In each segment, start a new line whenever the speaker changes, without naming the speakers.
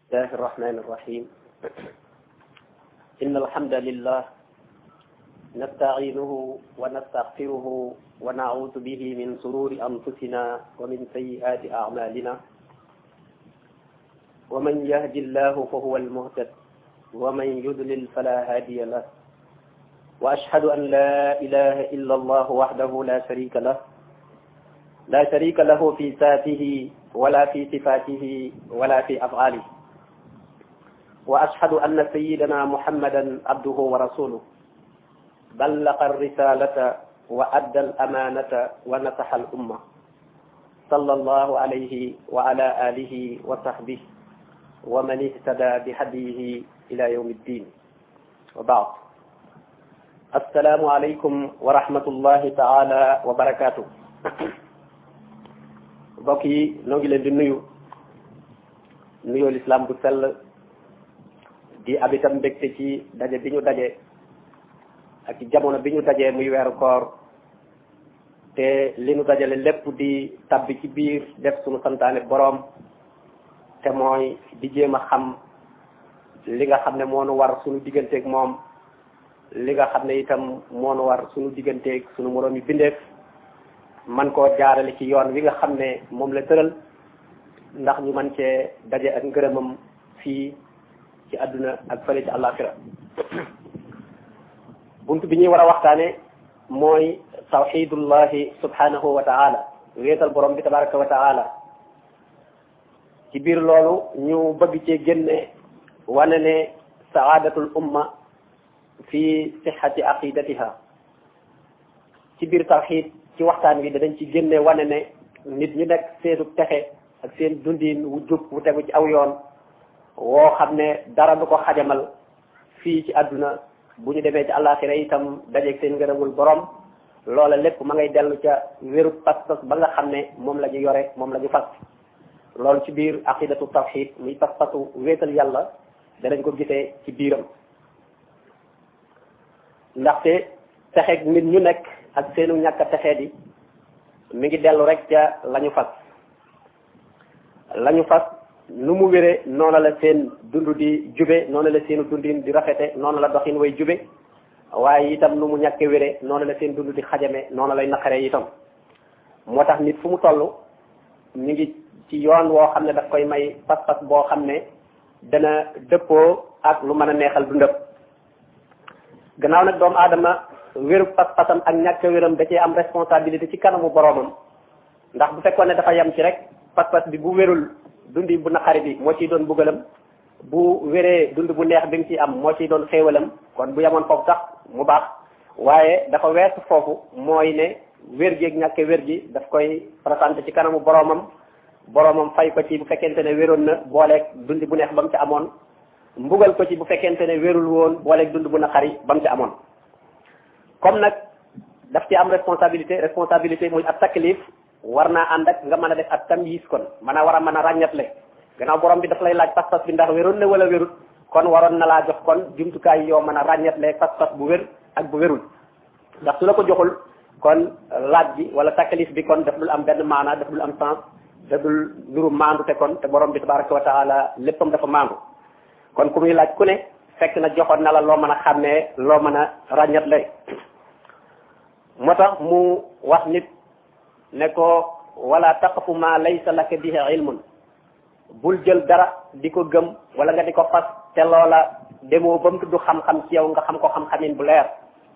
الله الرحمن الرحيم إن الحمد لله نستعينه ونستغفره ونعوذ به من شرور أنفسنا ومن سيئات أعمالنا ومن يهد الله فهو المهتد ومن يضلل فلا هادي له وأشهد أن لا إله إلا الله وحده لا شريك له في ذاته ولا في صفاته ولا في أفعاله وأشهد أن سيدنا محمدا عبده ورسوله بلغ الرسالة وأدى الأمانة ونصح الأمة صلى الله عليه وعلى آله وصحبه ومن اهتدى بهديه إلى يوم الدين وبعد السلام عليكم ورحمة الله تعالى وبركاته mbokk yi noo ngi leen di nuyoo lislaam bu sell di ab itam mbégte ci daje bi ñu daje ak ci jamono bi ñu dajee muy weeru koor te li ñu dajale lépp di tabbi ci biir def suñu santaane boroom te mooy di jéem a xam li nga xam ne moo nu war suñu digganteeg moom li nga xam ne itam moo nu war suñu digganteeg suñu moroom yi bindeef man koo jaarale ci yoon wi nga xam ne moom la tëral ndax ñu man cee daje ak ngërëmam fii ci àdduna ak fële ci àllaaxira bunt bi ñuy war a waxtaane mooy tawxidullahi subhanahu wa taala wéetal borom bi tabaraka wa taala ci biir loolu ñu bëgg cee génne wane ne saadatul umma fi sixati aqidatiha ci biir tawxid ci waxtaan wi danañ ci génne wane ne nit ñu nekk seenu texe ak seen dundin wu jub wu tegu ci aw yoon woo xam ne dara du ko xajamal fii ci àdduna bu ñu demee ci àllaaxira itam dajeeg seen ngërëmul borom loola lépp ma ngay dellu ca wéru pas-pas ba nga xam ne moom la ñu yore moom la ñu fas loolu ci biir aqidatu tawxid muy pas-pasu wéetal yàlla danañ ko gisee ci biiram ndaxte texeeg nit ñu nekk ak seenu ñàkk a texee di mi ngi dellu rek ca la ñu fas nu mu wéree noonu la seen dund di jube noonu la seenu dundin di rafete noonu la doxin way jube waaye itam nu mu ñàkke wéree noonu la seen dund di xajame noonu lay naqaree itam moo tax nit fu mu toll mi ngi ci yoon woo xam ne daf koy may pas-pas boo xam ne dana dëppoo ak lu mën a neexal dundam gannaaw nag doomu aadama wéru pas-pasam ak ñàkk wéram da cee am responsabilité ci kanamu boroomam ndax bu fekkoon ne dafa yem ci rek pas-pas bi bu wérul dundi bu naqari bi moo ciy doon bugalam bu wéree dund bu neex bi nga ciy am moo ciy doon xéewalam kon bu yemoon foofu sax mu baax waaye dafa weesu foofu mooy ne wér gi ak ñàkk wér gi daf koy présenté ci kanamu boroomam fay ko ci bu fekkente ne wéroon na booleeg dund bu neex ba mu ci amoon mbugal ko ci bu fekkente ne wérul woon booleeg dund bu naqari ba mu ci amoon comme nag daf ci am responsabilité muy ab taklif war naa ànd ak nga mën a def ak tamyiz kon mën a war a mën a ràññatle gannaaw borom bi daf lay laaj pas-pas bi ndax wéroon na wala wérut kon waroon na laa jox kon jumtukaay yoo mën a ràññatle pas-pas bu wér ak bu wérul ndax su la ko joxul kon laaj bi wala taklif bi kon daf dul am benn maana daf dul am sens daf dul nuru maandu te kon te borom bi tabaraka wa taala léppam dafa maandu kon ku muy laaj ku ne fekk na joxoon na la loo mën a xàmmee loo mën a ràññatle moo tax mu wax nit ne ko wala taqfu ma laysa laka bihi ilmun bul jël dara di ko gëm wala nga di ko fas te loola demoo ba mu tudd xam-xam ci yow nga xam ko xam-xamin bu leer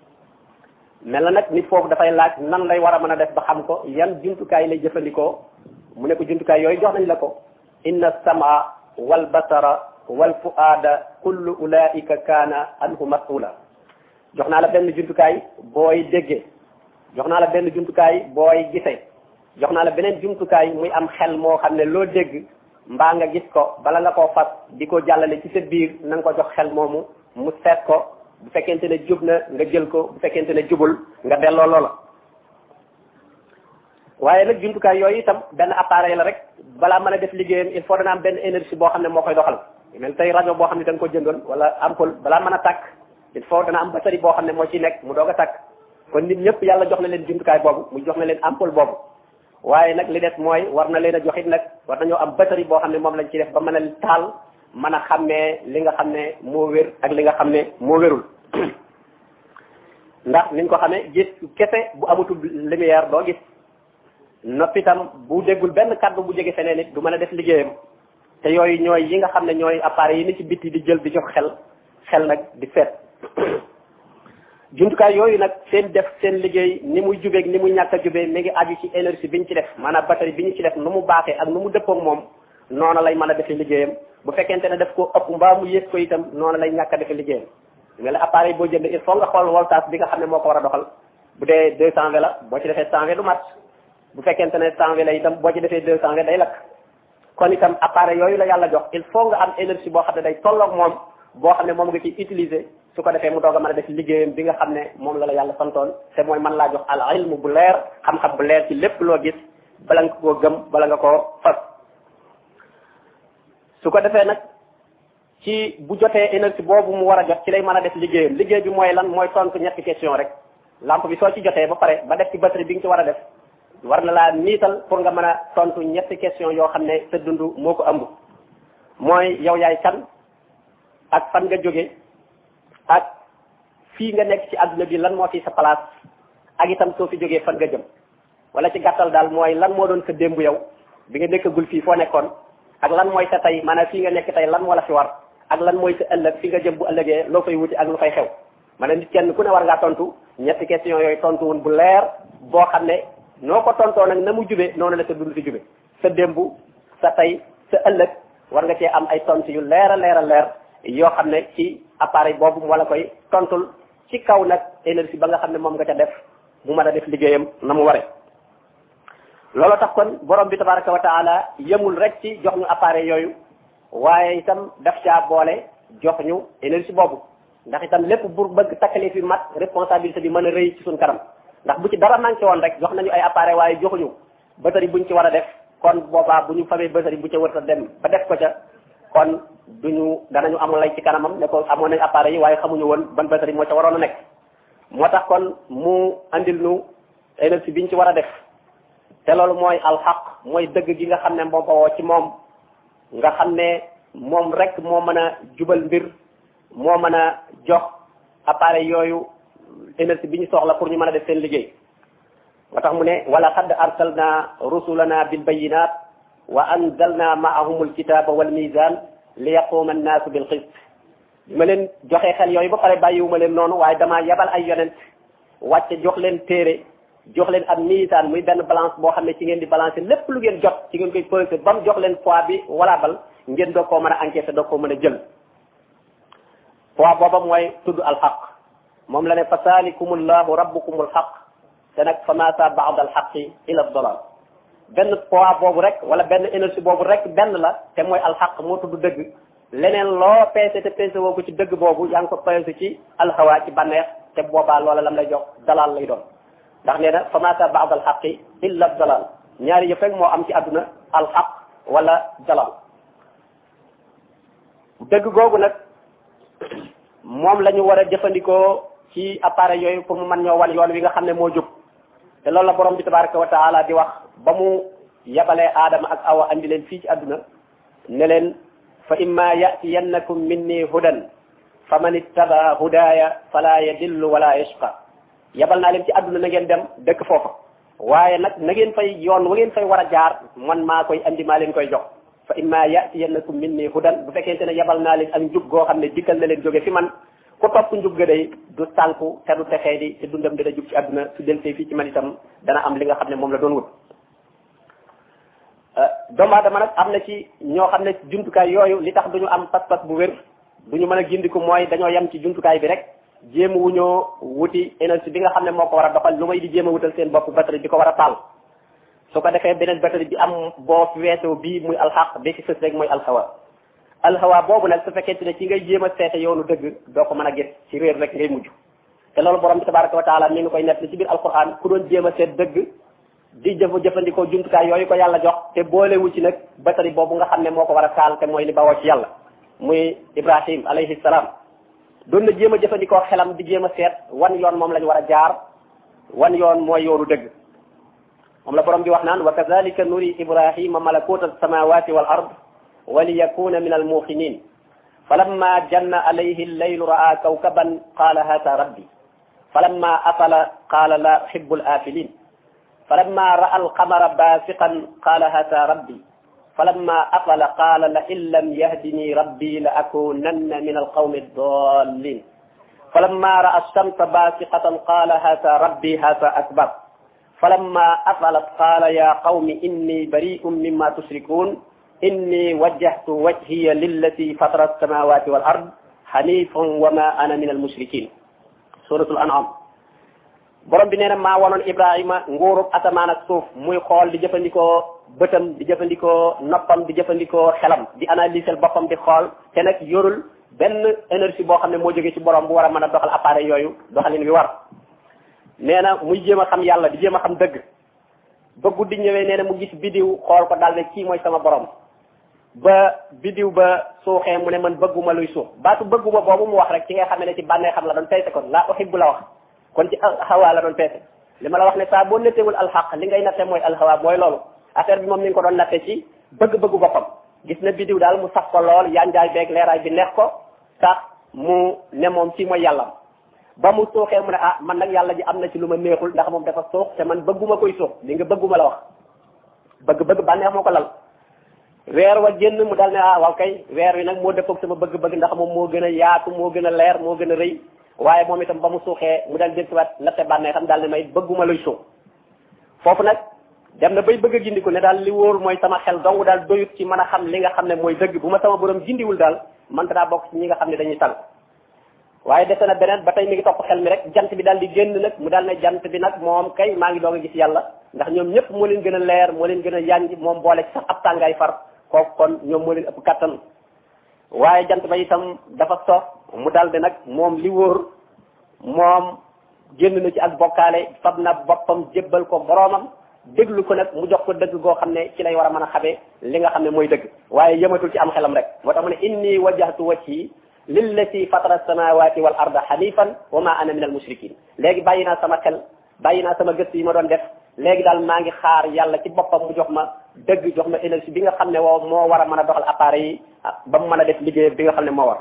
mel na nag nit foofu dafay laaj nan lay war a mën a def ba xam ko yan jumtukaay lay jëfandikoo mu ne ko jumtukaay yooyu jox nañ la ko inna samaa wal basara wal fuaada kullu ulaika kaana anhu mas'ula jox naa la benn jumtukaay booy déggee jox naa la benn jumtukaay booy gisee jox naa la beneen jumtukaay muy am xel moo xam ne loo dégg mbaa nga gis ko bala nga koo fas di ko jàllale ci sa biir na nga ko jox xel moomu mu seet ko bu fekkente ne jub na nga jël ko bu fekkente ne jubul nga delloo loola waaye nag jumtukaay yooyu itam benn appareil la rek balaa mën a def liggéeyam il faut dana am benn énergie boo xam ne moo koy doxal mel tey rajo boo xam ne da nga ko jëndoon wala ampoule balaa mën a tàkk il faut dana am batterie boo xam ne moo ci nekk mu doog a tàkk kon nit ñëpp yàlla jox na leen jumtukaay boobu mu jox na leen ampoule boobu waaye nag li des mooy war na leen a joxit nag war nañoo am batterie boo xam ne moom lañ ci def ba mën a taal mën a xàmmee li nga xam ne moo wér ak li nga xam ne moo wérul ndax niñ ko xamee gis kese bu amatul lumière doo gis noppi itam bu déggul benn kàddu bu jóge feneen it du mën a def liggéeyam te yooyu ñooy yi nga xam ne ñooy appareil yi ni ci bitti di jël di jox xel nag di seet jumtukaay yooyu nag seen liggéey ni muy jubeeg ni muy ñàkk a jubee mi ngi aju ci énergie bi ñu ci def maanaam batterie bi ñu ci def nu mu baaxee ak nu mu dëppoog moom noonu lay mën a defee liggéeyam bu fekkente ne daf ko ëpp mbaa mu yées ko itam noonu lay ñàkk a defee liggéeyam mais la appareil boo jënd il faut nga xool voltage bi nga xam ne moo ko war a doxal bu dee 220 la boo ci defee 120 du mat bu fekkente ne 120 la itam boo ci defee 220 day lakk kon itam appareil yooyu la yàlla jox il faut nga am énergie boo xam ne day tolloog moom boo xam ne moom nga ciy utiliser su ko defee mu doog a mën a def liggéeyam bi nga xam ne moom la yàlla santoon te mooy mën laa jox al ilmu bu leer xam-xam bu leer ci lépp loo gis bala nga koo gëm bala nga koo fas su ko defee nag ci bu jotee énergie boobu mu war a jot ci lay mën a def liggéeyam liggéey bi mooy lan mooy tontu ñetti question rek lampe bi soo ci jotee ba pare ba def ci batterie bi nga ci war a def war na laa niital pour nga mën a tontu ñetti question yoo xam ne sa dund moo ko ëmb mooy yow yaay kan ak fan nga jóge ak fii nga nekk ci àdduna bi lan moo fi sa place ak itam soo fi jógee fan nga jëm wala ci gàttal daal mooy lan moo doon sa démb yow bi nga nekkagul fii foo nekkoon ak lan mooy sa tey maanaam fii nga nekk tey lan moo la fi war ak lan mooy sa ëllëg fi nga jëm bu ëllëgee loo fay wuti ak lu fay xew maanaam nit kenn ku ne war ngaa tontu ñetti question yooyu tontu woon bu leer boo xam ne noo ko tontoo nag na mu jube noonu la sa dund fi jube sa démb sa tey sa ëllëg war nga cee am ay tontu yu leer a leer yoo xam ne ci appareil boobu mu wala koy tontul ci kaw nag énergie ba nga xam ne moom nga ca def mu mën a def liggéeyam na mu waree loolu tax kon borom bi tabaraka wa taala yemul rek ci jox ñu appareil yooyu waaye itam daf caa boole jox ñu énergie boobu ndax itam lépp pour bëgg takkale fi mat responsabilité bi mën a rëy ci suñ kanam ndax bu ci dara manqué woon rek jox nañu ay appareil waaye joxuñu batterie buñ ci war a def kon boobaa bu ñu famee batterie bu ca wër a dem ba def ko ca kon danañu amul lay ci kanamam ne ko amoon nañ appareil yi waaye xamuñu woon ban batterie moo ca waroon a nekk moo tax kon mu andil nu énergie biñ ci war a def te loolu mooy alxaq mooy dëgg gi nga xam ne moo bawoo ci moom nga xam ne moom rek moo mën a jubal mbir moo mën a jox appareil yooyu énergie bi ñu soxla pour ñu mën a def seen liggéey moo tax mu ne wala qad arsalna rusulana bil bayinat wa anzalna maahum alkitaba wal mizan li yaquma annaasu bil qist bi ma leen joxee xel yooyu ba pare bàyyiwuma leen noonu waaye damaa yebal ay yonent wàcce jox leen téere jox leen am misaan muy benn balance boo xam ne ci ngeen di balancer lépp lu ngeen jot ci ngeen koy peser ba mu jox leen poids bi wala bal ngeen doog koo mën a encaisser doog koo mën a jël poids booba mooy tudd alxaq moom la ne fa saalikumullahu rabbukumul xaq te nag fa maasa baad alxaqi ila dolal benn poids boobu rek wala benn énergie boobu rek benn la te mooy alxaq moo tudd dëgg leneen loo peese te peese woo ko ci dëgg boobu yaa ngi ko peese ci alxawa ci bànneex te boobaa loola lam lay jox dalal lay doon ndax nee na fa maasa baad alxaqi illa dalal ñaari yëpp rek moo am ci àdduna alxaq wala dalal dëgg googu nag moom la ñu war a jëfandikoo ci appareil yooyu pour mu mën ñoo wan yoon wi nga xam ne moo jub te loolu la borom bi tabaraka wa taala di wax ba mu yabalee aadama ak awa andi leen fii ci àdduna ne leen fa imma yatiyannakum minni hudan fa man ittaba hudaya fala yadillu wala yashqa yabal naa leen ci àdduna na ngeen dem dëkk foofa waaye nag na ngeen fay yoon wa ngeen fay war a jaar man maa koy andi maa leen koy jox fa imma yatiyannakum minni hudan bu fekkente ne yabal naa leen ak njub goo xam ne dikkal na leen jóge fi man ku topp njub ga day du sànku te du texee di te dundam dina jub ci àdduna su deltee fii ci man itam dana am li nga xam ne moom la doon wut doomu aadama nag am na ci ñoo xam ne jumtukaay yooyu li tax duñu am pas-pas bu wér duñu mën a gindiku mooy dañoo yem ci jumtukaay bi rek jéem wuñoo wuti énergie bi nga xam ne moo ko war a doxal lu may di jéem a wutal seen bopp batterie bi ko war a taal su ko defee beneen batterie bi am boo fi weesoo bii muy alxaq bi fi sës rek mooy alxawa boobu nag su fekkente ne ci ngay jéem a seete yoonu dëgg doo ko mën a gis ci réer rek ngay mujj te loolu borom bi tabaraka wa taala mi ngi koy nett ci biir alquran ku doon jéem a seet dëgg di jëfandikoo jumtukaay yooyu ko yàlla jox te boolewu ci nag batterie boobu nga xam ne moo ko war a taal te mooy li bawoo ci yàlla muy Ibrahim alayhi salaam doon na jéem a jëfandikoo xelam di jéem a seet wan yoon moom la ñu war a jaar wan yoon mooy yoonu dëgg moom la borom bi wax naan wa kadhalika nuri Ibrahima malakuta as-samawati wal ard وليكون من الموقنين فلما جن عليه الليل رأى كوكبا قال هذا ربي فلما أفل قال لا أحب الآفلين فلما رأى القمر باسقا قال هذا ربي فلما أفل قال لئن لم يهدني ربي لأكونن من القوم الضالين فلما رأى الشمس باسقة قال هذا ربي هذا أكبر فلما أفلت قال يا قوم إني بريء مما تشركون إني وجهت وجهي للتي فطر السماوات والأرض حنيفا وما أنا من المشركين سورة الأنعام borom bi nee na maa wanoon Ibrahima nguurub asamaan ak suuf muy xool di jëfandikoo bëtam di jëfandikoo noppam di jëfandikoo xelam di analyser boppam di xool te nag yorul benn énergie boo xam ne moo jógee ci borom bu war a mën a doxal appareil yooyu doxalin wi war nee na muy jéem a xam yàlla di jéem a xam dëgg ba guddi ñëwee nee na mu gis bidiw xool ko daal ne kii mooy sama borom ba bidiw ba suuxee mu ne man bëgguma luy suux baatu bëgguma boobu mu wax rek ci nga xam ne ci bànnee xam la doon peese kon laa uhibbu la wax kon ci alxawa la doon peese li ma la wax ne saa boo nettewul alxaq li ngay natte mooy alxawa mooy loolu affaire bi moom mi ngi ko doon natte ci bëgg-bëggu boppam gis na bidiw daal mu saf ko lool yanjaay beeg leeraay bi neex ko tax mu ne moom ci mooy yàllam ba mu suuxee mu ne ah man nag yàlla ji am na ci lu ma neexul ndax moom dafa suux te man bëgguma koy suux li nga bëgguma la wax bëgg-bëgg bànneex moo ko lal weer wa génn mu dal ne ah waaw kay weer wi nag moo dëppoog sama bëgg-bëgg ndax moom moo gën a yaatu moo gën a leer moo gën a rëy waaye moom itam ba mu suuxee mu dal jëlsiwaat natte bànnee xam daal ne may bëgguma luy suux foofu nag dem na bay bëgg a gindiku ne daal li wóor mooy sama xel dong daal doyut ci mën a xam li nga xam ne mooy dëgg bu ma sama borom gindiwul daal man daa bokk ci ñi nga xam ne dañuy tal waaye dese na beneen ba tey mi ngi topp xel mi rek jant bi daal di génn nag mu daal ne jant bi nag moom kay maa ngi doog a gis yàlla ndax ñoom ñëpp moo leen gën a leer moo leen gën a yanj moom boole ci sax ab tàngaay far kooku kon ñoom moo leen ëpp kattan waaye jant ba itam dafa sox mu daal di nag moom li wóor moom génn na ci ak bokkaale fab na boppam jébbal ko boroomam déglu ko nag mu jox ko dëgg goo xam ne ci lay war a mën a xamee li nga xam ne mooy dëgg waaye yëmatul ci am xelam rek moo tax mu ne inni wajjahtu wajhi lillati fatara samawati wal arda hanifan wa ma ana min al mushrikin léegi bàyyi naa sama xel bàyyi naa sama gëstu yi ma doon def léegi daal maa ngi xaar yàlla ci boppam mu jox ma dëgg jox ma énergie bi nga xam ne moo war a mën a doxal appareil yi ba mu mën a def liggéey bi nga xam ne moo war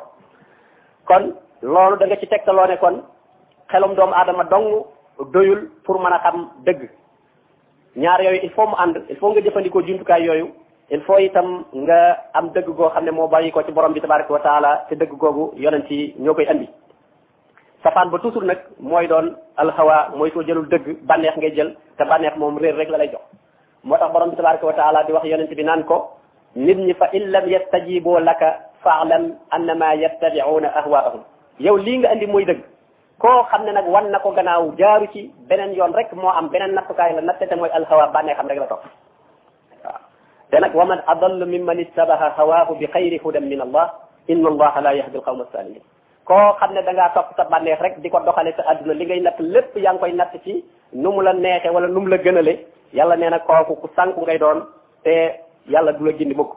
kon loolu da nga ci tegtaloo ne kon xelum doomu aadama dong doyul pour mën a xam dëgg ñaar yooyu il faut mu ànd il faut nga jëfandikoo jumtukaay yooyu il faut itam nga am dëgg goo xam ne moo bàyyi ko ci borom bi tabaraka wa taala te dëgg googu yonent yi ñoo koy andi safaan ba toujours nag mooy doon alxawa mooy soo jëlul dëgg bànneex ngay jël te bànneex moom réer rek la lay jox moo tax borom bi tabaraka wa taala di wax yonent bi naan ko nit ñi fa in lam yastajibu laka fa'lam annama yattabi'una ahwaahum yow lii nga andi mooy dëgg koo xam ne nag wan na ko gannaaw jaaru ci beneen yoon rek moo am beneen nattukaay la natte te mooy alxawa bànneex xam rek la topp waaw te nag wa man adallu mimman ittabaha hawaahu bi xayri hudan min allah inna allaha la yahdi alqawma alsalimin koo xam ne da ngaa topp sa bànneex rek di ko doxale sa adduna li ngay natt lépp yaa ngi koy natt ci nu mu la neexee wala nu mu la gënale yàlla nee na kooku ku sànku ngay doon te yàlla du la gindi mukk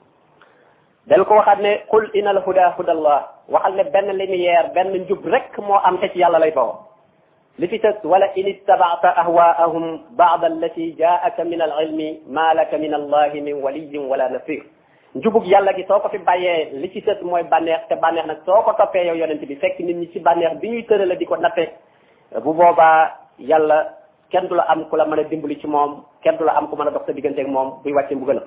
del ko waxaat ne qul inal huda hudallah waxal ne benn lumière benn njub rek moo am te ci yàlla lay bawoo li fi tës wala in ittaba'ta ahwaahum ba'da allati jaa'aka min al ilmi ma laka min allahi min waliyin wala nasir njubug yàlla gi soo ko fi bàyyee li ci tës mooy bànneex te bànneex nag soo ko toppee yow yonent bi fekk nit ñi ci bànneex bi ñuy tërale di ko natte bu boobaa yàlla kenn du la am ku la mën a dimbali ci moom kenn du la am ku mën a dox sa digganteeg moom buy wàcce mbugalam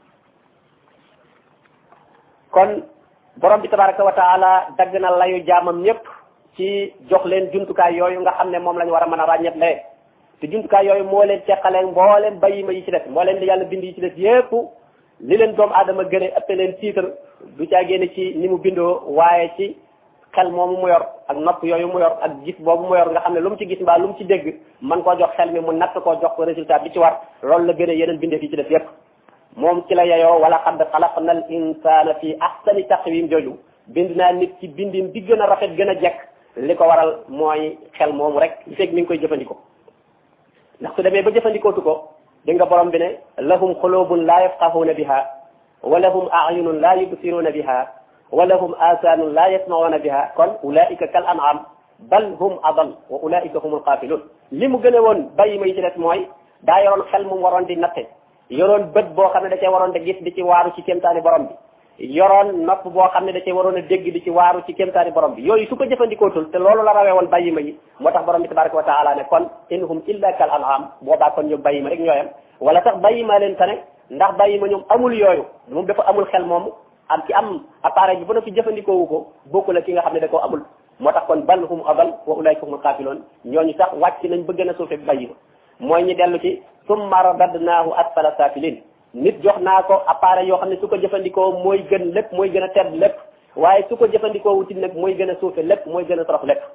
kon borom bi tabaraka wa taala dagg na layu jaamam ñëpp ci jox leen jumtukaay yooyu nga xam ne moom la ñu war a mën a ràññet lee te jumtukaay yooyu moo leen teqaleen mbooleem bayima yi ci des moo leen di yàlla bind yi ci des yépp li leen doomu aadama gën a ëppe leen tiitar du caa génne ci ni mu bindoo waaye ci xel moomu mu yor ak nopp yooyu mu yor ak gis boobu mu yor nga xam ne lu mu ci gis mbaa lu mu ci dégg man koo jox xel mi mu natt koo jox ko résultat bi ci war loolu la gën a yeneen bindee fi ci des yépp moom ci la yeyoo wala qad xalaqna al insana fi ahsani taqwim jooju bind naa nit ci bindin bi gën a rafet gën a jekk li ko waral mooy xel moomu rek li fekk mi ngi koy jëfandikoo ndax su demee ba jëfandikootu ko di nga borom bi ne lahum xulubun la yafqahuna biha wa lahum a'yunun la yubsiruna biha wa lahum asanun la yasma'una biha kon ulaika kal an'am bal hum adal wa ulaika humul qafilun li mu gën a woon bàyyi may ci des mooy daa yoroon xel mu waroon di natte yoroon bët boo xam ne da cee waroon di gis di ci waaru ci kéemtaani borom bi yoroon nopp boo xam ne da cee waroon a dégg di ci waaru ci kéemtaani borom bi yooyu su ko jëfandikootul te loolu la rawee woon bàyyi ma yi moo tax borom bi tabaraka wa taala ne kon inhum illa kal an'am boobaa kon ñoom bàyyi ma rek ñooyam wala sax bàyyi ma leen tane ndax bàyyi ma ñoom amul yooyu moom dafa amul xel moomu am ci am appareil bi ba noppi jëfandikoowu ko bokku la ki nga xam ne da koo amul moo tax kon bal hum adal wa ulaika humul xaafiloon ñooñu sax wàcc nañ ba gën a suufe bàyyi ma mooy ñu dellu ci summa radadnaahu asfala safilin nit jox naa ko appareil yoo xam ne su ko jëfandikoo mooy gën lépp mooy gën a tedd lépp waaye su ko jëfandikoo wuti nag mooy gën a suufe lépp mooy gën a torox lépp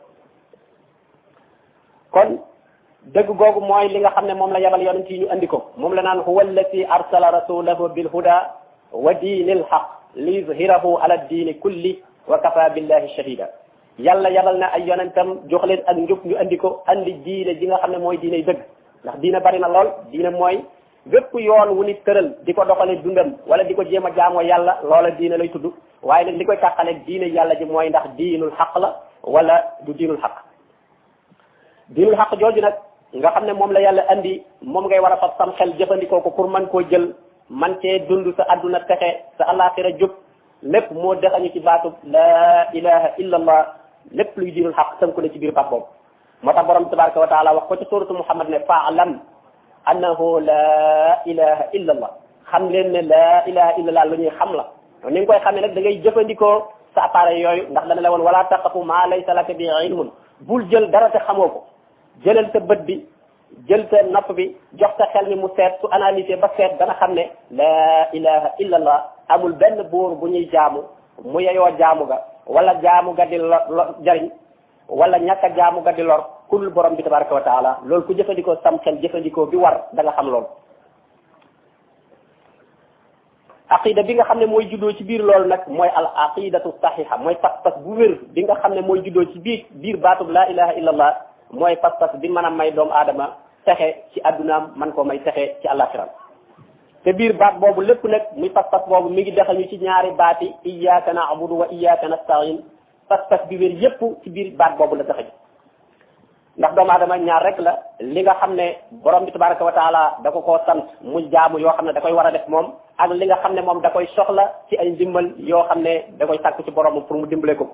kon dëgg googu mooy li nga xam ne moom la yabal yonent yi ñu andi ko moom la naan huwa allati arsala rasulahu bil huda wa diinil haq li yuzhirahu ala diini kulli wa kafa billahi shahida yàlla yabal na ay yonentam jox leen ak njub ñu andi ko andi diine ji nga xam ne mooy diiney dëgg ndax diine bari na lool diine mooy bépp yoon wu nit tëral di ko doxale dundam wala di ko jéem a jaamoo yàlla loola diine lay tudd waaye nag li koy tàqaleeg diine yàlla ji mooy ndax diinul xaq la wala du diinul xaq diinul xaq jooju nag nga xam ne moom la yàlla andi moom ngay war a fab sam xel jëfandikoo ko pour man koo jël man cee dund sa adduna texe sa alaxira jub lépp moo dexañu ci baatu la ilaha illa allah lépp luy diinul xaq tënku na ci biir baat boobu moo tax borom tabaraka wa taala wax ko ci suratu muhammad ne faalam annahu la ilaha illa allah xam leen ne la ilaha illa allah lu ñuy xam la ni nga koy xamee nag da ngay jëfandikoo sa appareil yooyu ndax dana la woon wala taqafu ma laysa laka bi ilmun bul jël dara te xamoo ko jëlal sa bët bi jël sa nopp bi jox sa xel mi mu seet su analysé ba seet dana xam ne la ilaha illa allah amul benn buur bu ñuy jaamu mu yeyoo jaamu ga wala jaamu ga di jariñ wala ñàkk a jaamu ga di lor kul borom bi tabaraka wa taala loolu ku jëfandikoo sam xel jëfandikoo bi war da nga xam loolu aqida bi nga xam ne mooy juddoo ci biir loolu nag mooy al aqidatu saxiha mooy pas-pas bu wér bi nga xam ne mooy juddoo ci biir baatub la ilaha illa allah mooy pas-pas bi mën a may doomu aadama texe ci addunaam man koo may texe ci àllaxiram te biir baat boobu lépp nag muy pas-pas boobu mi ngi dexañu ci ñaari baati iyyaka na'budu wa iyyaka nasta'in pas-pas bi wér yépp ci biir baat boobu la dexañu ndax doomu aadama ñaar rek la li nga xam ne borom bi tabaraka wa taala da ko koo sant mu jaamu yoo xam ne da koy war a def moom ak li nga xam ne moom da koy soxla ci ay ndimbal yoo xam ne da koy sàkku ci borom pour mu dimbale ko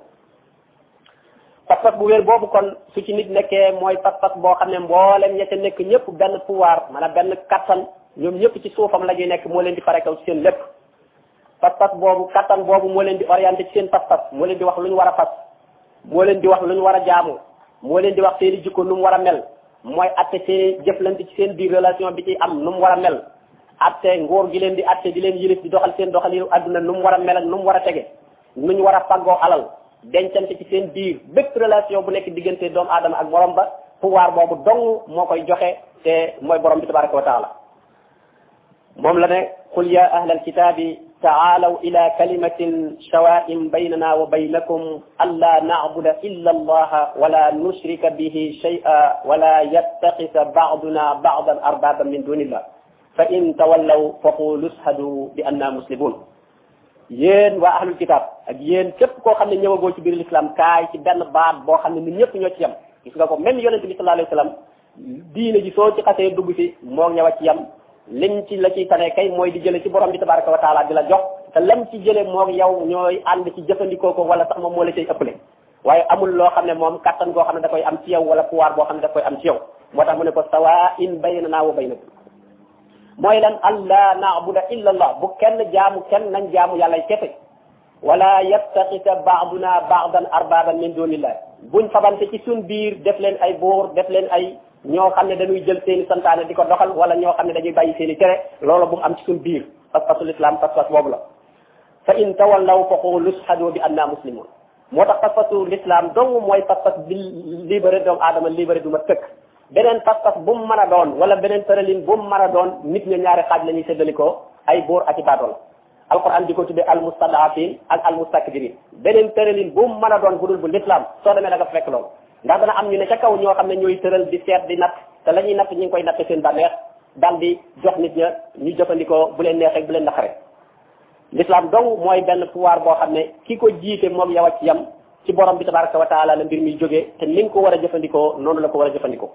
pas-pas bu wér boobu kon su ci nit nekkee mooy pas-pas boo xam ne mboolem ña ca nekk ñëpp benn pouvoir maanaam benn kattan ñoom ñëpp ci suufam la ñuy nekk moo leen di fare kaw ci seen lépp pas-pas boobu kattan boobu moo leen di orienté ci seen pas-pas moo leen di wax lu ñu war a fas moo leen di wax lu ñu war a jaamu moo leen di wax seen i jikko nu mu war a mel mooy atte see jëflante ci seen biir relation bi ci am nu mu war a mel atte nguur gi leen di atte di leen yilif di doxal seen doxalinu adduna nu mu war a mel ak nu mu war a tege nu ñu war a faggoo alal dencante ci seen biir bépp relation bu nekk diggante doomu aadama ak borom ba pouvoir boobu dong moo koy joxe te mooy borom bi tabaraka wa taala moom la ne qul ya ahlal kitaabi taalaw ila kalimatin sawaa'in baynana wa baynakum alla na'buda illa allaha wala nushrika bihi shay'an wala yattaqisa ba'duna ba'dan arbaban min dunillah fa in tawallaw faqulu ashhadu bi anna muslimun yéen waa ahlul kitab ak yéen képp koo xam ne ñëwagoo ci biir l'islam kaay ci benn baat boo xam ne ñun ñëpp ñoo ci yem gis nga ko même yonente bi sallallahu alayhi wa sallam diine ji soo ci xasee dugg si moo ñëw a ci yem liñ ci la ciy tane kay mooy di jële ci borom bi tabaraka wa taala di la jox te lam ci jële moog yow ñooy ànd ci jëfandikoo ko wala sax moom moo la cay ëppale waaye amul loo xam ne moom kattan goo xam ne da koy am ci yow wala pouvoir boo xam ne da koy am ci yow moo tax mu ne ko sawaa'in baynana wa baynakum mooy lan alla na'buda illa allah bu kenn jaamu kenn nañ jaamu yàlla kese wala yattaxisa ba'duna ba'dan arbaban min dunillah buñ fabante ci suñ biir def leen ay buur def leen ay ñoo xam ne dañuy jël seeni santaane di ko doxal wala ñoo xam ne dañuy bàyyi seeni tere loolu bu mu am ci suñ biir pas-pasul islam pas-pas boobu la fa in tawallaw fa qulu ashhadu bi anna muslimun moo tax pas-pasul islam dong mooy pas-pas bi libéré doomu aadama libéré du ma tëkk beneen pas-pas bu mu mën a doon wala beneen tëralin bu mu mën a doon nit ña ñaari xaaj la ñuy séddalikoo ay buur ak i baadool alquran di ko tuddee al mustadafin ak al mustakbirin beneen tëralin bu mu mën a doon bu dul bu l'islam soo demee da nga fekk loolu ndax dana am ñu ne ca kaw ñoo xam ne ñooy tëral di seet di natt te la ñuy natt ñu ngi koy natt seen bànneex daal di jox nit ña ñu jëfandikoo bu leen neexee bu leen naqaree l'islam dong mooy benn pouvoir boo xam ne ki ko jiite moom yow a ci yam ci borom bi tabaraka wa taala la mbir mi jógee te ni nga ko war a jëfandikoo noonu la ko war a jëfandikoo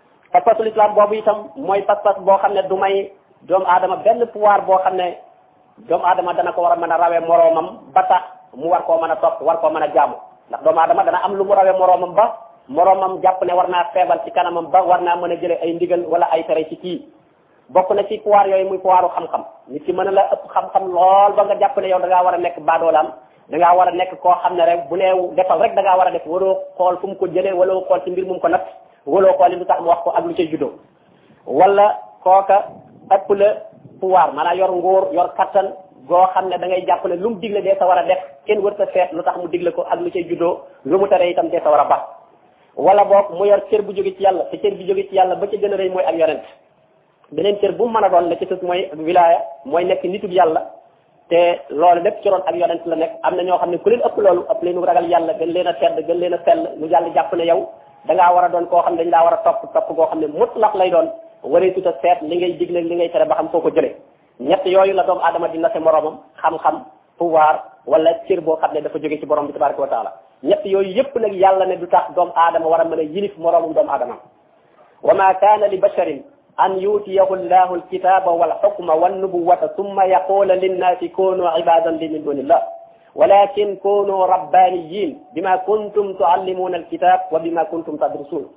pas-pasul islam boobu itam mooy pas-pas boo xam ne du may doomu aadama benn pouvoir boo xam ne doomu aadama dana ko war a mën a rawee moroomam ba tax mu war koo mën a topp war koo mën a jaamu ndax doomu aadama dana am lu mu rawee moroomam ba moroomam jàpp ne war naa feebal ci kanamam ba war naa mën a jëlee ay ndigal wala ay tere ci kii bokk na ci pouvoir yooyu muy pouvoiru xam-xam nit ki mën a la ëpp xam-xam lool ba nga jàpp ne yow da ngaa war a nekk baadoolaam da ngaa war a nekk koo xam ne rek bu nee defal rek da ngaa war a def waroo xool fu mu ko jëlee wala xool ci mbir mu ko natt waloo xool li lu tax mu wax ko ak lu cay juddoo wala kooka ëpp la pouvoir maanaam yor nguur yor kattan goo xam ne da ngay jàpp ne lu mu digle dee sa war a def kenn wër sa seet lu tax mu digle ko ak lu cay juddoo lu mu tere itam dee sa war a baax wala boog mu yor cër bu jóge ci yàlla te cër bi jóge ci yàlla ba ca gën a rëy mooy ak yonent beneen cër bu mu mën a doon la ci sus mooy wilaaya mooy nekk nitub yàlla te loolu lépp ci roon ak yonent la nekk am na ñoo xam ne ku leen ëpp loolu ëpp leen ragal yàlla gën leen a tedd gën leen a sell ñu jàll jàpp ne yow da ngaa war a doon koo xam ne dañ laa war a topp goo xam ne mutlaq lay doon waree tuta seet li ngay digle li ngay tere ba xam foo ko jëlee ñett yooyu la doomu aadama di nase moroomam xam-xam pouvoir wala cër boo xam ne dafa jóge ci borom bi tabaraka wa taala ñett yooyu yëpp nag yàlla ne du tax doomu aadama war a mën a yilif moroomam doomu aadama wa ma kaana li basharin an yutiyahu llahu alkitaba walxukma wannubuwata summa yaqula linnaasi kunu ibadan li min dunillah walakin kunu rabbaniyin bima kuntum tuallimuna alkitab wa bima kuntum tadrusun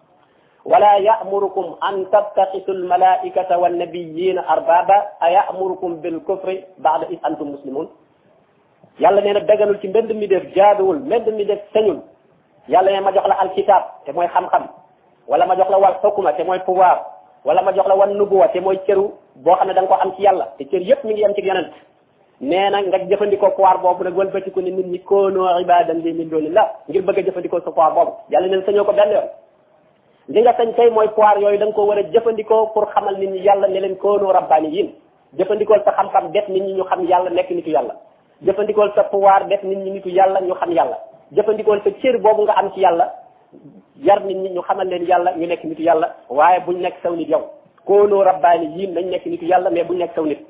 wala ya'murukum an tattaxisu almalaikata wannabiyina arbaba a ya'murukum bilkufri ba'da is antum muslimun yàlla nee na daganul ci mbend mi def jaaduwul mbend mi def sañul yàlla nee ma jox la alkitab te mooy xam-xam wala ma jox la wal xukma te mooy pouvoir wala ma jox la wan nubuwa te mooy cëru boo xam ne da nga ko am ci yàlla te cër yëpp mi ngi am ci yonent nee na nga jëfandikoo pouvoir boobu nag wëlbatiku ne nit ñi koonoo ibadan li min dunillah ngir bëgg a jëfandikoo sa pouvoir boobu yàlla neen sañoo ko benn yoon li nga sañ tey mooy pouvoir yooyu da nga ko war a jëfandikoo pour xamal nit ñi yàlla ne leen koonoo rabbaniyin jëfandikool sa xam-xam def nit ñi ñu xam yàlla nekk nitu yàlla jëfandikool sa pouvoir def nit ñi nitu yàlla ñu xam yàlla jëfandikool sa cër boobu nga am ci yàlla yar nit ñi ñu xamal leen yàlla ñu nekk nitu yàlla waaye buñ nekk saw nit yow koonoo rabbaniyin nañ nekk nitu yàlla mais buñ nekk saw nit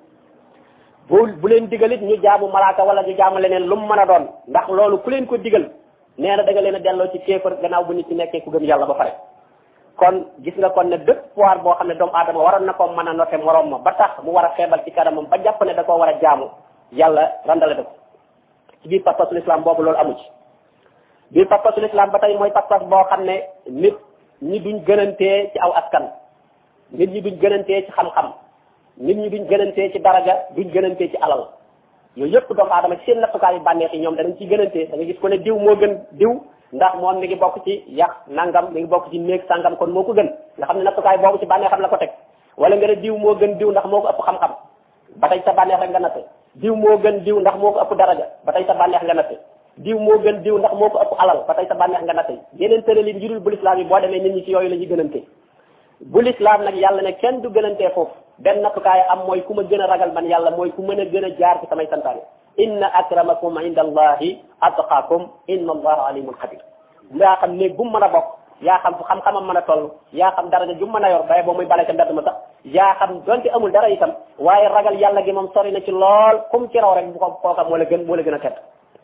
bu leen digalit ñu jaamu malaaka wala ñu jaamu leneen lu mu mën a doon ndax loolu ku leen ko digal nee na da nga leen a delloo ci kéefar gannaaw bu nit ci nekkee ku gëm yàlla ba pare kon gis nga kon ne bépp pouvoir boo xam ne doomu aadama waroon na ko mën a noté moroom ma ba tax mu war a xeebal ci kanamam ba jàpp ne da koo war a jaamu yàlla randale da ko ci biir pas-pasul islam boobu loolu amu ci biir pas-pasul islam ba tey mooy pas-pas boo xam ne nit ñi duñ gënantee ci aw askan nit ñi duñ gënantee ci xam-xam nit ñi duñ gënantee ci daraja duñ gënantee ci alal yooyu yëpp doomu aadama ci seen nattukaay yu bànneex yi ñoom danañ ciy gënantee da nga gis ko ne diw moo gën diw ndax moom mi ngi bokk ci yàq nangam mi ngi bokk ci néeg sangam kon moo ko gën nga xam ne nattukaay boobu ci bànneexam la ko teg wala nga ne diw moo gën diw ndax moo ko ëpp xam-xam ba tey sa bànneex rek nga natte diw moo gën diw ndax moo ko ëpp daraja ba tey sa bànneex nga natte diw moo gën diw ndax moo ko ëpp alal ba tey sa bànneex nga natte yeneen tëralin yu dul bu lislaam yi boo demee nit ñi ci yooyu la ñuy gënante bu lislaam nag yàlla ne kenn du gënantee foofu benn nattukaay am mooy ku ma gën a ragal man yàlla mooy ku mën a gën a jaar ci samay santaane inna akramakum inda allahi atqaakum inna allaha alimun xabir yaa xam néeg bu mu mën a bokk yaa xam fu xam-xamam mën a toll yaa xam daraja ju mu mën a yor baye boo muy bale ca mbedd ma sax yaa xam donte amul dara itam waaye ragal yàlla gi moom sori na ci lool kum ci raw rek bu ko kooka moo la gën a tedd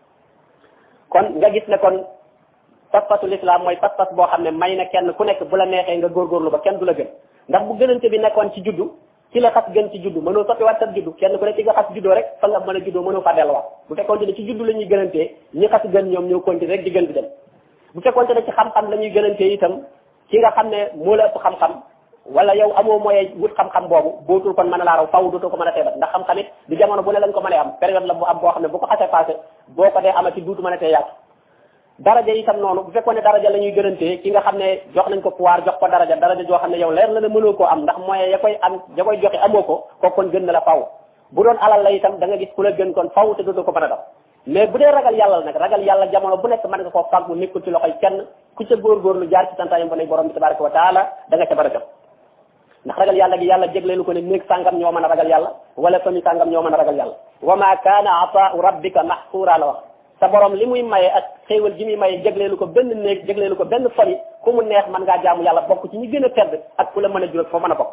kon nga gis ne kon pas-pasul islam mooy pas-pas boo xam ne may na kenn ku nekk bu la neexee nga góorgóorlu ba kenn du la gën ndax bu gënante bi nekkoon ci juddu ci la xas gën ci juddu mënoo soppi waat sa juddu kenn ku ne ci nga xas juddoo rek fa nga mën a juddoo mënoo fa delluwaat bu fekkoon ne ci juddu la ñuy gënantee ñi xas gën ñoom ñoo continuer rek di gën di dem bu fekkoon ne ci xam-xam la ñuy gënantee itam ki nga xam ne moo la ëpp xam-xam wala yow amoo moyen wut xam-xam boobu bootul kon mën a laa raw faw dootoo ko mën a teebat ndax xam-xam it du jamono bu ne lañ ko mën a am période la bu am boo xam ne bu ko xasee passé boo ko dee amati duutu mën a tee yaatu daraja itam noonu bu fekkoon ne daraja la ñuy gënantee ki nga xam ne jox nañ ko pouvoir jox ko daraja joo xam ne yow leer la ne mënoo koo am ndax moyen ya koy joxe amoo ko kooku kon gën na la faw bu doon alal la itam da nga gis ku la gën kon faw te dootoo ko mën a def mais bu dee ragal yàlla nag ragal yàlla jamono bu nekk mën nga koo fàggu nekkul ci loxoy kenn ku ca góorgóorlu jaar ci santaayam ba ne borom bi tabaraka wa taala da nga ca bara jot ndax ragal yàlla gi yàlla jégleelu ko ne néeg sàngam ñoo mën a ragal yàlla wala famille sàngam ñoo mën a ragal yàlla wa ma kaana ataau rabbika mahsura la wax sa borom li muy maye ak xéewal gi muy maye jégleelu ko benn néeg jégleelu ko benn famille ku mu neex mën ngaa jaamu yàlla bokk ci ñi gën a tedd ak ku la mën a jural foo mën a bokk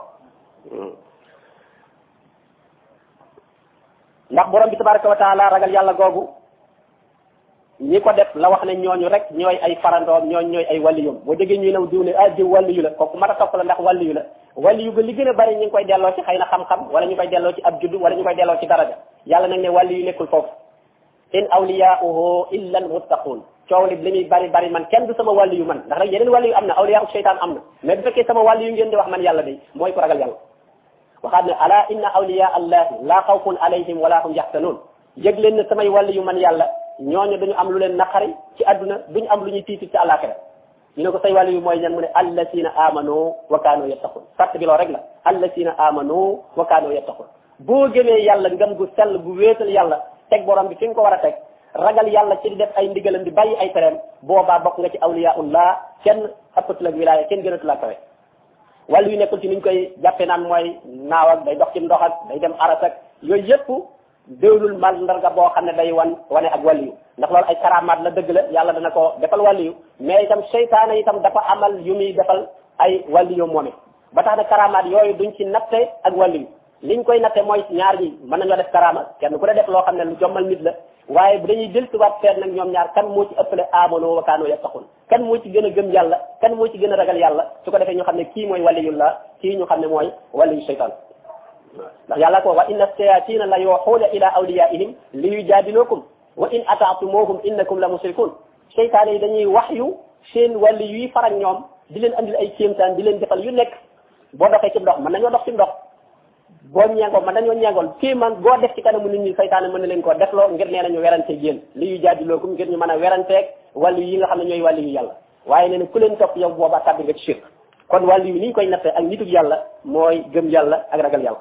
ndax borom bi tabaraka wa taala ragal yàlla googu ñi ko def la wax ne ñooñu rek ñooy ay farandoom ñooñu ñooy ay wàlliyum boo déggee ñuy naw diw ne ah diw wàlliyu la kooku mat a topp la ndax wàlliyu la wàlliyu ga li gën a bari ñu ngi koy delloo ci xëy na xam-xam wala ñu koy delloo ci ab juddu wala ñu koy delloo ci daraja yàlla nag ne wàlliyu nekkul foofu in awliyauhu illa al muttaqun coow li muy bari bari man kenn du sama wàlliyu man ndax nag yeneen wàlliyu am na awliya seytaan am na mais bu fekkee sama wàlliyu ngeen di wax man yàlla day mooy ko ragal yàlla waxaat ne ala inna awliya allahi la xawfun alayhim wala hum yaxtanun yëg leen ne samay wàlliyu man yàlla ñooñu duñu am lu leen naqari ci àdduna duñu am lu ñuy tiiti ci àllaaxira ñu ne ko say wàlliyu mooy ñan mu ne allasina amanu wa kaanu yattaqun sart bi loo rek la allasina amanu wa kaanu yattaqun boo gëmee yàlla ngëm gu sell gu wéetal yàlla teg borom bi fi nga ko war a teg ragal yàlla ci di def ay ndigalam di bàyyi ay tereem boobaa bokk nga ci awliyaullah kenn ëppatu la wilaaya kenn gënatu la kawe wàllu yu nekkul ci niñ koy jàppe naan mooy naaw ak day dox ci ndox ak day dem aras ak yooyu yëpp déwlul mandarga boo xam ne day wane ak wàllu ndax loolu ay karamaat la dëgg la yàlla dana ko defal wàllu mais itam seytaane itam dafa amal yu muy defal ay wàllu moom it ba tax na karamaat yooyu duñ ci natte ak wàllu liñ koy natte mooy ñaar ñi mën nañoo def karama kenn ku ne def loo xam ne lu jommal nit la waaye bu dañuy del siwaat feet nag ñoom ñaar kan moo ci ëppale amano wa kaano yattaqun kan moo ci gën a gëm yàlla kan moo ci gën a ragal yàlla su ko defee ñu xam ne kii mooy waliyullah kii ñu xam ne mooy waliyu shaytan ndax yàlla ko wa inna shayatina la yuuxuuna ila awliyaihim li yujaadilukum wa in ataatumuhum innakum la musrikun seytaane yi dañuy wax yu seen wàlli yuy farak ñoom di leen andil ay kéemtaan di leen defal yu nekk boo doxee ci ndox mën nañoo dox ci ndox boo ñeengool mën nañoo ñeengool kii man boo def ci kanamu nit ñi saytaane mën na leen koo defloo ngir nee nañu weranteeg yéen li yu jaadilookum ngir ñu mën a weranteeg wàllu yi nga xam ne ñooy wàllu yu yàlla waaye nee na ku leen topp yow boobaa tàbbi nga ci shirk kon wàllu yi ni ñu koy nattee ak nitug yàlla mooy gëm yàlla ak ragal yàlla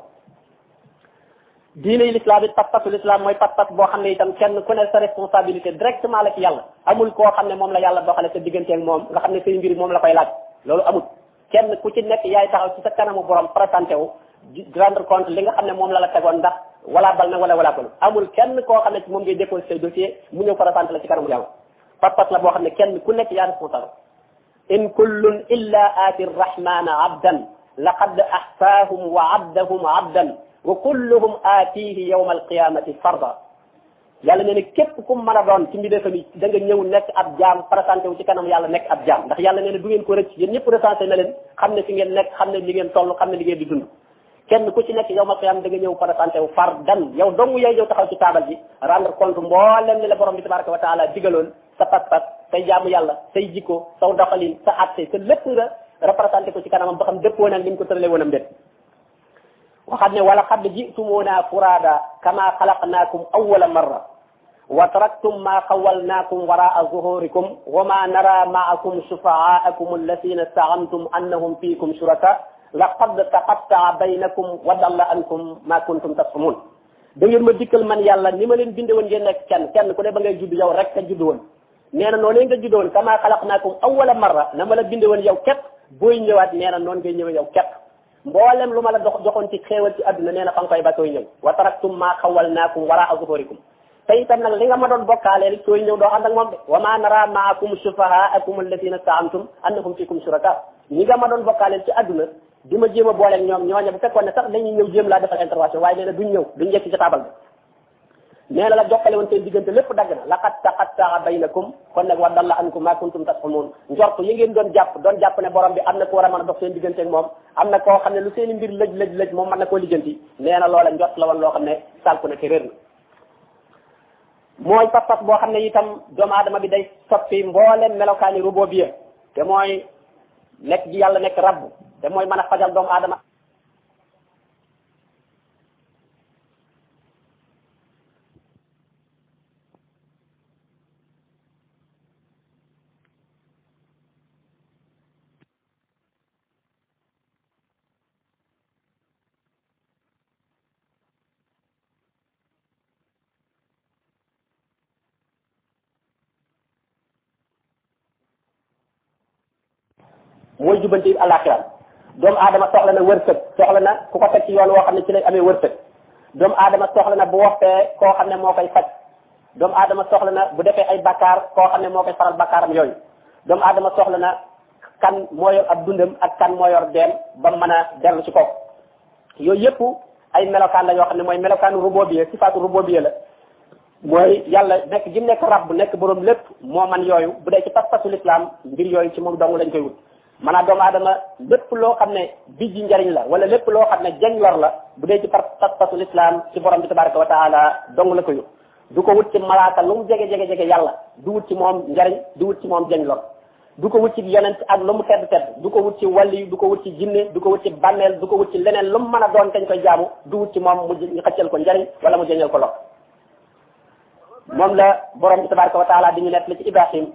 diine yi l'islam it pas-pasu l'islam mooy pas-pas boo xam ne itam kenn ku ne sa responsabilité directement la ci yàlla amul koo xam ne moom la yàlla doxale sa digganteeg moom nga xam ne say mbir moom la koy laaj loolu amul kenn ku ci nekk yaay taxaw ci sa kanamu borom présenté wu di rendre compte li nga xam ne moom la tegoon ndax wala bal na wala balu amul kenn koo xam ne ci moom ngay déposé say dossier mu ñëw présenté la ci kanamu yàlla pas-pas la boo xam ne kenn ku nekk yaa responsable in kullun illa aati rrahmana abdan laqad ahsaahum wa addahum abdan wa kulluhum aatihi yawma alqiyamati farda yàlla nee na képp ku mën a doon ci mbindeefam yi da nga ñëw nekk ab jaam présenté wu ci kanam yàlla nekk ab jaam ndax yàlla nee na du ngeen ko rëcc yéen ñëpp recensé na leen xam ne fi ngeen nekk xam ne li ngeen toll xam ne li ngeen di dund kenn ku ci nekk yow ma qiyam da nga ñëw présenté wu fardan yow dong yaay ñëw taxaw ci taabal ji rendre compte mboolem li la borom bi tabaraka wa taala digaloon sa pas-pas say jaamu yàlla say jikko saw doxalin sa atte sa lépp nga représenté ko ci kanamam ba xam dëppoo nag ni mu ko tëralee woonam déet waxaat ne wala qad ji'tumuna furada kama xalaqnaakum awwala marra wa taraktum ma xawalnaakum waraa zuhurikum wa ma nara maakum shufa'aakum alladhina za'amtum annahum fiikum shuraka laqad taqatta'a baynakum wa dalla ankum ma kuntum tas'umun da ngeen ma dikkal man yàlla ni ma leen binde woon ngeen nekk kenn ku ne ba ngay judd yow rek ka judd woon nee na noonu nga judd woon kama xalaqnaakum awwala marra na ma la binde woon yow képp booy ñëwaat nee na noonu ngay ñëwee yow képp mboolem lu ma la joxoon ci xéewal ci adduna nee na fa nga koy ba sooy ñëw wa taraktum ma xawalnaakum waraa zuhurikum te itam nag li nga ma doon bokkaalee rek sooy ñëw doo ànd ak moom de wa ma nara maakum shufahaakum alladina za'amtum annahum fikum shuraka ñi nga ma doon bokkaaleel ci adduna di ma jéem a booleeg ñoom ñooñu bu fekkoon ne sax dañuy ñëw jéem laa defal intervention waaye nee na duñ ñëw duñ yegg ci taabal bi nee na la jokkale woon seen diggante lépp dagg na laqad taqatta'a baynakum kon nag wa dalla ankum ma kuntum tas'umun njort yi ngeen doon jàpp ne borom bi am na ko war a mën a dox seen diggante ak moom am na koo xam ne lu seen i mbir lëj moom mën na koo lijjanti nee na loola njort la woon loo xam ne sànku na te réer na mooy pas-pas boo xam ne itam doomu aadama bi day soppi mboolem melokaani rububiyya te mooy nekk gi yàlla nekk rabb te mooy mën a fajal doomu aadama mooy jubanti àllaaxira doomu aadama soxla na wërsëg soxla na ku ko teg ci yoon woo xam ne ci lay amee wërsëg doomu aadama soxla na bu woppee koo xam ne moo koy faj doomu aadama soxla na bu defee ay bakkaar koo xam ne moo koy faral bakkaaram yooyu doomu aadama soxla na kan moo yor ab dundam ak kan moo yor deem ba mën a dellu ci kaw yooyu yëpp ay melokaan la yoo xam ne mooy melokaanu rububiyya sifaatu rububiyya la mooy yàlla nekk gi nekk rabb nekk borom lépp moo man yooyu bu dee ci pas-pasul islam mbir yooyu ci moom dong lañ koy wut maanaam doomu aadama lépp loo xam ne bijji njariñ la wala lépp loo xam ne jañ lor la bu dee ci pas-pasul islam ci borom bi tabaraka wa taala dong la koy wut du ko wut ci malaaka lu mu jege yàlla du wut ci moom njariñ du wut ci moom jañ lor du ko wut ci yonent ak lu mu tedd du ko wut ci wàlli du ko wut ci jinne du ko wut ci bànneel du ko wut ci leneen lu mu mën a doon kañ koy jaamu du wut ci moom mu xëccal ko njariñ wala mu jañal ko lor moom la borom bi tabaraka wa taala di ñu nekk li ci Ibrahim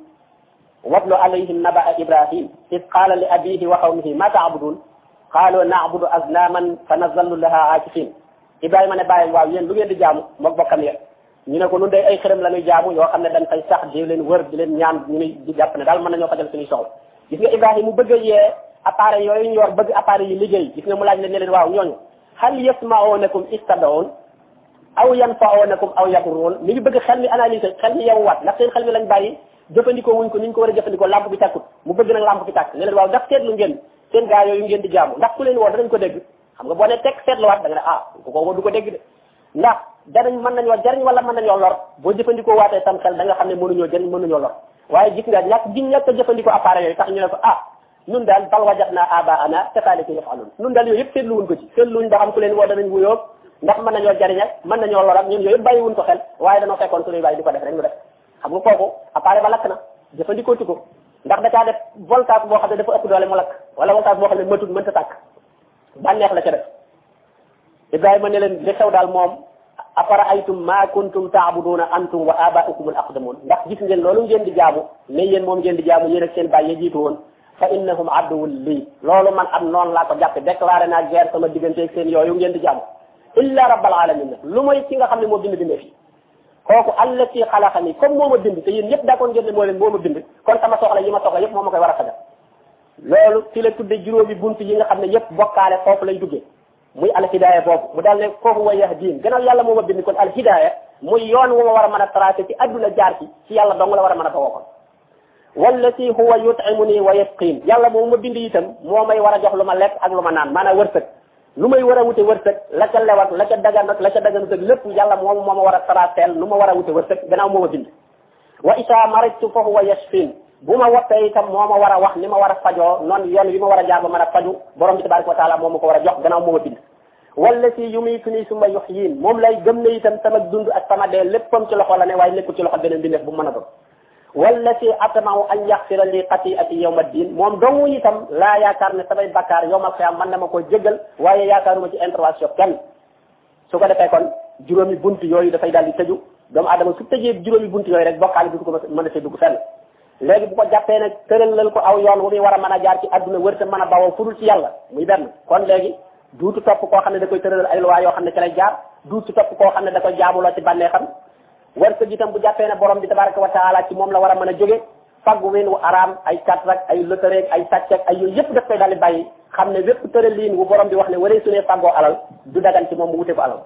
watlu alayhim nabaa Ibrahim id qaala li abihi wa qawmihi ma taabudun qaalu naabudu aznaman fa nazallu laha aakifin Ibrahima ne bàyyi waaw yéen lu ngeen di jaamu moom bokkam ya ñu ne ko nun day ay xërëm la ñuy jaamu yoo xam ne dañ fay sax di leen wër di leen ñaan ñu di jàpp ne daal mën nañoo fajal suñuy soxla gis nga Ibrahima mu bëgg a yee appareil yooyu ñu yor bëgg appareil yi liggéey gis nga mu laaj leen ne leen waaw ñooñu hal yasma'unakum istad'un aw yanfa'unakum aw yadurrun mi ngi bëgg xel mi analyser xel mi yeewuwaat ndax seen xel mi lañ bàyyi jëfandikoo wuñ ko ni ñu ko war a jëfandikoo lampe bi tàkkut mu bëgg nag lampe bi tàkk ne leen waaw ndax seetlu ngeen seen gaa yooyu ngeen di jaamu ndax ku leen woo danañ ko dégg xam nga boo ne teg seetluwaat da nga ne ku ko woo du ko dégg de ndax danañ mën nañoo jariñ wala mën nañoo lor boo jëfandikoo waatee tam xel da nga xam ne mënuñoo jariñ mënuñoo lor waaye gis nga ñàkk a jëfandikoo appareil yooyu tax ñu ne ko nun daal bal wajadna abaana kazaalika yaf'aluun nun daal yooyu yëpp seetluwuñ ko ci seetluwuñ ba xam ku leen woo danañ wuyoo ndax mën nañoo jariñ ak mën nañoo lor ak ñun yooyu yëpp bàyyiwuñ ko xel waaye dañoo fekkoon suñuy bàyyi di ko def rek ñu def xam nga kooku appareil ba lakk na jëfandikoo tu ko ndax da caa def voltage boo xam ne dafa ëpp doole mu lakk wala voltage boo xam ne matut mënta tàkk bànneex la ca def Ibrahima ne leen li xew daal moom afara aytum ma kuntum taabuduna antum wa abaukum al aqdamun ndax gis ngeen loolu ngeen di jaamu ne yéen moom ngeen di jaamu yéen ak seen bàyyi jiitu woon fa innahum adduwul lii loolu man am noonu laa ko jàppe déclaré naa guerre sama diggante ak seen yooyu ngeen di jaamu illa rabbal alamin lu mooy ki nga xam ne moo bind bindee fi kooku allati xalaqani comme moo ma bind te yéen ñëpp d'accord ngeen ne moo leen moo ma bind kon sama soxla yi ma soxla yëpp moo ma koy war a fajal loolu fi la tudde juróomi buntu yi nga xam ne yëpp bokkaale foofu lay duggee muy alhidaaya boobu mu daal ne foofu wa yahdiin gannaaw yàlla moo ma bind kon alhidaaya muy yoon wu ma war a mën a tracé ci adduna jaar ci yàlla dong la war a mën a bawoo kon wallati huwa yut'imuni wa yasqin yàlla moo ma bind itam moo may war a jox lu ma lekk ak lu ma naan maanaam wërsëg lu may war a wute wërsëg la ca lewat la ca dagan ak la ca daganut ak lépp yàlla moom moo ma war a traceel lu ma war a wute wërsëg gannaaw moo ma bind wa isa maritu fa huwa yashfin bu ma woppee itam moo ma war a wax ni ma war a fajoo noonu yoon wi ma war a jaar ba mën a faju borom bi tabaraka wa taala moom ma ko war a jox gannaaw moo ma bind wallati yumituni summa yuhyin moom lay gëm ne itam sama dund ak sama dee léppam ci loxo la ne waaye nekkul ci loxo beneen bindeef bu mën a doon wallati atma'u an yaghfira li xati'ati yawma ddin moom dong itam laa yaakaar ne samay bakkaar yawmal qiyaam mën na ma koo jéggal waaye yaakaaruma ci intervention kenn su ko defee kon juróomi bunt yooyu dafay daal di tëju doomu adama su tëjee juróomi bunt yooyu rek bokkaale du ko mën a see dugg fenn léegi bu ko jàppee nag tëralal ko aw yoon wu muy war a mën a jaar ci adduna wërta mën a bawoo fudul ci yàlla muy benn kon léegi duutu topp koo xam ne da koy tëralal ay loi yoo xam ne ci lay jaar duutu topp koo xam ne da koy jaamuloo ci bànneexam wërsëg itam bu jàppee ne borom bi tabaraka wa taala ci moom la war a mën a jóge faggu ween wu araam ay kat rek ay loterie ay sàcc ak ay yooyu yëpp daf koy daal di bàyyi xam ne wépp tëraliin wu borom bi wax ne waree su ne faggoo alal du dagan ci moom mu wute ko alal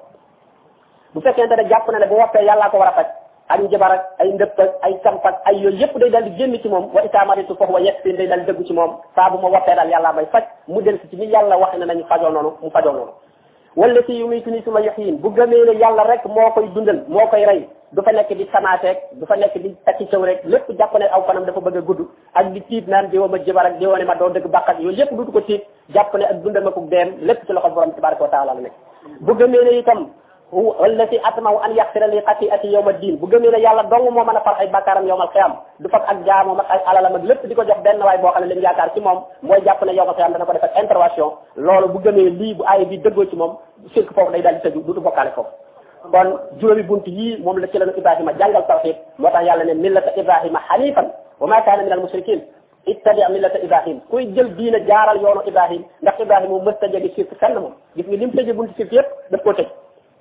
bu fekkente ne jàpp na ne bu woppee yàllaa ko war a faj ak njabar ak ay ndëpp ak ay camp ak ay yooyu yëpp day daal di génn ci moom wa itamaritu foofu wa yegsin day daal di dëggu ci moom saa bu ma woppee daal yàllaa may faj mu del si ci ni yàlla wax ne nañu fajoo noonu mu fajoo noonu wala si yu muy tuni suma yoxiin bu gëmee ne yàlla rek moo koy dundal moo koy rey du fa nekk di samaateeg du fa nekk di takki cëw rek lépp jàpp ne aw fanam dafa bëgg a gudd ak di tiit naan di ma jëbar ak di wane ma doo dëgg bàqat yooyu yëpp dutu ko tiit jàpp ne ak dundal ma ko deem lépp ci loxo borom tabaraka wa taala la nekk bu gëmee ne itam wala si atmaw an yaxfira li xati'ati yawma diin bu gëmee ne yàlla dong moo mën a far ay bàkkaaram yawmal xiyaam du fab ak jaamoom ak ay alalam ak lépp di ko jox benn waay boo xam ne lim yaakaar ci moom mooy jàpp ne yawmal xiyaam dana ko def ak intervention loolu bu gëmee lii bu aaya bi dëggoo ci moom sirk foofu day daal di tëju dutu bokkaale foofu kon juróomi bunt yii moom la ci lañu Ibrahima jàngal tawhid moo tax yàlla ne millata Ibrahima hanifan wa ma kaana min al mushrikin ittabi' millata Ibrahim kuy jël diina jaaral yoonu Ibrahim ndax Ibrahima moom mës ta jege sirk fenn moom gis nga lim tëjee buntu sirk yëpp daf koo tëj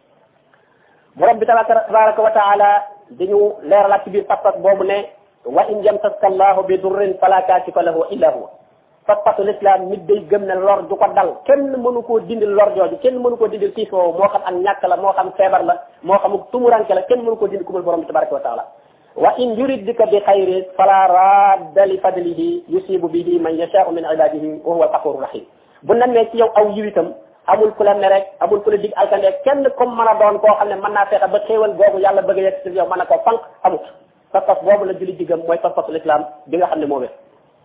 borom bi tabaraka wa taala dañu leeralaat ci biir pas-pas boobu ne wa in yamsaska allahu bi durrin fala kaashifa lahu illa huwa pas-pasu l'islam nit day gëm ne lor du ko dal kenn mënu koo dindil lor jooju kenn mënu koo dindil tiis woowu moo xam ak ñàkk la moo xam feebar la moo xam tumuranke la kenn mënu koo dindi kumul borom bi tabaraka wa taala wa in yuridka bi xayrin fala radda li fadlihi yusibu bihi man yasha'u min ibadihi wa huwa al-ghafurur rahim bu namee ci yow aw yiw itam amul ku la mere amul ku la dig alkande kenn comme mën a doon koo xam ne mën naa fexe ba xéewal googu yàlla bëgg a yegg ci yow mën a koo fanq amut pas-pas boobu la jullit diggam mooy pas-pasul islam bi nga xam ne moo wér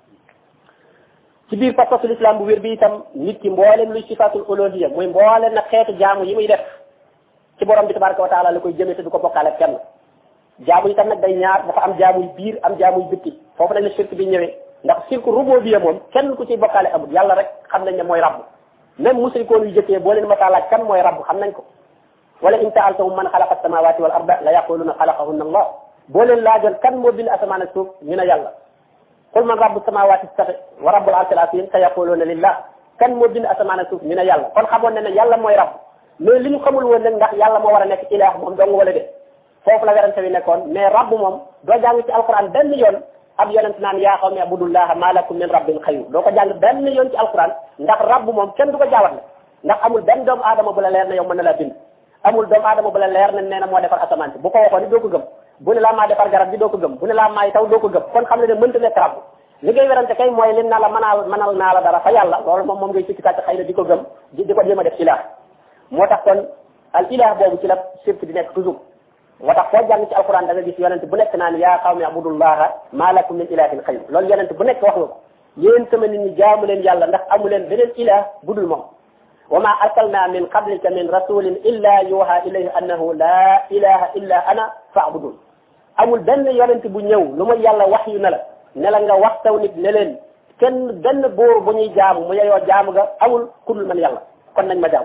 ci biir pas-pasul islam bu wér bi itam nit ki mbooleem luy sifatul uluhiyya muy mbooleem nag xeetu jaamu yi muy def ci borom bi tabaraka wa taala la koy jëmee te du ko bokkaale kenn jaamu itam nag day ñaar dafa am jaamuy biir am jaamuy bitti foofu lañ la shirk bi ñëwee ndax shirku rububiyya moom kenn ku ciy bokkaale amul yàlla rek xam nañ ne mooy rabb même musrikoon yu jëkkee boo leen masaa laaj kan mooy rabb xam nañ ko wala in sa'altahum man xalaqa as-samawati wal arda la yaquluna xalaqahunna allah boo leen laajoon kan moo bind asamaan ak suuf ñu ne yàlla qul man rabbu samawati as-sab'i wa rabbul arshil azim sa yaquluna lillah kan moo bind asamaan ak suuf ñu ne yàlla kon xamoon ne ne yàlla mooy rabb mais li ñu xamul woon nag ndax yàlla moo war a nekk ilaah moom dong wala de foofu la werante wi nekkoon mais rabb moom doo jàng ci alquran benn yoon ab yonent naan yaa qawmi abudullaha ma lakum min rabbin xayru doo ko jàng benn yoon ci alquran ndax rabb moom kenn du ko jaawatle ndax amul benn doomu aadama bu la leer ne yow mën na la bind amul doomu aadama bu la leer ne nee na moo defar asamaan si bu ko waxoon ni doo ko gëm bu ne laa maa defar garab bi doo ko gëm bu ne laa maay taw doo ko gëm kon xam ne ne mënta nekk rabb li ngay werante kay mooy lim naa la mënal naa la dara fa yàlla loolu moom ngay sikki sàcc xëy na di ko gëm di ko jéem a def ilah moo tax kon al ilah boobu ci la sirk di nekk toujours moo tax foo jàng ci alquran da nga gis yonent bu nekk naan yaa qawmi abudullaha ma lakum min ilahin xayru loolu yonent bu nekk wax nga ko yéen sama nit ñi jaamu leen yàlla ndax amu leen beneen ilah budul moom wa ma arsalna min qablika min rasulin illa yuha ilayhi annahu la ilaha illa ana fa'budun amul benn yonent bu ñëw lu may yàlla wax yu ne la nga wax taw nit ne leen kenn benn buur bu ñuy jaamu mu yeyoo jaamu ga amul kudul man yàlla kon nañ ma jaamu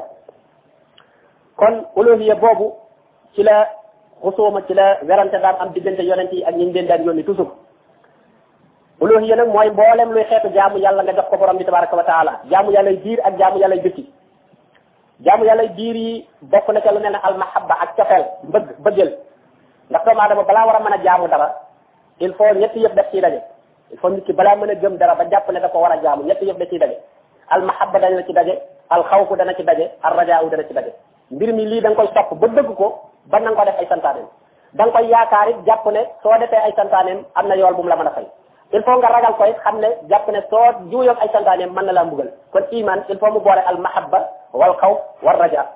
kon uluhiyya boobu ci la xusuuma ci la werante daan am diggante yonent yi ak ñi leen daan yónni toujours uluhiyya nag mooy mboolem luy xeetu jaamu yàlla nga jox ko borom bi tabaraka wa taala jaamu yàllay biir ak jaamu yàllay bitti jaamu yàllay biir yi bokk na ca lu mel ne almahabba ak cofeel bëggeel ndax doomu aadama balaa war a mën a jaamu dara il faut ñetti yëpp def ciy daje il faut nit ki balaa mën a gëm dara ba jàpp ne da ko war a jaamu ñetti yëpp da ciy daje almahabba dana ci daje alxawfu dana ci daje arrajaawu dana ci daje mbir mi lii da nga koy sopp ba dëgg ko ba na nga ko def ay santaaneem da nga koy yaakaar it jàpp ne soo defee ay santaaneem am na yool bu mu la mën a fay il faut nga ragal ko it xam ne jàpp ne soo juuyoog ay santaaneem mën na laa mbugal kon iman il faut mu boole almahabba wal xawf war raja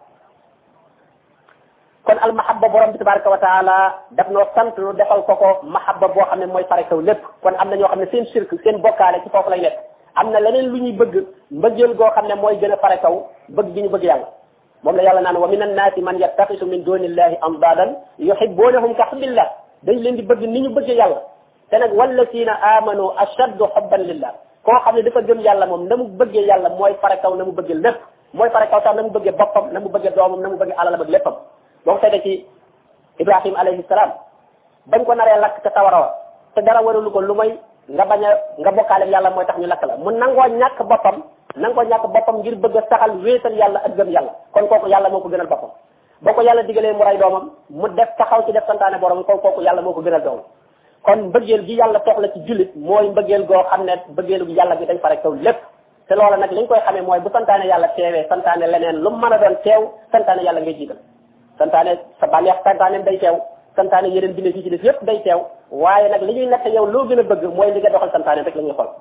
kon almahabba borom bi tabaraka wa taala daf noo sant lu defal ko mahabba boo xam ne mooy fare kaw lépp kon am na ñoo xam ne seen shirk seen bokkaale ci foofu lay nekk am na leneen lu ñuy bëgg mbëggeel goo xam ne mooy gën a fare kaw bëgg gi ñu bëgg yàlla moom la yàlla naan wa min annaasi man yattaxisu min dunillahi andaadan yuhibbunahum ka hubbillah dañ leen di bëgg ni ñu bëggee yàlla te nag wallazina amanu ashaddu hubban lillah koo xam ne dafa gëm yàlla moom na mu bëggee yàlla mooy fare kaw na mu bëggee lépp mooy fare kaw sax na mu bëggee boppam na mu bëggee doomam na mu bëggee alalam ak léppam boo ko seetee ci Ibrahim alayhi salaam bañ ko naree lakk ca sawara wa te dara waralu ko lu may nga bañ a nga bokkaale yàlla mooy tax ñu lakk la mu nangoo ñàkk boppam ngir bëgg a saxal wéetal yàlla ak gëm yàlla kon kooku yàlla moo ko gënal boppam boo ko yàlla digalee mu rey doomam mu def taxaw ci def santaane borom kon kooku yàlla moo ko gënal doomam kon mbëggeel gi yàlla soxla ci jullit mooy mbëggeel goo xam ne mbëggeelu yàlla gi dañ fare kaw lépp te loola nag li ñu koy xamee mooy bu santaane yàlla teewee santaane leneen lu mu mën a doon teew santaane yàlla ngay jiital santaane sa bànneex santaaneem day teew santaane yeneen bindee fii ci def yépp day teew waaye nag li ñuy nekk yow loo gën a bëgg mooy li nga doxal santaane rek la ñuy xool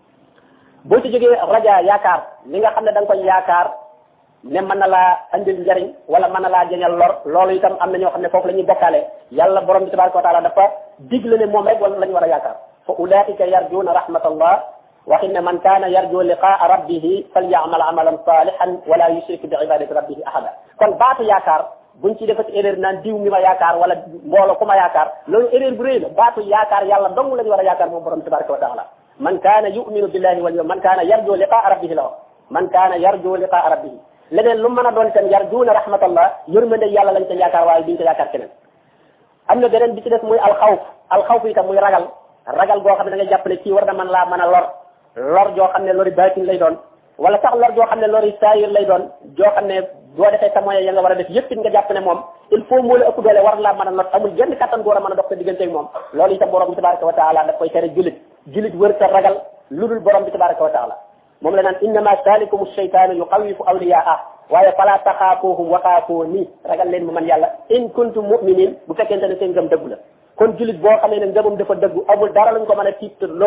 boo ci jógee raja yaakaar li nga xam ne da nga koy yaakaar ne mën na laa andil njariñ wala mën na laa jañal lor loolu itam am na ñoo xam ne foofu la ñuy bokkaale yàlla borom bi tabaraka wa taala dafa digle ne moom rek wala la ñu war a yaakaar fa ulaika yarjuuna rahmatallah waxin ne man kaana yarju liqaa rabbihi falyamal amalan salihan wala yushrik bi ibadati rabbihi ahada kon baatu yaakaar buñ ci defati erreur naan diw mi ma yaakaar wala mbooloo ku ma yaakaar loolu erreur bu rëy la baatu yaakaar yàlla dong la ñu war a yaakaar moom borom tabaraka wa taala man kaana yuminu billahi wal yawm man kaana yarju liqaa rabbihi la wax man kaana yarju liqaa rabbihi leneen lu mën a doon itam yarjuuna rahmatallah yërmande yàlla lañ ca yaakaar waaye duñ ko yaakaar keneen am na beneen bi ci des muy alxawf itam muy ragal goo xam ne da ngay jàpp ne kii war na mën laa mën a lor joo xam ne lori baatin lay doon wala sax lor joo xam ne lori saayir lay doon joo xam ne boo defee sa moyen ya nga war a def yëpp it nga jàpp ne moom il faut moo la ëpp doole war laa mën a not amul genn kattan gu war a mën a dox sa diggante ak moom loolu itam borom bi tabaraka wa taala daf koy tere jullit wër sa ragal lu dul borom bi tabaraka wa taala moom la naan innama salikum shaytanu yuqawifu awliyaa waaye fala taxaafuhum wa xaafuuni ragal leen mu man yàlla in kuntum mu'minin bu fekkente ne seen ngëm dëggu la kon jullit boo xamee ne ngëmam dafa dëggu amul dara lañ ko mën a tiitloo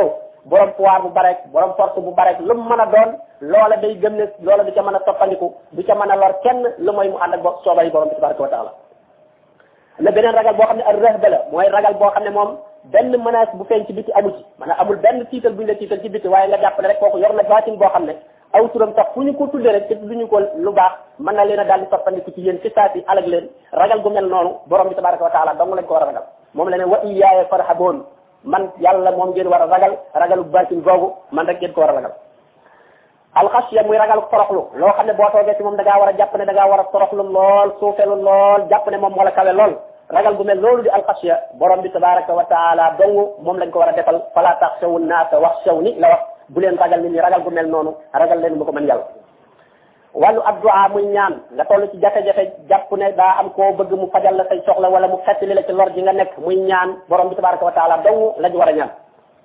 borom pouvoir bu bare borom force bu bare lu mu mën a doon loola day gëm ne loola du ca mën a toppandiku du ca mën a lor kenn lu mooy mu ànd ak soobay borom bi tabaraka wa taala la beneen ragal boo xam ne ak rëhba la mooy ragal boo xam ne moom benn menace bu feeñ ci biti amu ci maanaam amul benn tiital bu ñu la tiital ci biti waaye nga jàpp ne rek kooku yor na baatin boo xam ne aw turam sax fu ñu ko tuddee rek te duñu ko lu baax mën na leen a daal di soppandiku ci yéen ci saasi alag leen ragal gu mel noonu borom bi tabaraka wa taala dong lañ ko war a ragal moom la ne wa iyaaya farhaboon man yàlla moom ngeen war a ragal ragalu baatin googu man rek ngeen ko war a ragal alxasiya muy ragalu toroxlu loo xam ne boo toogee ci moom da ngaa war a jàpp ne da ngaa war a toroxlu lool suufelu lool jàpp ne moom moo la kawe lool ragal gu mel loolu di alxasiya borom bi tabaraka wa taala dong moom lañ ko war a defal fala taxshawu naasa waxshawni la wax bu leen ragal nit ñi ragal gu mel noonu ragal leen mu ko mën yàlla wàllu addu'a muy ñaan nga toll ci jafe-jafe jàpp ne daa am koo bëgg mu fajal la say soxla wala mu xettali la ci lor ji nga nekk muy ñaan borom bi tabaraka wa taala dong lañ war a ñaan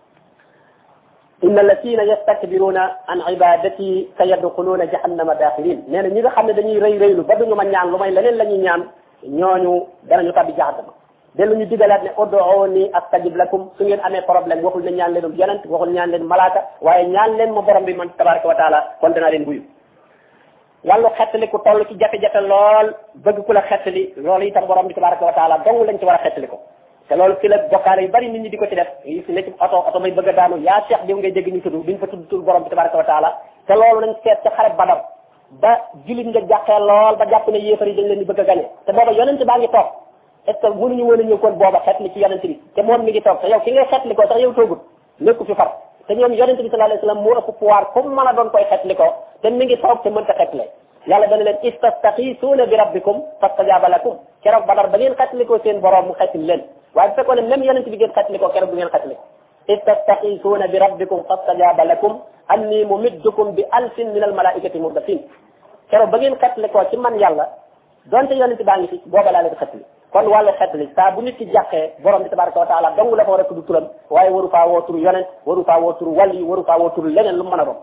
inna alladina yastakbiruna an ibadati sayadxuluna jahannama daxilin nee na ñi nga xam ne dañuy rëy rëylu ba duñu ma ñaan lu may leneen la ñuy ñaan ñooñu danañu tabbi jahannama dellu ñu digalaat ne ud'uuni astajib lakum su ngeen amee problème waxul ne ñaan leen yonent waxul ñaan leen malaaka waaye ñaan leen ma borom bi man tabaraka wa taala kon danaa leen buyu wàllu xettali ku toll ci jafe-jafe lool bëgg ku la xettali loolu itam borom bi tabaraka wa taala dong lañ ci war a xettali ko te loolu fi la bokkaale yu bari nit ñi di ko ci def yi fi ne ci oto may bëgg a daanu yaa cheikh diw ngay dégg ñu tudd duñ fa tudd tur borom bi tabaraka wa taala te loolu lañ seet ca xare Badar ba julit nga jàqee lool ba jàpp ne yéefar yi dañ leen di bëgg a gañe te booba yonent baa ngi toog est-ce que mënuñu woon a ñëw kon booba xeetli ci yonent bi te moom mi ngi toog te yow ki ngay xeetli ko sax yow toogut nekku fi far te ñoom yonent bi sallallahu alayhi wasallam moo ëpp pouvoir comme mën a doon koy xeetli ko te mi ngi toog te mënta xeetle yàlla dana leen istastaxiisuuna bi rabbikum fastajaaba lakum keroog Badar ba ngeen xeetli ko seen borom mu xeetli leen waaye bu fekkoon ne même yonent bi ngeen xeetli ko keroog du ngeen xeetli istastaxiisuuna bi rabbikum fastajaaba lakum anni mumiddukum bi alfin min al malaikati murdafin keroog ba ngeen xeetli ko ci man yàlla donte yonent baa ngi fi booba laa leen xeetli kon wàllu xeetli saa bu nit ki jàqee borom bi tabaraka wa taala dong la ko war a tudd turam waaye waru faa woo turu yonent waru faa woo turu wàlli waru faa woo turu leneen lu mu mën a doon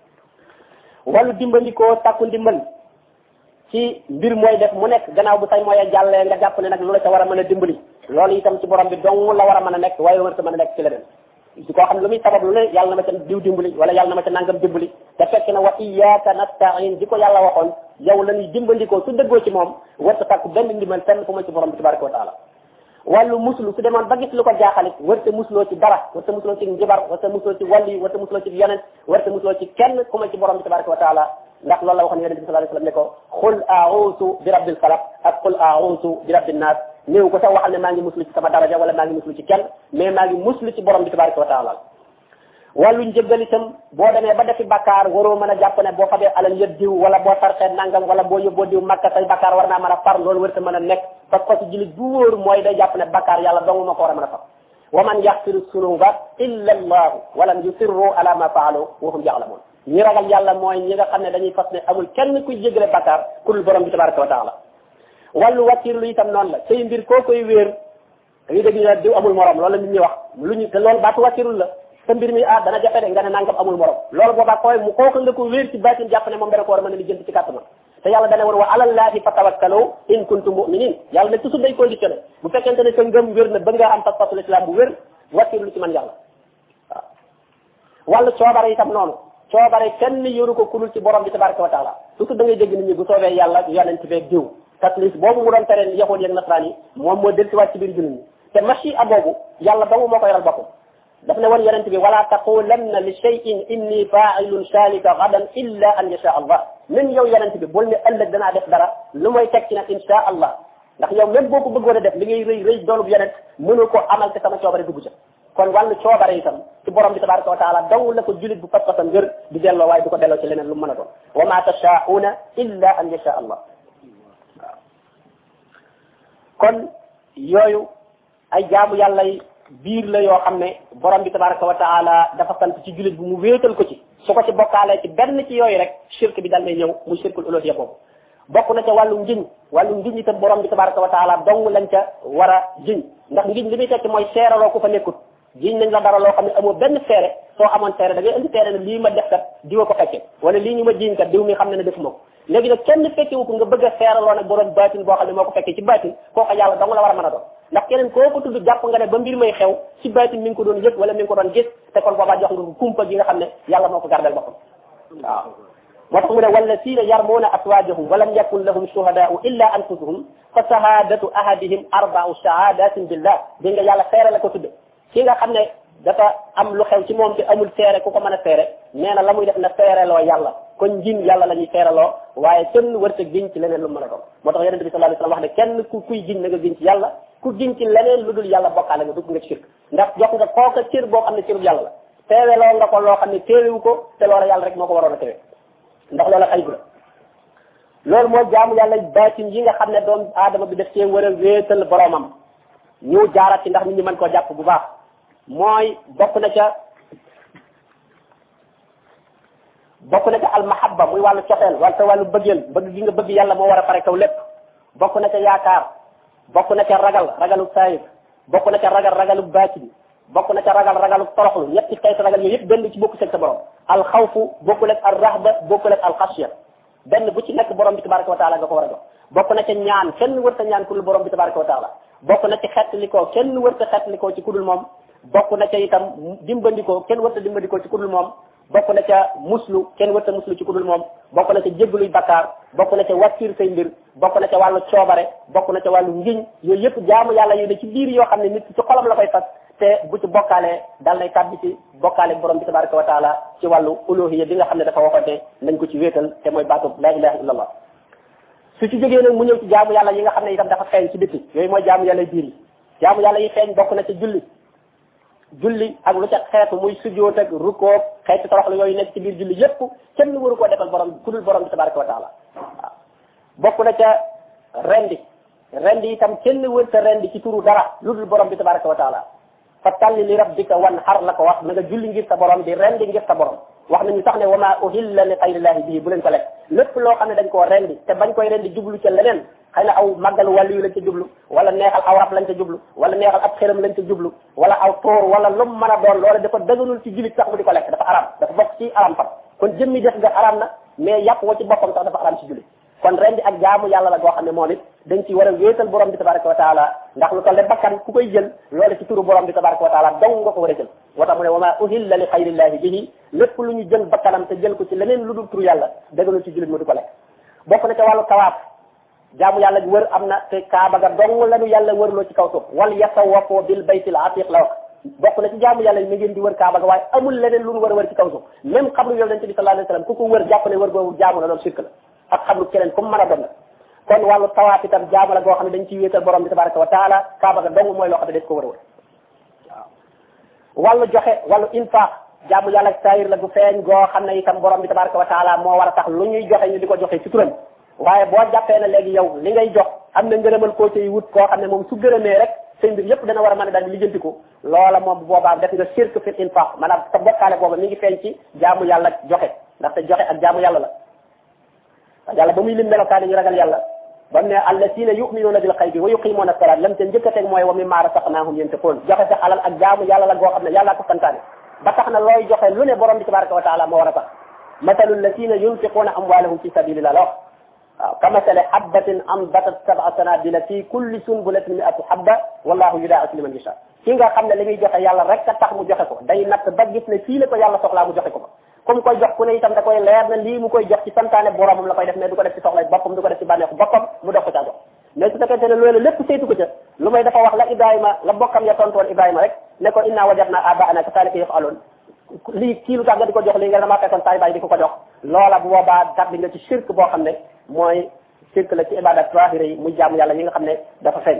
wàllu dimbandikoo sàkku ndimbal ci mbir mooy def mu nekk gannaaw bu say mooy a jàllee nga jàpp ne nag lu la ca war a mën a dimbali loolu itam ci borom bi dong la war a mën a nekk waaye war a mën a nekk ci leneen ci koo xam ne lu muy sabab lu ne yàlla na ma ca diw dimbali wala yàlla na ma ca nangam dimbali te fekk na wa iyyaka nasta'in di ko yàlla waxoon yow la ñuy dimbandikoo su dëggoo ci moom warta sàkku benn ndimbal fenn fu ma ci borom bi tabaraka wa taala wàllu muslu su demoon ba gis lu ko jaaxalit warta musloo ci dara warta musloo ci njibar warta musloo ci wàlli warta musloo ci yonent warta musloo ci kenn ku ma ci borom bi tabaraka wa taala ndax loolu la waxoon yonent bi sallallahu alayhi wasallam ne ko qul a'udhu bi rabbil falaq ak qul a'udhu bi rabbin nas néew ko sax waxal ne maa ngi muslu ci sama daraja wala maa ngi muslu ci kenn mais maa ngi muslu ci borom bi tabaraka wa taala wàllu njëggal itam boo demee ba defi bakkaar waroo mën a jàpp ne boo fabee alal yëpp diw wala boo sarxee nangam wala boo yóbboo diw makka say bakkaar war naa mën a far loolu war ta mën a nekk parce que jullit bu wóor mooy day jàpp ne bakkaar yàlla dong ma ko war a mën a far wa man yaxfiru sunuba illa allahu walam yusirru ala ma faalu wa hum ya'lamun ñi ragal yàlla mooy ñi nga xam ne dañuy fas ne amul kenn kuy jéggale bakkaar ku dul borom bi tabaraka wa taala wàllu wakiirlu itam noonu la say mbir koo koy wéer dañuy dégg ñu ne diw amul morom loolu la nit ñi wax lu ñu te loolu baatu wakiirlu la sa mbir mi dana jafe de nga ne nangam amul morom loolu boobaa koy mu kooku nga ko wéer ci baatin jàpp ne moom dana ko war a mën a lijjanti ci kàttanam te yàlla dana war wa alallahi fatawakkalu in kuntum mu'minin yàlla ne toujours day conditionné bu fekkente ne sa ngëm wér na ba nga am pas-pasul islam bu wér wakiirlu ci man yàlla waaw wàllu coobare itam noonu coobare kenn yoru ko kulul ci borom bi tabaraka wa taala surtout da ngay dégg nit ñi bu soobee yàlla yonent beeg diw taslis boobu mu doon tereen yahuud yeeg nasraan yi moom moo dellusiwaat ci biir jullit ñi te machi a boobu yàlla dong moo ko yoral boppam daf ne woon yonent bi wala taqulanna li shay'in inni fa'ilun zalika gadan illa an yasha allah même yow yonent bi bul ne ëllëg danaa def dara lu may teg ci nag insha allah ndax yow même boo ko bëggoon a def li ngay rëy rëy doolub yonent mënu ko amal te sama coobare dugg ca kon wàllu coobare itam ci borom bi tabaraka wa taala dong la ko julit bu pas-pasam ngër di delloo waaye du ko delloo ci leneen lu mu mën a doon wa ma tashaa'una illa an yasha allah waaw kon yooyu ay jaamu yàlla biir la yoo xam ne borom bi tabaraka wa taala dafa sant ci julit bu mu wéetal ko ci su ko ci bokkaalee ci benn ci yooyu rek shirk bi dal lay ñëw muy shirkul uluhiyya boobu bokk na ca wàllu ngiñ itam borom bi tabaraka wa taala dong lañ ca war a jiñ ndax ngiñ li muy tekki mooy seeraloo ku fa nekkut jiñ nañ la dara loo xam ne amoo benn seere soo amoon seere da ngay indi seere ne lii ma def kat diwa ko fekke wala lii ñu ma jiñ kat diw mi xam ne ne defuma ko léegi nag kenn fekkewu ko nga bëgg a seeraloo nag borom baatin boo xam ne moo ko fekkee ci baatin kooku yàlla dong la war a mën a doon ndax keneen koo ko tudd jàpp nga ne ba mbir may xew ci baatin mi ngi ko doon yëg wala mi ngi ko doon gis te kon boobaa jox nga ko kumpa gi nga xam ne yàlla moo ko gardel boppam waaw moo tax mu ne wallazina yarmuuna aswaajahum wa lam yakun lahum shuhadaa'u illa anfusuhum fa shahadatu ahadihim arba'u shahadatin billah dégg nga yàlla seere la ko tudde ki nga xam ne dafa am lu xew ci moom te amul seere ku ko mën a seere nee na la muy def na seereloo yàlla kon njiin yàlla la ñuy seereloo waaye kenn wërta giñ ci leneen lu mën a doon moo tax yonente bi sallallahu alayhi wasallam wax ne kenn kuy giñ na nga giñ ci yàlla ku giñ ci leneen lu dul yàlla bokkaale nga dugg nga ci shirk ndax jox nga kooka cër boo xam ne cërub yàlla la teeweloo nga ko loo xam ne teewewu ko te loola yàlla rek moo ko waroon a teewe ndax loola xaybu la loolu mooy jaamu yàlla baatin yi nga xam ne doomu aadama bi def cee war a wéetal boromam ñu jaarat ci ndax nit ñi mën koo jàpp bu baax mooy bokk na ca almahabba muy wàllu cofeel wala sa wàllu bëggeel bëgg gi nga bëgg yàlla moo war a pare kaw lépp bokk na ca yaakaar bokk na ca ragalu saayir bokk na ca ragalu baatin bokk na ca ragalu toroxlu ñetti xeeti ragal yooyu yëpp benn ci bokku sa borom alxawfu bokkul ak al rahba bokkul ak alxasya benn bu ci nekk borom bi tabaraka wa taala nga ko war a jox bokk na ca ñaan kenn wër ta ñaan ku dul borom bi tabaraka wa taala bokk na ci xettlikoo kenn wër ta xettlikoo ci ku dul moom bokk na ca itam dimbandikoo kenn wër ta dimbandikoo ci ku dul moom bokk na ca muslu kenn wër ta muslu ci ku dul moom bokk na ca jéggaluy bakkaar bokk na ca wàccir say mbir bokk na ca wàllu coobare bokk na ca wàllu ngiñ yooyu yëpp jaamu yàlla yu ne ci biir yoo xam ne nit ci xolam la koy fas te bu ci bokkaalee dal lay tàbbi ci bokkaale borom bi tabaraka wa taala ci wàllu uluhiyya bi nga xam ne dafa waxoon nañ ko ci wéetal te mooy baatu la ilaha illallah su ci jógee nag mu ñëw ci jaamu yàlla yi nga xam ne itam dafa feeñ ci biti yooyu mooy jaamu yàlla biir yi jaamu yàlla yi feeñ bokk na ca julli ak lu ca xeetu muy sujjóot ak rukkoo xeetu toroxlu yooyu nekk ci biir julli yépp kenn waru koo defal borom ku dul borom bi tabaraka wa taala waaw bokk na ca rendi itam kenn wërta rendi ci turu dara lu dul borom bi tabaraka wa taala fa talli li rabbika wan xar la ko wax na nga julli ngir sa borom di rendi ngir sa borom wax nañu sax ne wa ma uhilla li xayrillahi bii bu leen ko lekk lépp loo xam ne dañ koo rendi te bañ koy rendi jublu ca leneen xëy na aw màggalu wàllu yu lañ ca jublu wala neexal aw rab lañ ca jublu wala neexal ab xëram lañ ca jublu wala aw tóor wala lu mu mën a doon loola dafa dëgganul ci jullit sax mu di ko lekk dafa aram dafa bokk ci aram fam kon jëmmi def nga aram na mais yàpp wa ci boppam sax dafa aram ci jullit kon rendi ak jaamu yàlla la goo xam ne moom it dañ ci war a wéetal borom bi tabaraka wa taala ndax lu toll ne bakkan ku koy jël loolu ci turu borom bi tabaraka wa taala dong nga ko war a jël moo tax mu ne wa ma uhilla li xayrillahi bihi lépp lu ñu jël bakkanam te jël ko ci leneen lu dul turu yàlla dëgganul ci jullit mu di ko lekk bokk na ca wàllu tawaaf jaamu yàlla gi wër am na te kaaba ga dong lañu yàlla wërloo ci kaw suuf wal yatawafoo bil baytil atiq la wax bokk na ci jaamu yàlla mi ngeen di wër kaaba ga waaye amul leneen lu ñu war a wër ci kaw suuf même xabru yonent bi sallallahu alayhi wasallam ku ko wër jàpp ne wër boobu jaamu la loolu shirk la ak xabru keneen comme mën a doon la kon wàllu tawaaf itam jaamu la goo xam ne dañ ciy wéetal borom bi tabaraka wa taala kaaba ga dong mooy loo xam ne dañ ko war a wër waaw wàllu joxe wàllu infaq jaamu yàlla ak saayir la gu feeñ goo xam ne itam borom bi tabaraka wa taala moo war a tax lu ñuy joxe ñu di ko joxe ci turam waaye boo jàppee ne léegi yow li ngay jox am na ngërëmal koo ciy wut koo xam ne moom su gërëmee rek seen mbir yëpp dana war a mën a daal di lijjantiku loola moom bu boobaa def nga shirk fil infaq maanaam sa bokkaale booba mi ngi feeñ ci jaamu yàlla joxe ndaxte joxe ak jaamu yàlla la yàlla ba muy lim melokaani ñu ragal yàlla ba mu ne allazina yu'minuna bil xaybi wa yuqimuna salat lam te njëkk a teg mooy wa mimma razaqnahum yunfiqun joxe sa alal ak jaamu yàlla la goo xam ne yàlla ko santaane ba tax na looy joxe lu ne borom bi tabaraka wa taala moo war a tax mathalu allazina yunfiquna amwalahum fi sabilillah la wax waaw kamasali habbatin ambatat sab'a sanabila fi kulli sunbulatin mi'atu habba wallahu yudaa'ifu liman yasha ki nga xam ne li muy joxe yàlla rek a tax mu joxe ko day natt ba gis ne fii la ko yàlla soxlaa mu joxe ko fa comme koy jox ku ne itam da koy leer na lii mu koy jox ci santaane boromam la koy def mais du ko def ci soxlay boppam du ko def ci bànneexu boppam mu dox ko caa jox mais su fekkente ne loolu lépp saytu ko ca lu may dafa wax la Ibrahima la bokkam ya tontu woon Ibrahima rek ne ko inna wajadna abaana kazaalika yaf'aluun lii kii lu tax nga di ko jox lii nga damaa fekkoon saay baay di ko ko jox loola bu boobaa tabbi nga ci shirk boo xam ne mooy shirk la ci ibadat zahira yi muy jaamu yàlla yi nga xam ne dafa feeñ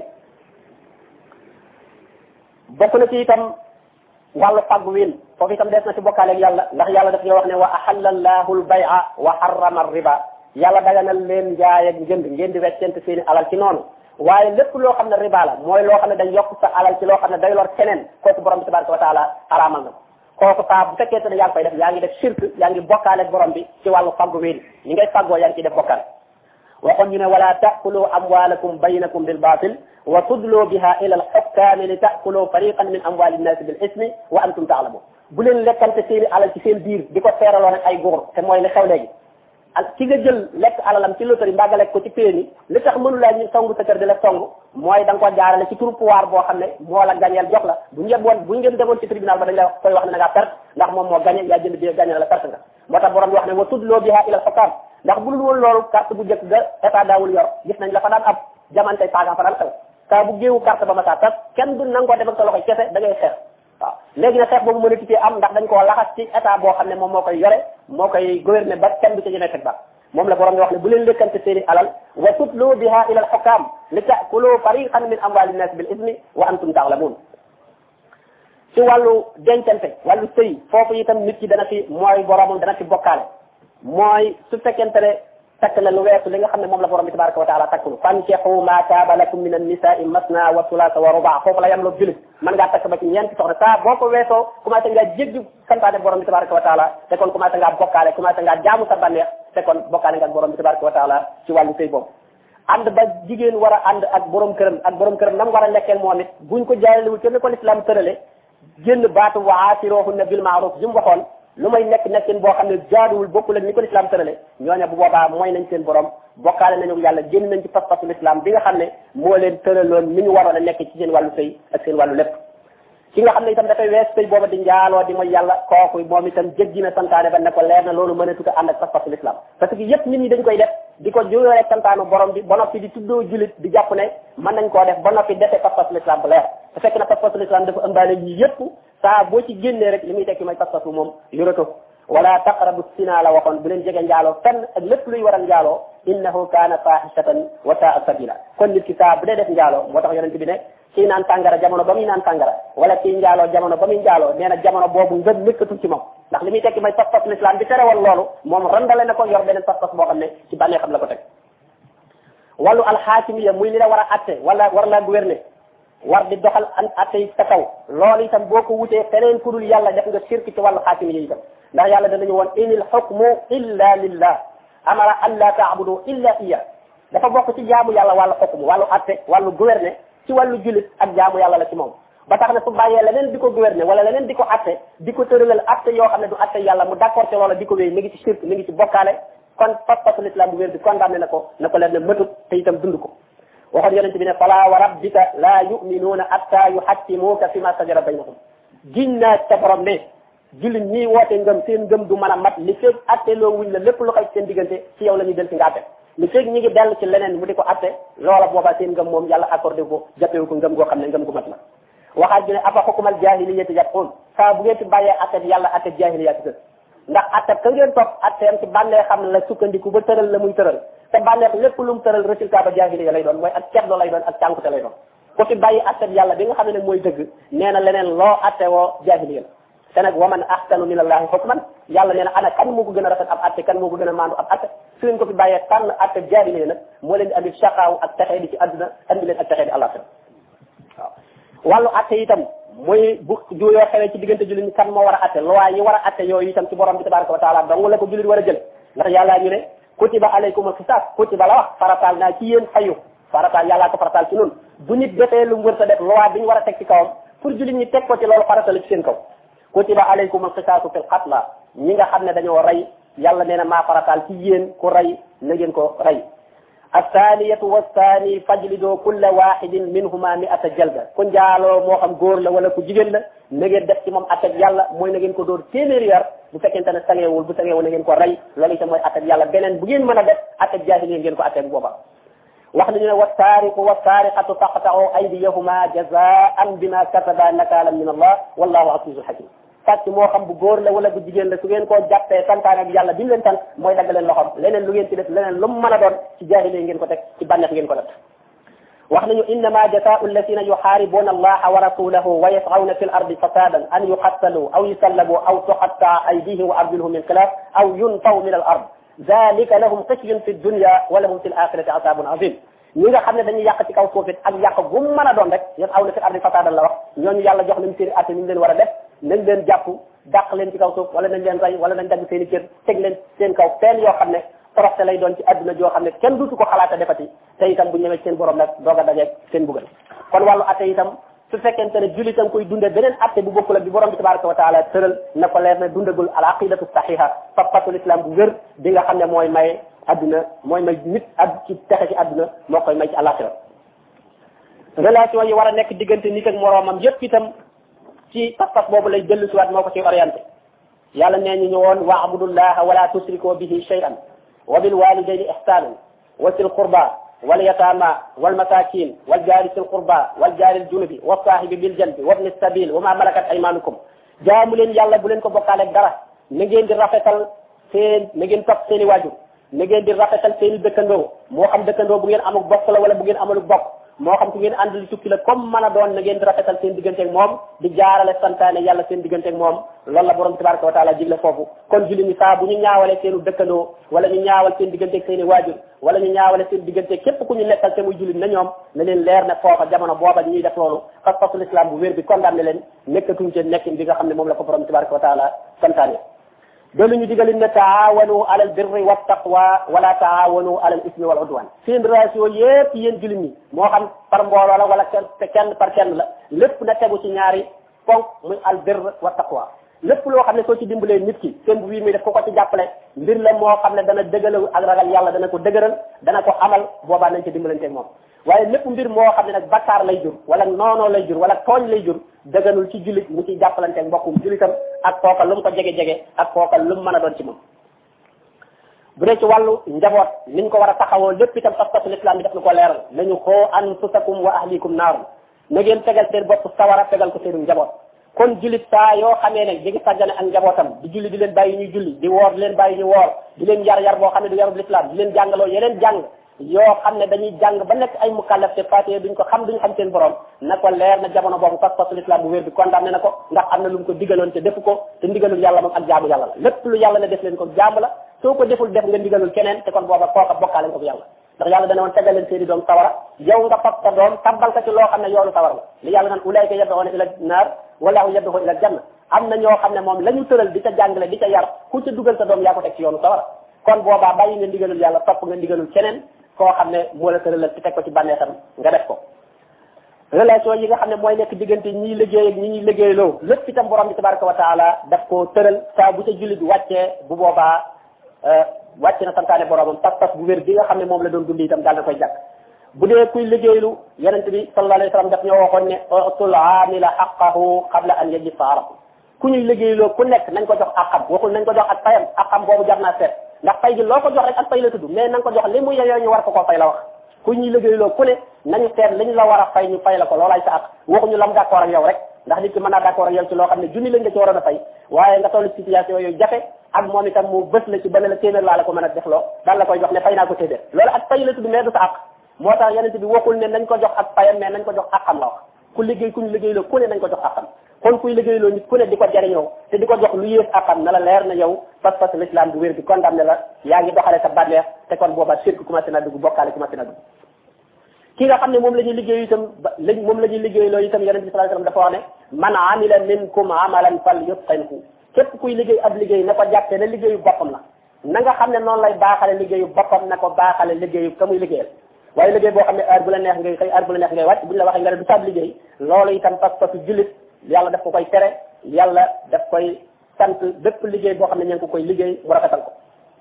bokk na ci itam wàllu fàggu wiin foofu itam des na ci bokkaaleeg yàlla ndax yàlla daf ñoo wax ne wa ahalla allahu al-bay'a wa harrama ar-riba yàlla daganal leen njaay ak njënd ngeen di weccente seeni alal ci noonu waaye lépp loo xam ne riba la mooy loo xam ne dañ yokk sa alal ci loo xam ne day lor keneen kooku borom bi tabaraka wa taala araamal na ko kooku saa bu fekkee ne yaa ngi koy def yaa ngi def shirk yaa ngi bokkaaleeg borom bi ci wàllu fàggu wiin ñi ngay fàggoo yaa ngi ciy def bokkaale waxoon ñu ne wala ta'kulu amwalakum baynakum bil batil wa tudlu biha ila al hukami li ta'kulu fariqan min amwali an-nas bil ismi wa antum ta'lamun bu leen lekkante seeni alal ci seen biir di ko teeraloo nag ay góor te mooy li xew léegi ak ki nga jël lekk alalam ci loterie mbaa nga lekk ko ci PMI li tax mënu laa ñu songu sa kër di la songu mooy da nga ko jaarale ci turu pouvoir boo xam ne moo la gañeel jox la bu ngeen demoon ci tribunal ba dañ la koy wax ne da ngaa perte ndax moom moo gañe yaa jënd bi gañe la perte nga moo tax borom bi wax ne wa tudloo biha ila al-hukam ndax bu dul woon loolu carte bu njëkk ga état daawul yor gis nañ la fa daan ab jamantey paagan fa daan xew saa bu géewu carte ba ma saa tas kenn du nangoo def ak sa loxoy kese da ngay xeex waaw léegi nag xeex boobu mën a titee am ndax dañ koo laxas ci état boo xam ne moom moo koy yore moo koy gouverner ba kenn du ci ñemee teg ba moom la borom bi wax ne bu leen lëkkante seeni alal wa tutlu biha ila al-hukam li ta'kulu fariqan min amwali nnas bil ismi wa antum ta'lamun ci wàllu dencante wàllu sëy foofu itam nit ki dana fi mooy boromam dana fi bokkaale mooy su fekkente ne takk na lu weesu li nga xam ne moom la borom bi tabaraka wa taala takkul fankihu ma taaba lakum min an-nisa'i masna wa thulatha wa ruba foofu la yam loo julit mën ngaa takk ba ci ñeenti soxna saa boo ko weesoo commencé ngaa jéggi santaane borom bi tabaraka wa taala te kon commencé ngaa bokkaale commencé ngaa jaamu sa bànneex te kon bokkaale nga ak borom bi tabaraka wa taala ci wàllu sëy boobu ànd ba jigéen war a ànd ak borom këram nam war a nekkee moom it buñ ko jaaralewul te ne ko l'islam tërale génn baatu wa aasiruhunna bil ma'ruf ji mu waxoon lu may nekkin boo xam ne jaaduwul bokkul ak ni ko l'islam tërale ñooña bu boobaa mooy nañ seen borom bokkaale nañu yàlla génn nañ ci pas-pasu l'islam bi nga xam ne moo leen tëraloon ni ñu waroon a nekk ci seen wàllu sëy ak seen wàllu lépp ki nga xam ne itam dafay wees sëy booba di njaaloo di mooy yàlla kooku moom itam jéggi na santaane ba ne ko leer na loolu mën a tuta ànd ak pas-pasu l'islam parce que yëpp nit ñi dañ koy def di ko juróo rek santaanu borom bi ba noppi di tuddoo julit di jàpp ne mën nañ koo def ba noppi defee pas-pasu l'islam bu leer te fekk na pas-pasu l'islam dafa ëmbaale yi yëpp saa boo ci génnee rek li muy tekki mooy pas-pasu moom yorato wala taqrabu sina la waxoon bu leen jege njaaloo fenn ak lépp luy waral njaaloo innahu kaana fahishatan wa sa'a sabila kon nit ki saa bu dee def njaaloo moo tax yonent bi ne kii naan tàngara jamono ba muy naan tàngara wala kii njaaloo jamono ba muy njaaloo nee na jamono boobu ngëm nekkatul ci moom ndax li muy tekki mooy pas-pas l'islam bi terewal loolu moom randale na ko yor beneen pas-pas boo xam ne ci bànnee xam la ko teg wàllu alxaakimiya muy li la war a atte wala war laa gouverner war di doxal an atte yi sa kaw loolu itam boo ko wutee feneen ku dul yàlla def nga shirk ci wàllu xaakimiya itam ndax yàlla danañu woon inil hukmu illa lillah amara an la ta'budu illa iya dafa bokk ci jaamu yàlla wàllu hukmu wàllu atte wàllu gouverner ci wàllu julit ak jaamu yàlla la ci moom ba tax na su bàyyee leneen di ko gouverner wala leneen di ko atte di ko tëralal atte yoo xam ne du atte yàlla mu d'accord ci loola di ko wéy mi ngi ci shirk mi ngi ci bokkaale kon pas-pasu l'islam bu wér bi condamné na ko leen ne mëtut te itam dund ko waxoon yonente bi ne fala wa rabbika la yu'minuuna hatta yuhakkimuuka fi ma sajara baynahum giñ naa ca borom ne jullit ñii woote ngëm seen ngëm du mën a mat li feeg atte loo wuñ la lépp lu xay seen diggante ci yow la ñuy del si nga atte li feeg ñi ngi dell ci leneen mu di ko atte loola boobaa seen ngëm moom yàlla accordé ko jàppewu ko ngëm goo xam ne ngëm gu mat la waxaat bi ne afa xukumal jaahiliyyati yabghuun saa bu ngeen ci bàyyee atte yàlla atte jaahiliya ci ndax atte ka ngeen topp atteem ci bànnee xam ne la sukkandiku ba tëral la muy tëral te bànneex lépp lu mu tëral résultat ba jaahiliya lay doon mooy ak ceddo lay doon ak cànkute lay doon ku ci bàyyi atte yàlla bi nga xam ne mooy dëgg nee na leneen loo atte woo jaahiliya la te nag wa man ahsanu min allahi hukman yàlla nee na ana kan moo ko gën a rafet ab atte kan moo ko gën a maandu ab atte su leen ko fi bàyyee tànn atte jaahiliya nag moo leen di andi shaqaaw ak texee di ci àdduna andi leen ak texee di àllaxira waaw wàllu atte itam mooy bu juyoo xewee ci diggante jullit ñi kan moo war a atte loi yi war a atte yooyu itam ci borom bi tabaraka wa taala dong la ko jullit war a jël ndax yàlla ñu ne kutiba alaykumul qisaas kutiba la wax farataal naa ci yéen fayu farataal yàllaa ko farataal ci noonu bu nit defee lu mu wër sa def loi bi ñu war a teg ci kawam pour jullit ñi teg ko ci loolu farata la ci seen kaw kutiba alaykumul qisaasu fil qatla ñi nga xam ne dañoo rey yàlla nee na maa farataal ci yéen ku rey na ngeen ko rey الثانية والثاني فاجلدوا كل واحد منهما 100 جلدة ku njaaloo moo xam góor la wala ku jigéen la na ngeen def ci moom atte yàlla mooy na ngeen ko dóor téeméeri yar bu fekkente ne sangeewul bu sangeewul na ngeen ko rey loolu itam mooy atte yàlla beneen bu ngeen mën a def atte jaahiliya ngeen ko atte bu booba wax nañu ne wasaariqu wasaariqatu faqta'u aydiyahuma jazaan bima kasaba nakaalan min allah wallahu azizun hakim sàcc moo xam bu góor la wala bu jigéen la su ngeen koo jàppee santaane ak yàlla bi mu leen sant mooy dagg leen loxoom leneen lu ngeen ci def leneen lu mu mën a doon ci jaahiliya ngeen ko teg ci bànneex ngeen ko def wax nañu innama jazaa'u alladhina yuharibuna allaha wa rasulahu wa yas'awna fil ardi fasadan an yuqattalu aw yusallabu aw tuqatta'a aydihim wa arjuluhum min khilaf aw yunfaw min al ard dhalika lahum khizyun fi dunya wa lahum fil akhirati azabun azim ñi nga xam ne dañuy yàq ci kaw suuf it ak yàq bu mu mën a doon rek yas'awna fil ardi fasadan la wax ñooñu yàlla jox nañ seen atte ni ñu leen war a def nañ leen jàpp dàq leen ci kaw suuf wala nañ leen rey wala nañ dagg seen i cër teg leen seen kaw fenn yoo xam ne toroxte lay doon ci adduna joo xam ne kenn duutu ko xalaata defati te itam bu ñëwee seen borom nag doog a dajeeg seen bugal kon wàllu atte itam su fekkente ne jullitam koy dunde beneen atte bu bokkul ak bi borom bi tabaraka wa taala tëral na ko leer ne dundagul al aqidatu sahiha pas-pasul islam bu wér bi nga xam ne mooy may adduna mooy may nit ci texe ci adduna moo koy may ci alaxira relation yi war a nekk diggante nit ak moroomam yépp itam ci pas-pas boobu lay dellu siwaat moo ko ci orienté yàlla nee ñu ñëwoon wa'budullaha wala tusriku bihi shay'an wa bil walidayni ihsanan wa sil qurba wal yatama wal masakin wal jari sil qurba wal jari al junubi wa sahibi bil janbi wa ibn sabil wa ma malakat aymanukum jaamu leen yàlla bu leen ko bokkaale dara na ngeen di rafetal na ngeen topp seen i waajur na ngeen di rafetal seen i dëkkandoo moo xam dëkkandoo bu ngeen amul bokk la wala bu ngeen amalu bokk moo xam ku ngeen àndal tukki la comme mën a doon na ngeen di rafetal seen digganteeg moom di jaarale santaane yàlla seen digganteeg moom loolu la borom tabaraka wa taala digle foofu kon julli ñi saa bu ñu ñaawale seenu dëkkandoo wala ñu ñaawal seen digganteeg seen i waajur wala ñu ñaawale seen digganteeg képp ku ñu nekkal te muy julli na ñoom na leen leer ne foofa jamono booba ñuy def loolu pas-pasul islam bu wér bi condamné leen nekkatuñ ci nekkin bi nga xam ne moom la ko borom tabaraka wa taala santaane doolu ñu digalin ne taawanu alal birri wa taqwa wala taawanu alal ismi wal udwan seen relation yépp yéen jullit ñi moo xam par mbooloo la wala kenn par kenn la lépp na tegu ci ñaari ponk muy al birr wa taqwa lépp loo xam ne soo ci dimbalee nit ki seen bu bii muy def ko ci jàppale mbir la moo xam ne dana dëgëral ak ragal yàlla dana ko dëgëral dana ko amal boobaa nañ ci dimbalanteeg moom waaye lépp mbir moo xam ne nag bakkaar lay jur wala noonoo lay jur wala tooñ lay jur dëgganul ci jullit mu ciy jàppalanteeg mbokkum jullitam ak kooka lu mu ko jege-jege ak kooka lu mu mën a doon ci moom bu dee ci wàllu njaboot niñ ko war a taxawoo lépp itam pas-pasul islam bi daf na ko leeral nañu xoo anfusakum wa ahlikum naarum na ngeen tegal seen bopp sawara tegal ko seenu njaboot kon jullit saa yoo xamee ne di ngi sàggane ak njabootam di julli di leen bàyyi ñuy julli di woor di leen bàyyi ñu woor di leen yar boo xam ne du yarub l'islam di leen jàngaloo yeneen jàng yoo xam ne dañuy jàng ba nekk ay mukallaf te fatiye duñ ko xam duñ xam seen borom na ko leer na jamono boobu pas-pasul islam bu wér bi condamné na ko ndax am na lu mu ko digaloon te defu ko te ndigalul yàlla moom ak jaamu yàlla la lépp lu yàlla ne def leen ko jaamu la soo ko deful def nga ndigalul keneen te kon booba kooka bokkaale nga ko yàlla ndax yàlla dana woon tegal leen seeni doom sawara yow nga fab sa doom tabbal ko ci loo xam ne yoonu sawara la li yàlla naan ulayka yad'una ila naar wallahu yad'u ila janna am na ñoo xam ne moom la ñu tëral di ca jàngale di ca yar ku ca dugal sa doom yaa ko teg ci yoonu sawara kon boobaa bàyyi nga ndigalul yàlla topp nga ndigalul keneen koo xam ne moo la tëralal ci teg ko ci bànneexam nga def ko relation yi nga xam ne mooy nekk diggante ñiy liggéey ak ñi ñuy liggéeyloo lépp itam borom bi tabaraka wa taala daf koo tëral saa bu ca jullit wàccee bu boobaa wàcc na santaane boromam pas-pas bu wér bi nga xam ne moom la doon dund itam daal na koy jàkk bu dee kuy liggéeylu yonent bi sallallahu alayhi wa sallam daf ñoo waxoon ne utul aamila haqqahu qabla an yajifa arafu ku ñuy liggéeyloo ku nekk nañ ko jox àqam waxul nañ ko jox ak fayam àqam boobu jar naa seet ndax fay gi loo ko jox rek ak fay la tudd mais nañ ko jox li mu yeyoo ñu war ko koo fay la wax ku ñuy liggéeyloo ku ne nañu seet liñ la war a fay ñu fay la ko loolaay sa àq waxuñu lam d'accord ak yow rek ndax nit ki mën naa d'accord ak yow ci loo xam ne junni lañ la ci waroon a fay waaye nga toll situation yooyu jafe ak moom itam mu bës la ci ba ne la téeméer laa la ko mën a def loo daal la koy jox ne fay naa ko téeméer loolu ak fay la tudd mais du sa àq moo tax yonent bi waxul ne nañ ko jox ak fayam mais nañ ko jox àqam la wax ku liggéey ku ñu liggéeyloo ku ne nañ ko jox àqam kon kuy liggéeyloo nit ku ne di ko jariñoo te di ko jox lu yées àqam na la leer na yow pas-pas l'islam bu wér bi condamné la yaa ngi doxale sa bànneex te kon booba shirk commencé na dugg bokkaale commencé na dugg ki nga xam ne moom la ñuy liggéey itam moom la ñuy liggéeyloo itam yonent bi sallallahu alayhi wasallam dafa wax ne man amila minkum amalan falyutqinhu képp kuy liggéey ab liggéey na ko jàppee ne liggéeyu boppam la na nga xam ne noonu lay baaxale liggéeyu boppam na ko baaxale liggéeyu ka muy liggéeyal waaye liggéey boo xam ne heure bu la neex ngay xëy heure bu la neex ngay wàcc buñ la waxee nga ne du sab liggéey loolu itam pas-pasu jullit yàlla daf ko koy tere yàlla daf koy sant bépp liggéey boo xam ne ña ngi ko koy liggéey mu rafetal ko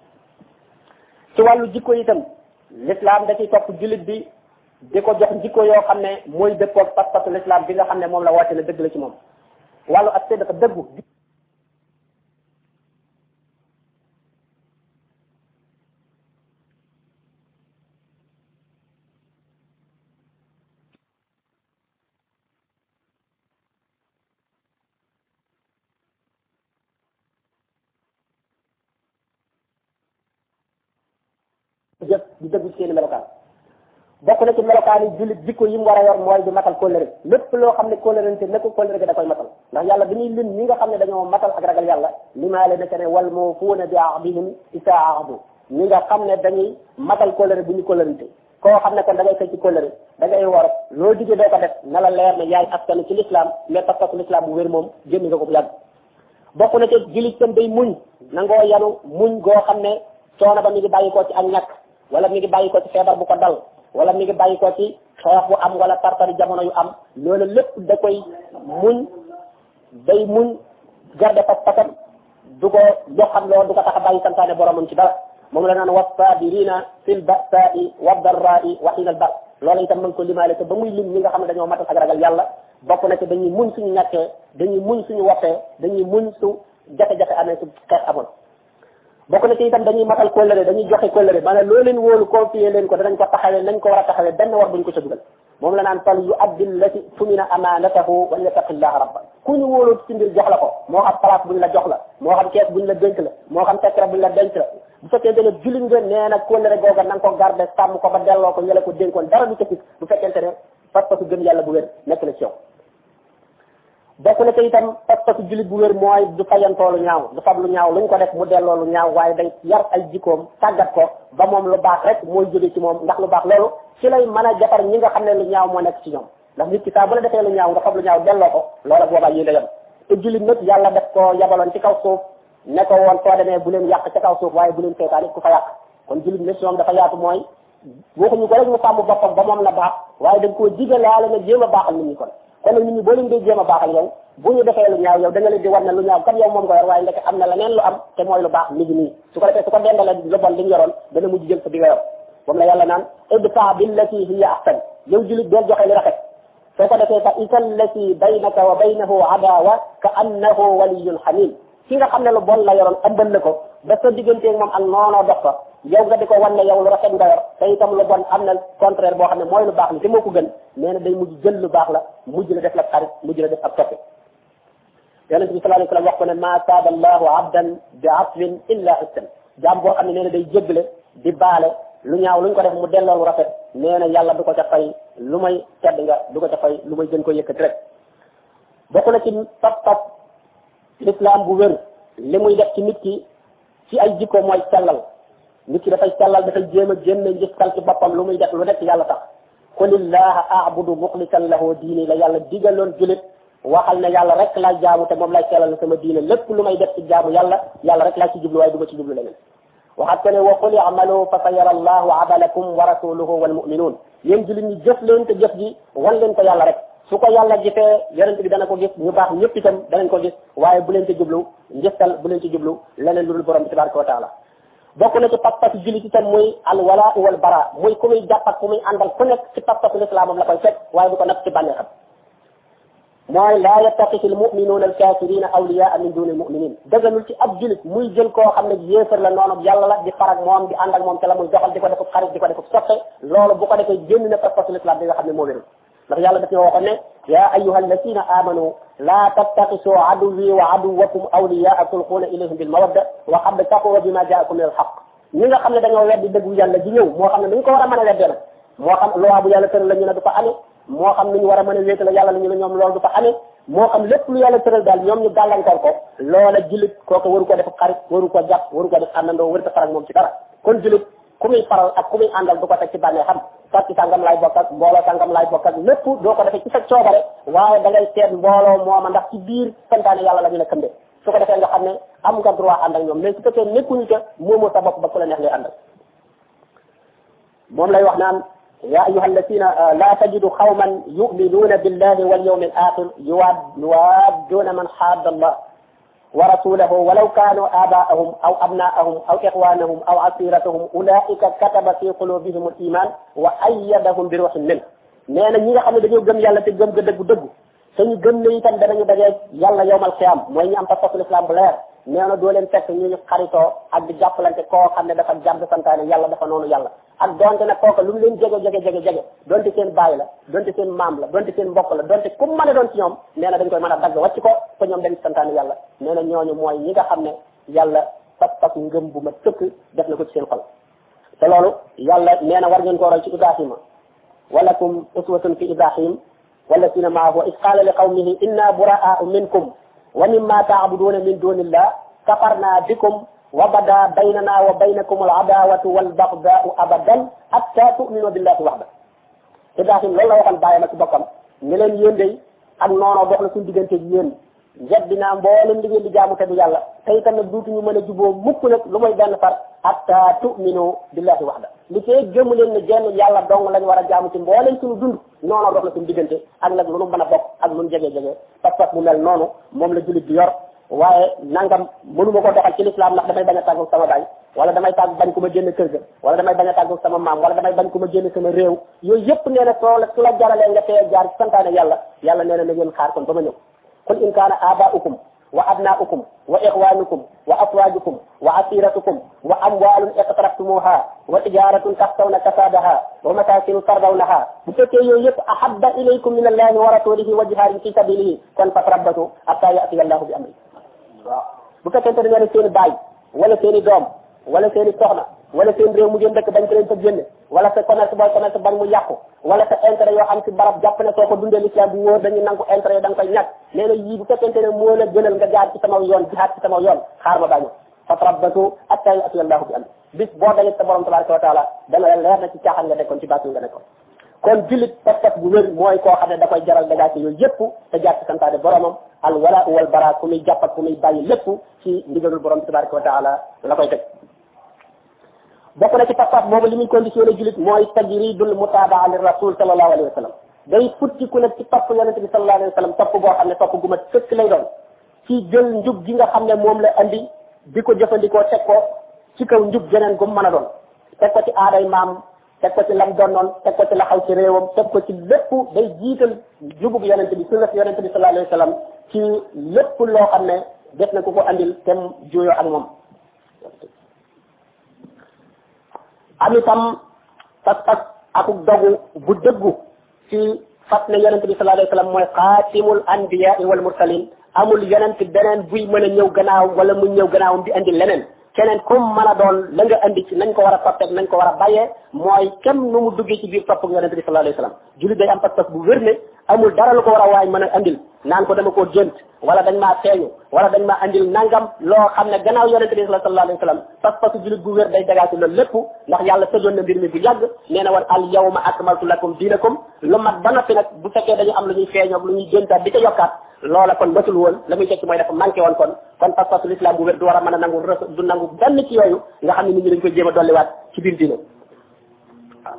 ci wàllu jikko itam l'islam da ciy topp jullit bi di ko jox jikko yoo xam ne mooy dëppoog pas-pasu l'islam bi nga xam ne moom la wàcce ne dëgg la ci moom wàllu ak dafa dëggu jëf di dëggu ci seeni melokaan bokk na ci melokaan yi jullit jikko yi mu war a yor mooy di matal kóllëre lépp loo xam ne kóllërante ne ko kóllëre ga da koy matal ndax yàlla bi ñuy lim ñi nga xam ne dañoo matal ak ragal yàlla limaale neke ne wal muufuuna bi ahdihim isa ahdu ñi nga xam ne dañuy matal kóllëre bu ñu kóllërante koo xam ne kon da ngay fay ci kóllëre da ngay war loo digee doo ko def na la leer ne yaay askan ci l'islam mais pas-pasu l'islam bu wér moom génn nga ko bu yàgg bokk na ci jullit tam day muñ nangoo yanu muñ goo xam ne coono ba mi ngi bàyyi ko ci ak ñàkk wala mi ngi bàyyi ko ci feebar bu ko dal wala mi ngi bàyyi ko ci xeex bu am wala tartari jamono yu am loolu lépp da koy muñ day muñ garde pas-pasam du ko joxam loo du ko tax a bàyyi santaane boromam ci dara moom la naan wasabirina fil ba'sa'i wad darra'i wa hina al ba's loolu itam mën ko limaale te ba muy lim ñi nga xam ne dañoo matal ak ragal yàlla bokk na ci dañuy muñ suñu ñàkkee dañuy muñ suñu woppee dañuy muñ su jafe-jafe amee su xeex amoon bokk na ci itam dañuy matal kóllëre dañuy joxe kóllëre maanaam loo leen wóolu confier leen ko danañ ko taxawee nañ ko war a taxawee benn war buñ ko ca dugal moom la naan fal yu addil lati tumina amanatahu wa yattaqillaha rabba ku ñu wóolu ci mbir jox la ko moo xam place buñ la jox la moo xam kees buñ la dénk la moo xam secret buñ la denc la bu fekkee dana jullit nga nee na kóllëre googa na nga ko garder sàmm ko ba delloo ko ñële ko dénkoon dara du ca fit bu fekkente ne pas-pasu gëm yàlla bu wér nekk na ci yow bokk na ci itam pas-pasu jullit bu wér mooy du fayantoo lu ñaaw du fab lu ñaaw luñ ko def mu delloo lu ñaaw waaye day yar ay jikkoom tàggat ko ba moom lu baax rek mooy jóge ci moom ndax lu baax loolu ci lay mën a jafar ñi nga xam ne lu ñaaw moo nekk ci ñoom ndax nit ki saa bu la defee lu ñaaw nga fab lu ñaaw delloo ko loola boobaa yéen a yem te jullit nag yàlla def ko yabaloon ci kaw suuf ne ko woon soo demee bu leen yàq ca kaw suuf waaye bu leen seetaan it ku fa yàq kon jullit mission dafa yaatu mooy waxuñu ko rek mu sàmm boppam ba moom la baax waaye dañ koo digalaale na jéem a baaxal nit ñi kon nag nit ñi boo leen dee jéem a baaxal yow bu ñu defee lu ñaaw yow da nga leen di war ne lu ñaaw kat yow moom nga yor waaye ndeke am na leneen lu am te mooy lu baax mi ngi nii su ko defee su ko dendale lu bon li ñu yoroon dana mujj jël sa bi nga yor moom la yàlla naan idfa billati hiya ahsan yow jullit doo joxe li rafet soo ko defee fa isal lati baynaka wa baynahu adawa ka annahu waliyyun hamim ki nga xam ne lu bon la yoroon ëmbal la ko ba sa digganteeg moom ak noonoo dox ko yow nga di ko wan ne yow lu rafet nga yor te itam lu bon am na contraire boo xam ne mooy lu baax li te moo ko gën nee na day mujj jël lu baax la mujj la def la xarit mujj la def ab toppe yonente bi sallallahu alayhi wasallam wax ko ne ma saada allahu abdan bi afwin illa ihsan jaam boo xam ne nee na day jéggale di baale lu ñaaw luñ ko def mu delloo lu rafet nee na yàlla du ko ca fay lu may tedd nga du ko ca fay lu may gën ko yëkkati rek bokk na ci pas-pas l'islam bu wér li muy def ci nit ki ci ay jikko mooy sellal nit ki dafay sellal dafay jéem a génne njëkkal ci boppam lu muy def lu nekk yàlla tax qulillaha a'budu muxlisan lahu diini la yàlla digaloon julit waxal ne yàlla rek laay jaamu te moom lay sellal sama diine lépp lu may def ci jaamu yàlla rek laa ci jublu waaye du ma ci jublu leneen waxat ko ne wa qul i'malu fa sayara allahu amalakum wa rasuluhu wal mu'minun yéen julit ñi jëf leen te jëf ji wan leen ko yàlla rek su ko yàlla gisee yonent bi dana ko gis ñu baax ñëpp itam danañ ko gis waaye bu leen ci jublu njëstal bu leen ci jublu leneen lu dul borom bi tabaraka wa taala bokk na ci pas-pas jullit itam muy al wala wal bara muy ku muy jàpp ak ku muy àndal ku nekk ci pas-pasu lislaamam la koy fekk waaye du ko nekk ci bànneexam mooy laa yattaxisi al muminuuna al kafirina awliyaa min duni al muminin dëgganul ci ab jullit muy jël koo xam ne yéefar la noonu yàlla la di farak moom di ànd ak moom te la muy doxal di ko def xarit di ko def soppe loolu bu ko defee génn na pas-pasu lislaam bi nga xam ne moo wérul ndax yàlla daf ñoo waxoon ne yaa ayyuha alladina amanu laa tattaxisu aduwi wa aduwakum awliyaa tulquuna ilayhim bil mawadda wa qad kafaru bima jaakum min al haqq ñi nga xam ne dañoo weddi dëggu yàlla ji ñëw moo xam ne dañ ko war a mën a weddee nag moo xam loi bu yàlla tëral la ñu ne du fa amee moo xam ni ñu war a mën a wéetale yàlla la ñu ne ñoom loolu du fa amee moo xam lépp lu yàlla tëral daal ñoom ñu gàllankoor ko loola jullit kooku waru ko def xarit waru ko jàpp waru ko def àndandoo waru ko faral moom ci dara kon jullit ku muy faral ak ku muy àndal du ko teg ci bànnee xam parti sàngam laay bokk ak mbooloo sàngam laay bokk ak lépp doo ko defee ci sa coobare waaye da ngay seet mbooloo mooma ndax ci biir santaane yàlla la ñu la këmbe su ko defee nga xam ne am nga droit ànd ak ñoom mais su fekkee nekkuñu ca moomoo sa bopp ba ku la neex ngay àndal moom lay wax naan ya ayyuha alladina la tajidu qawman yu'minuna billahi wal yawmil akhir yuwadduna man hadda allah wa rasulahu walaw kanu abaahum aw abnaahum aw ixwanahum aw asiratahum ulaika kataba fi qulubihim al iman wa ayyadahum bi ruhin min nee na ñi nga xam ne dañoo gëm yàlla te gëm ga dëggu te ñu gëm ne itam danañu dajee yàlla yowmal xiyaam mooy ñu am pas-pasu islam bu leer nee na doo leen fekk ñu xaritoo ak di jàppalante koo xam ne dafa jàdd santaane yàlla dafa noonu yàlla ak donte nag kooka lu mu leen jege donte seen baay la donte seen maam la donte seen mbokk la donte ku mën a doon ci ñoom nee na dañ koy mën a dagg wàcc ko te ñoom dañ santaane yàlla nee na ñooñu mooy ñi nga xam ne yàlla pas-pas ngëm bu ma tëkk def na ko ci seen xol te loolu yàlla nee na war ngeen koo roy ci Ibrahima walakum uswatun fi Ibrahim والذين معه إذ قال لقومه إنا براء منكم ومما تعبدون من دون الله كفرنا بكم وبدا بيننا وبينكم العداوة والبغضاء أبدا حتى تؤمنوا بالله وحده إبراهيم loolu la waxal baayam ak bokkam ne leen yéen day ak noonoo dox na suñu diggante ak yéen
njeddinaa mboolem li ngeen di jaamu te du yàlla te itam nag duutuñu mën a juboo mukk nag lu mooy benn far hatta tu'minu billahi wahda li fee gëmu leen ne jenn yàlla dong lañ war a jaamu ci mboolem suñu dund noonu dox la suñu diggante ak nag lu nu mën a bokk ak lu nu jege-jege pas-pas bu mel noonu moom la jullit bi yor waaye nangam mënuma ko doxal ci l'islam ndax damay bañ a tàggu sama baay wala damay tàgg bañ ku ma génn kër ga wala damay bañ a tàggu sama maam wala damay bañ ku ma génn sama réew yooyu yëpp nee na soo la su la jaralee nga tee jaar ci santaane yàlla yàlla nee na na ngeen xaar kon ba ma ñëw qul in kaana aba'ukum wa abna'ukum wa ikhwanukum wa azwajukum wa asiratukum wa amwalun iqtaraftumuha wa tijaratun taxsawna kasadaha wa masakinu tardawnaha bu fekkee yooyu yëpp ahabba ilaykum min allahi wa rasulihi wa jihadin fi sabilihi kon fatrabbatu hatta ya'tiya allahu bi amri waaw bu fekkente ne ngeen seen baay wala seen i doom wala seen i soxna wala seen réew mu ngeen dëkk bañ ko leen fa génne wala sa commerce booy commerce bañ mu yàqu wala sa intérêt yoo xam ci barab jàpp ne soo ko dundee l'islam bu wóor dañuy nangu intérêt yi da nga koy ñàkk nee na yii bu fekkente ne moo la gënal nga jaar ci sama yoon jihaad ci sama yoon xaar ma bàñu fatrabbatu hatta ya'tiya allahu bi amri bis boo dajeeg sa borom tabaraka wa taala dana la leer na ci caaxaan nga nekkoon ci baatul nga nekkoon kon jullit pas-pas bu wér mooy koo xam ne da koy jaral dagaate yooyu yëpp te jaar ci santaane boromam al wala wal bara ku muy jàpp ak ku muy bàyyi lépp ci ndigalul borom tabaraka wa taala la koy teg bokk na ci pas-pas boobu li muy conditionné jullit mooy tajridul mutabaa li rasul sallallahu alayhi wa sallam day futti ku nekk ci topp yonente bi sallallahu alayhi wa sallam topp boo xam ne topp gu ma sëkk lay doon ci jël njub gi nga xam ne moom la andi di ko jëfandikoo teg ko ci kaw njub geneen gu mën a doon teg ko ci aaday maam teg ko ci lam donnoon teg ko ci la xaw ci réewam teg ko ci lépp day jiital jubug yonente bi sunna yonente bi sallallahu alayhi wa sallam ci lépp loo xam ne def na ku ko andil tem jooyoo ak moom am itam pas-pas akuk dogu bu dëggu ci fat ne yonente bi sallallahu alayhi wa sallam mooy xaatimul anbiya wal mursalin amul yonente beneen buy mën a ñëw gannaaw wala mu ñëw gannaawam di andi leneen keneen comme mën a doon la nga andi ci nañ ko war a toppeeg nañ ko war a bàyyee mooy kenn nu mu duggee ci biir topp yonente bi sallallahu alayhi wa sallam jullit day am pas-pas bu wér ne amul dara lu ko war a waay mën a andil naan ko dama koo gént wala dañ maa feeñu wala dañ maa andil nangam loo xam ne gannaaw yonente bi sallallahu alayhi wa sallam pas-pasu jullit bu wér day dagaati loolu lépp ndax yàlla tëjoon na mbir mi bu yàgg nee na woon al yawma akmaltu lakum diinakum lu mat ba noppi nag bu fekkee dañu am lu ñuy feeñoog lu ñuy géntaat di ko yokkaat loola kon matul woon la muy tekki mooy dafa manqué woon kon pas-pasu l'islam bu wér du war a mën a nangu du nangu benn ci yooyu nga xam ne nit ñi dañ koy jéem a dolliwaat ci biir diine waaw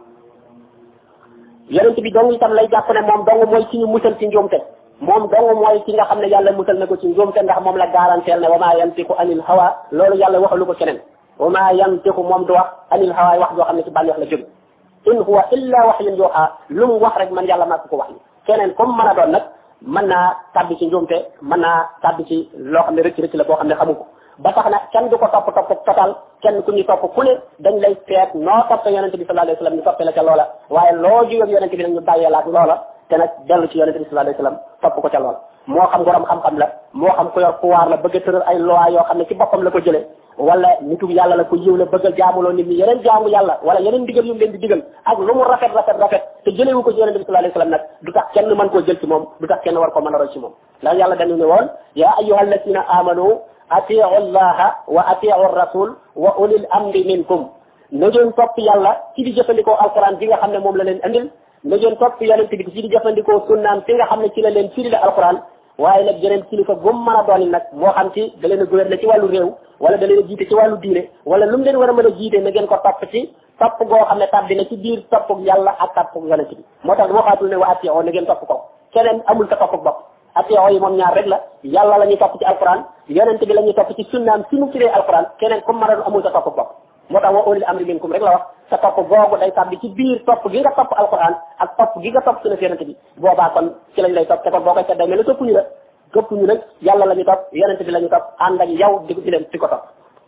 yonent bi dong itam lay jàpp ne moom dong mooy ci ñu musal ci njuumte moom dong mooy ci nga xam ne yàlla musal na ko ci njuumte ndax moom la garanteel ne wa maa yantiqu anil hawa loolu yàlla waxalu ko keneen wa maa yantiqu moom du wax anil hawa wax joo xam ne ci bànneex la jóge in huwa illa wahyun yuha lu mu wax rek man yàlla maa ko wax ni keneen comme mën a doon nag mën naa tàbbi ci njuumte mën naa tàbbi ci loo xam ne rëcc la boo xam ne xamu ko ba tax na kenn du ko topp total kenn ku ñu topp ku ne dañ lay seet noo topp yonente bi sallallahu alayhi wasallam ñu toppee la ca loola waaye loo jógeeg yonente bi nag ñu bàyyee la ak loola te nag dellu ci yonente bi sallallahu alayhi wasallam topp ko ca loola moo xam borom xam-xam la moo xam ku yor pouvoir la bëgg a tëral ay loi yoo xam ne ci boppam la ko jëlee wala nitu yàlla la ko yiw la bëgg a jaamuloo nit ñi yeneen jaamu yàlla wala yeneen digal yu mu leen di digal ak lu mu rafet te jëlewu ko ci yonente bi sallallahu alayhi wasallam nag du tax kenn mën koo jël ci moom du tax kenn war ko mën a roy ci moom ndax yàlla dañu ne woon yaa ayyuhal ladina amanu atiu allaha wa atiu rasul wa ulil amri minkum na ngeen topp yàlla ci di jëfandikoo alquran bi nga xam ne moom la leen andil na ngeen topp yonente bi ci di jëfandikoo sunnaam fi nga xam ne ci la leen firi la alquran waaye nag yeneen kilifa gum mën a doon nag moo xam ci da leen a gouverner ci wàllu réew wala da leen a jiite ci wàllu diine wala lu mu leen war a mën a jiite na ngeen ko topp ci topp goo xam ne tàbbi na ci biir toppug yàlla ak toppug yonente bi moo tax waxaatul ne wa atiyo na ngeen topp ko keneen amul sa toppug bopp atiyo yi moom ñaar rek la yàlla la ñuy topp ci alquran yonente bi la ñuy topp ci sunnaam si mu firee alquran keneen comme mën a amul sa toppug bopp moo tax wa ulil amri minkum rek la wax sa topp googu day tàbbi ci biir topp gi nga topp alquran ak topp gi nga topp sunna yonente bi boobaa kon ci lañ lay topp te kon boo koy seddee mel ne toppuñu la gëppuñu nag yàlla la ñu topp yonente bi la ñu topp ànd ak yow di leen di ko topp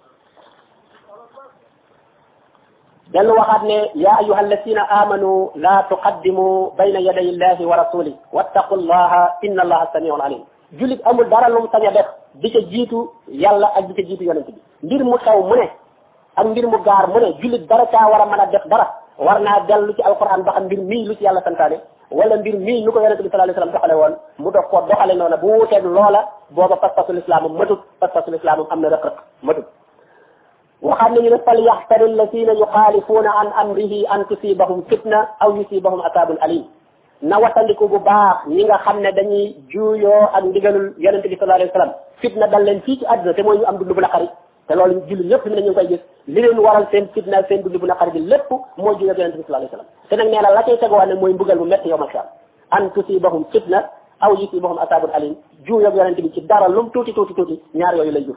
dellu waxaat ne ya ayuha alladina amanu la tuqaddimu bayna yaday illahi wa rasuli wattaqu llaha inna allaha samiun alim jullit amul dara lu mu sañ a def di ca jiitu yàlla ak di ca jiitu yonente bi mbir mu xew mu ne ak mbir mu gaar mu ne jullit dara caa war a mën a def dara war naa dellu ci alquran ba xam mbir mii lu ci yàlla santaane wala mbir mii nu ko yonente bi sallallahu alayhi wasallam doxale woon mu dox ko doxale noonu bu wuuteeg loola booba pas-pasul islaam matut pas-pasul islaam am na rëq-rëq matut waxaat nañu ne fal yaxtari alladina yuxaalifuuna an amrihi an tusibahum fitna aw yusibahum asabun alim na watandiku bu baax ñi nga xam ne dañuy juuyoo ak ndigalul yonente bi sallallahu alayhi wa sallam fitna dal leen fii ci àdduna te mooy ñu am dund bu naqari te loolu jullit ñëpp ñu ne ñu ngi koy gis li leen waral seen fitna seen dund bu naqari bi lépp mooy juuyoo ak yonente bi sallallahu alayhi wa sallam te nag nee na la cay teguwaat ne mooy mbugal bu métti yowmal xiyaam an tusibahum fitna aw yusibahum asabun alim juuyoo ak yonente bi ci dara lum tuuti ñaar yooyu lay jur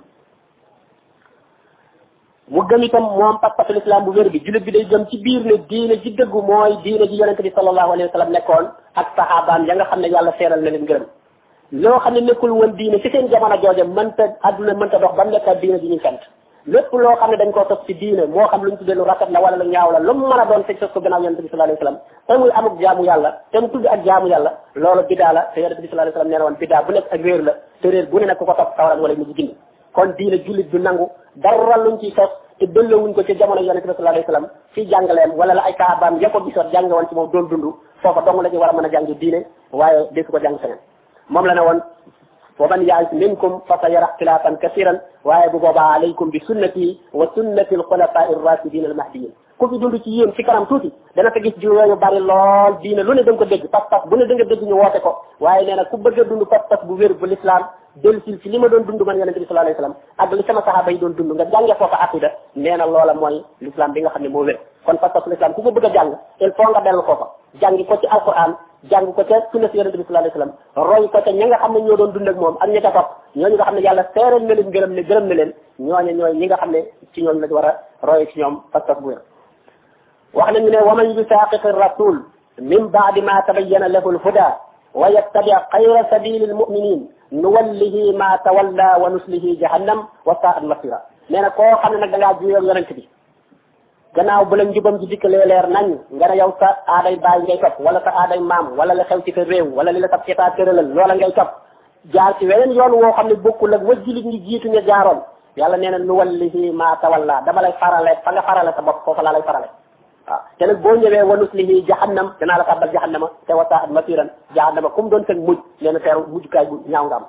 mu gëm itam moom pas-pasu l'islam bu wér bi jullit bi day gëm ci biir ne diine ji dëggu mooy diine ji yonente bi sallallahu alayhi wa sallam nekkoon ak sahabaam ya nga xam ne yàlla seeral na leen ngërëm loo xam ne nekkul woon diine ci seen jamono jooje adduna mënta dox ba mu nekk diine ji ñuy sant lépp loo xam ne dañ koo sos ci diine moo xam lu ñu tuddee lu rafet la wala lu ñaaw la lu mu mën a doon fekk sos ko gannaaw yonente bi sallallahu alayhi wa sallam te muy amuk jaamu yàlla te mu tudd ak jaamu yàlla loolu bidaa la te yonente bi sallallahu alayhi wa sallam nee na woon bidaa bu nekk ak réer la te réer bu ne nag ku ko topp sawara moo lay mujj gindi kon diine jullit du nangu dara luñ ciy sos te dellowuñ ko ci jamono yonente bi sallallahu alayhi wa sallam fii jàngaleem wala la ay saabaam ya ko gisoon jàng woon ci moom doon dund foofa dong la ñu war a mën a jàng diine waaye desu ko jàng feneen moom la ne woon wa man ya'ish minkum fa sayara ikhtilafan kasiran waaye bu boobaa alaykum bi sunnati wa sunnati al-khulafa'i ar-rashidin al-mahdiyyin ku fi dund ci yéen ci kanam tuuti dana fa gis jiw yu bari lool diine lu ne da nga ko dégg pas-pas bu ne da nga dégg ñu woote ko waaye nee na ku bëgg a dund pas-pas bu wér bu l'islam dellusil ci li ma doon dund man yonente bi sallallahu alayhi wa sallam ak li sama sahaaba yi doon dund nga jànge foofa aqida nee na loola mooy l'islam bi nga xam ne moo wér kon pas-pas l'islam ku ko bëgg a jàng il faut nga dellu foofa jàngi ko ci alquran jàng ko ca sunna si yonente bi sallallahu alayhi wa sallam roy ko ca ñi nga xam ne ñoo doon dund ak moom ak ñi ca topp ñooñu nga xam ne yàlla seeral na leen gërëm na leen ñooñu ñooy ñi nga xam ne ci ñooñu lañ war a roy ci ñoom pas-pas bu wér wax nañu ne wa man yusaqiqi rasul min ba'di ma tabayyana lahu al-huda wa yattabi' khayra sabili al-mu'minin nuwallihi ma tawalla wa nuslihi jahannam wa sa'at masira nee na koo xam ne nag da ngaa juyoo yonent bi gannaaw bu la njubam ji dikkalee leer nañ nga ne yow sa aaday baay ngay topp wala sa aaday maam wala la xew ci sa réew wala li la sab état tëralal loola ngay topp jaar ci weneen yoon woo xam ne bokkul ak wa jullit ñi jiitu ña jaaroon yàlla nee na nuwallihi ma tawalla dama lay farale fa nga farale sa bopp foofa laa lay farale waaw te nag boo ñëwee wa nuslihi jahannam danaa la tàbbal jahannama te wa sa'at masiran jahannama comme doon seen mujj nee na teeru mujjukaay bu ñaaw nga am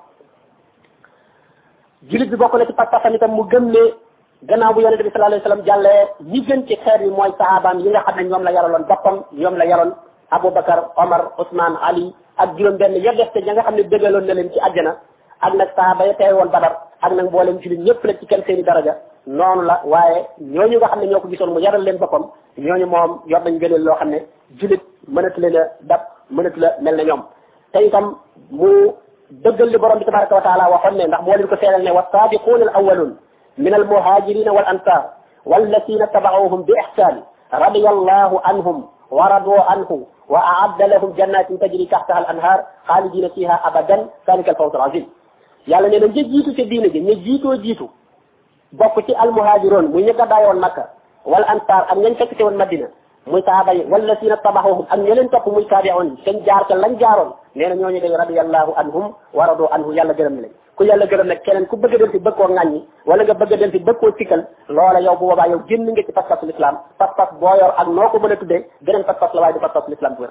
jullit bi bokk na ci pas-pasam itam mu gëm ne gannaaw bu yonente bi sallallahu alayhi wasallam jàllee ñi gën ci xeet yi mooy sahabaam yi nga xam ne ñoom la yaraloon boppam ñoom la yaroon Aboubacar Omar Ousmane Ali ak juróom-benn ya def te ña nga xam ne dëggaloon na leen ci àjjana ak nag sahaba ya teew woon Badar ak nag mboolem jullit ñëpp la ci kenn seeni daraja noonu la waaye ñooñu nga xam ne ñoo ko gisoon mu yaral leen boppam ñooñu moom yor nañ gëneel loo xam ne jullit mënatu leen a dab mënatu la mel na ñoom te itam mu dëggal li borom bi tabaraka wa taala waxoon ne ndax moo leen ko seeral ne was-saabiquuna al-awwaluun min al-muhaajiriina wal-ansaar wallasiina taba'uuhum bi ihsaan radiyallahu anhum wa radu anhu wa a'adda lahum jannatin tajri tahtaha al-anhaar xaalidiina fiihaa abadan zaalika al-fawz al-aziim yàlla nee na ña jiitu ca diine ji ña jiitu bokk ci al-muhaajiroon muy ña gàddaay woon Makka wal ansaar ak ñañ fekk ci woon Madina muy sahaaba yi wallasiina tabaxuhum ak ña leen topp muy taabi'oon yi seen jaar ca lañ jaaroon nee na ñooñu day radiyallahu anhum wa radu anhu yàlla gërëm na leen ku yàlla gërëm nag keneen ku bëgg a dem si bëgg koo ŋàññi wala nga bëgg a dem si bëgg koo sikkal loola yow bu boobaa yow génn nga ci pas-pasu l'islam pas-pas boo yor ak noo ko mën a tuddee beneen pas-pas la waaye du pas-pasu l'islam bu wér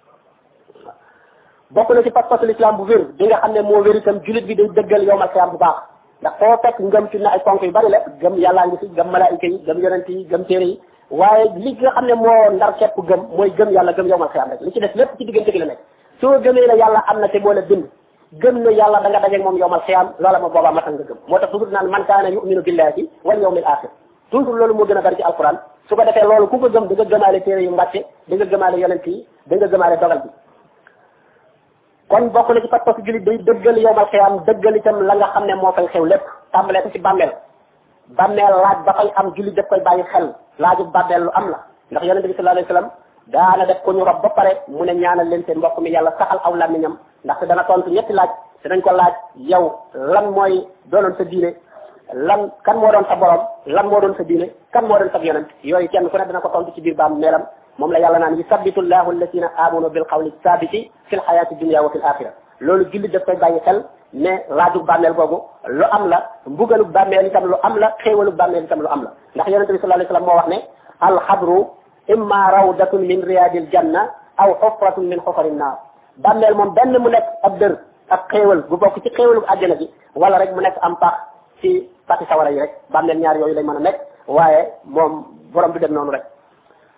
bokk na ci pas-pasu l'islam bu wér bi nga xam ne moo wér itam jullit bi day dëggal yowmal xiyaam bu baax ndax foo fekk ngëm ci na ay ponk yu bari la gëm yàllaa ngi fi gëm malaayika yi gëm yonent yi gëm téere yi waaye li nga xam ne moo ndar képp gëm mooy gëm yàlla gëm yowmal xiyaam rek li ci def lépp ci diggante gi la nekk soo gëmee ne yàlla am na te moo la bind gëm ne yàlla da nga dajeeg moom yowmal xiyaam loola ma boobaa matal nga gëm moo tax toujours naan man kaana yuminu billahi wal yawmil axir toujours loolu moo gën a bari ci alquran su ko defee loolu ku ko gëm da nga gëmaale téere yu mbàcce da nga gëmaale yonent yi da nga gëmaale dogal bi kon bokk na ci pas-pas jullit day dëggal yowmal xiyaam dëggal itam la nga xam ne moo fay xew lépp tàmbalee ko ci bàmmeel laaj ba fay am jullit daf koy bàyyi xel laaju bàmmeel lu am la ndax yonente bi sallallahu alayhi wasallam daana def ko ñu rob ba pare mu ne ñaanal leen seen mbokk mi yàlla saxal aw làmmiñam ndaxte dana tontu ñetti laaj te dañ ko laaj yow lan mooy doonoon sa diine lan kan moo doon sa borom lan moo doon sa diine kan moo doon sa yonent yooyu kenn ku ne dana ko tontu ci biir bàmmeelam moom la yàlla naan yusabbitu llahu alladina amanu bil qawli sabiti fil hayati dunya wa fil axira loolu jullit daf koy bàyyi xel ne laaju bàmmeel googu lu am la mbugalu bàmmeel itam lu am la xéewalu bàmmeel itam lu am la ndax yonente bi sallallahu alayhi wasallam moo wax ne alxabru imma rawdatun min riyadil janna aw xufratun min xufarin naar bàmmeel moom benn mu nekk ab dër ab xéewal bu bokk ci xéewalu àjjana gi wala rek mu nekk am pax ci pati sawara yi rek bàmmeel ñaar yooyu lay mën a nekk waaye moom borom du dem noonu rek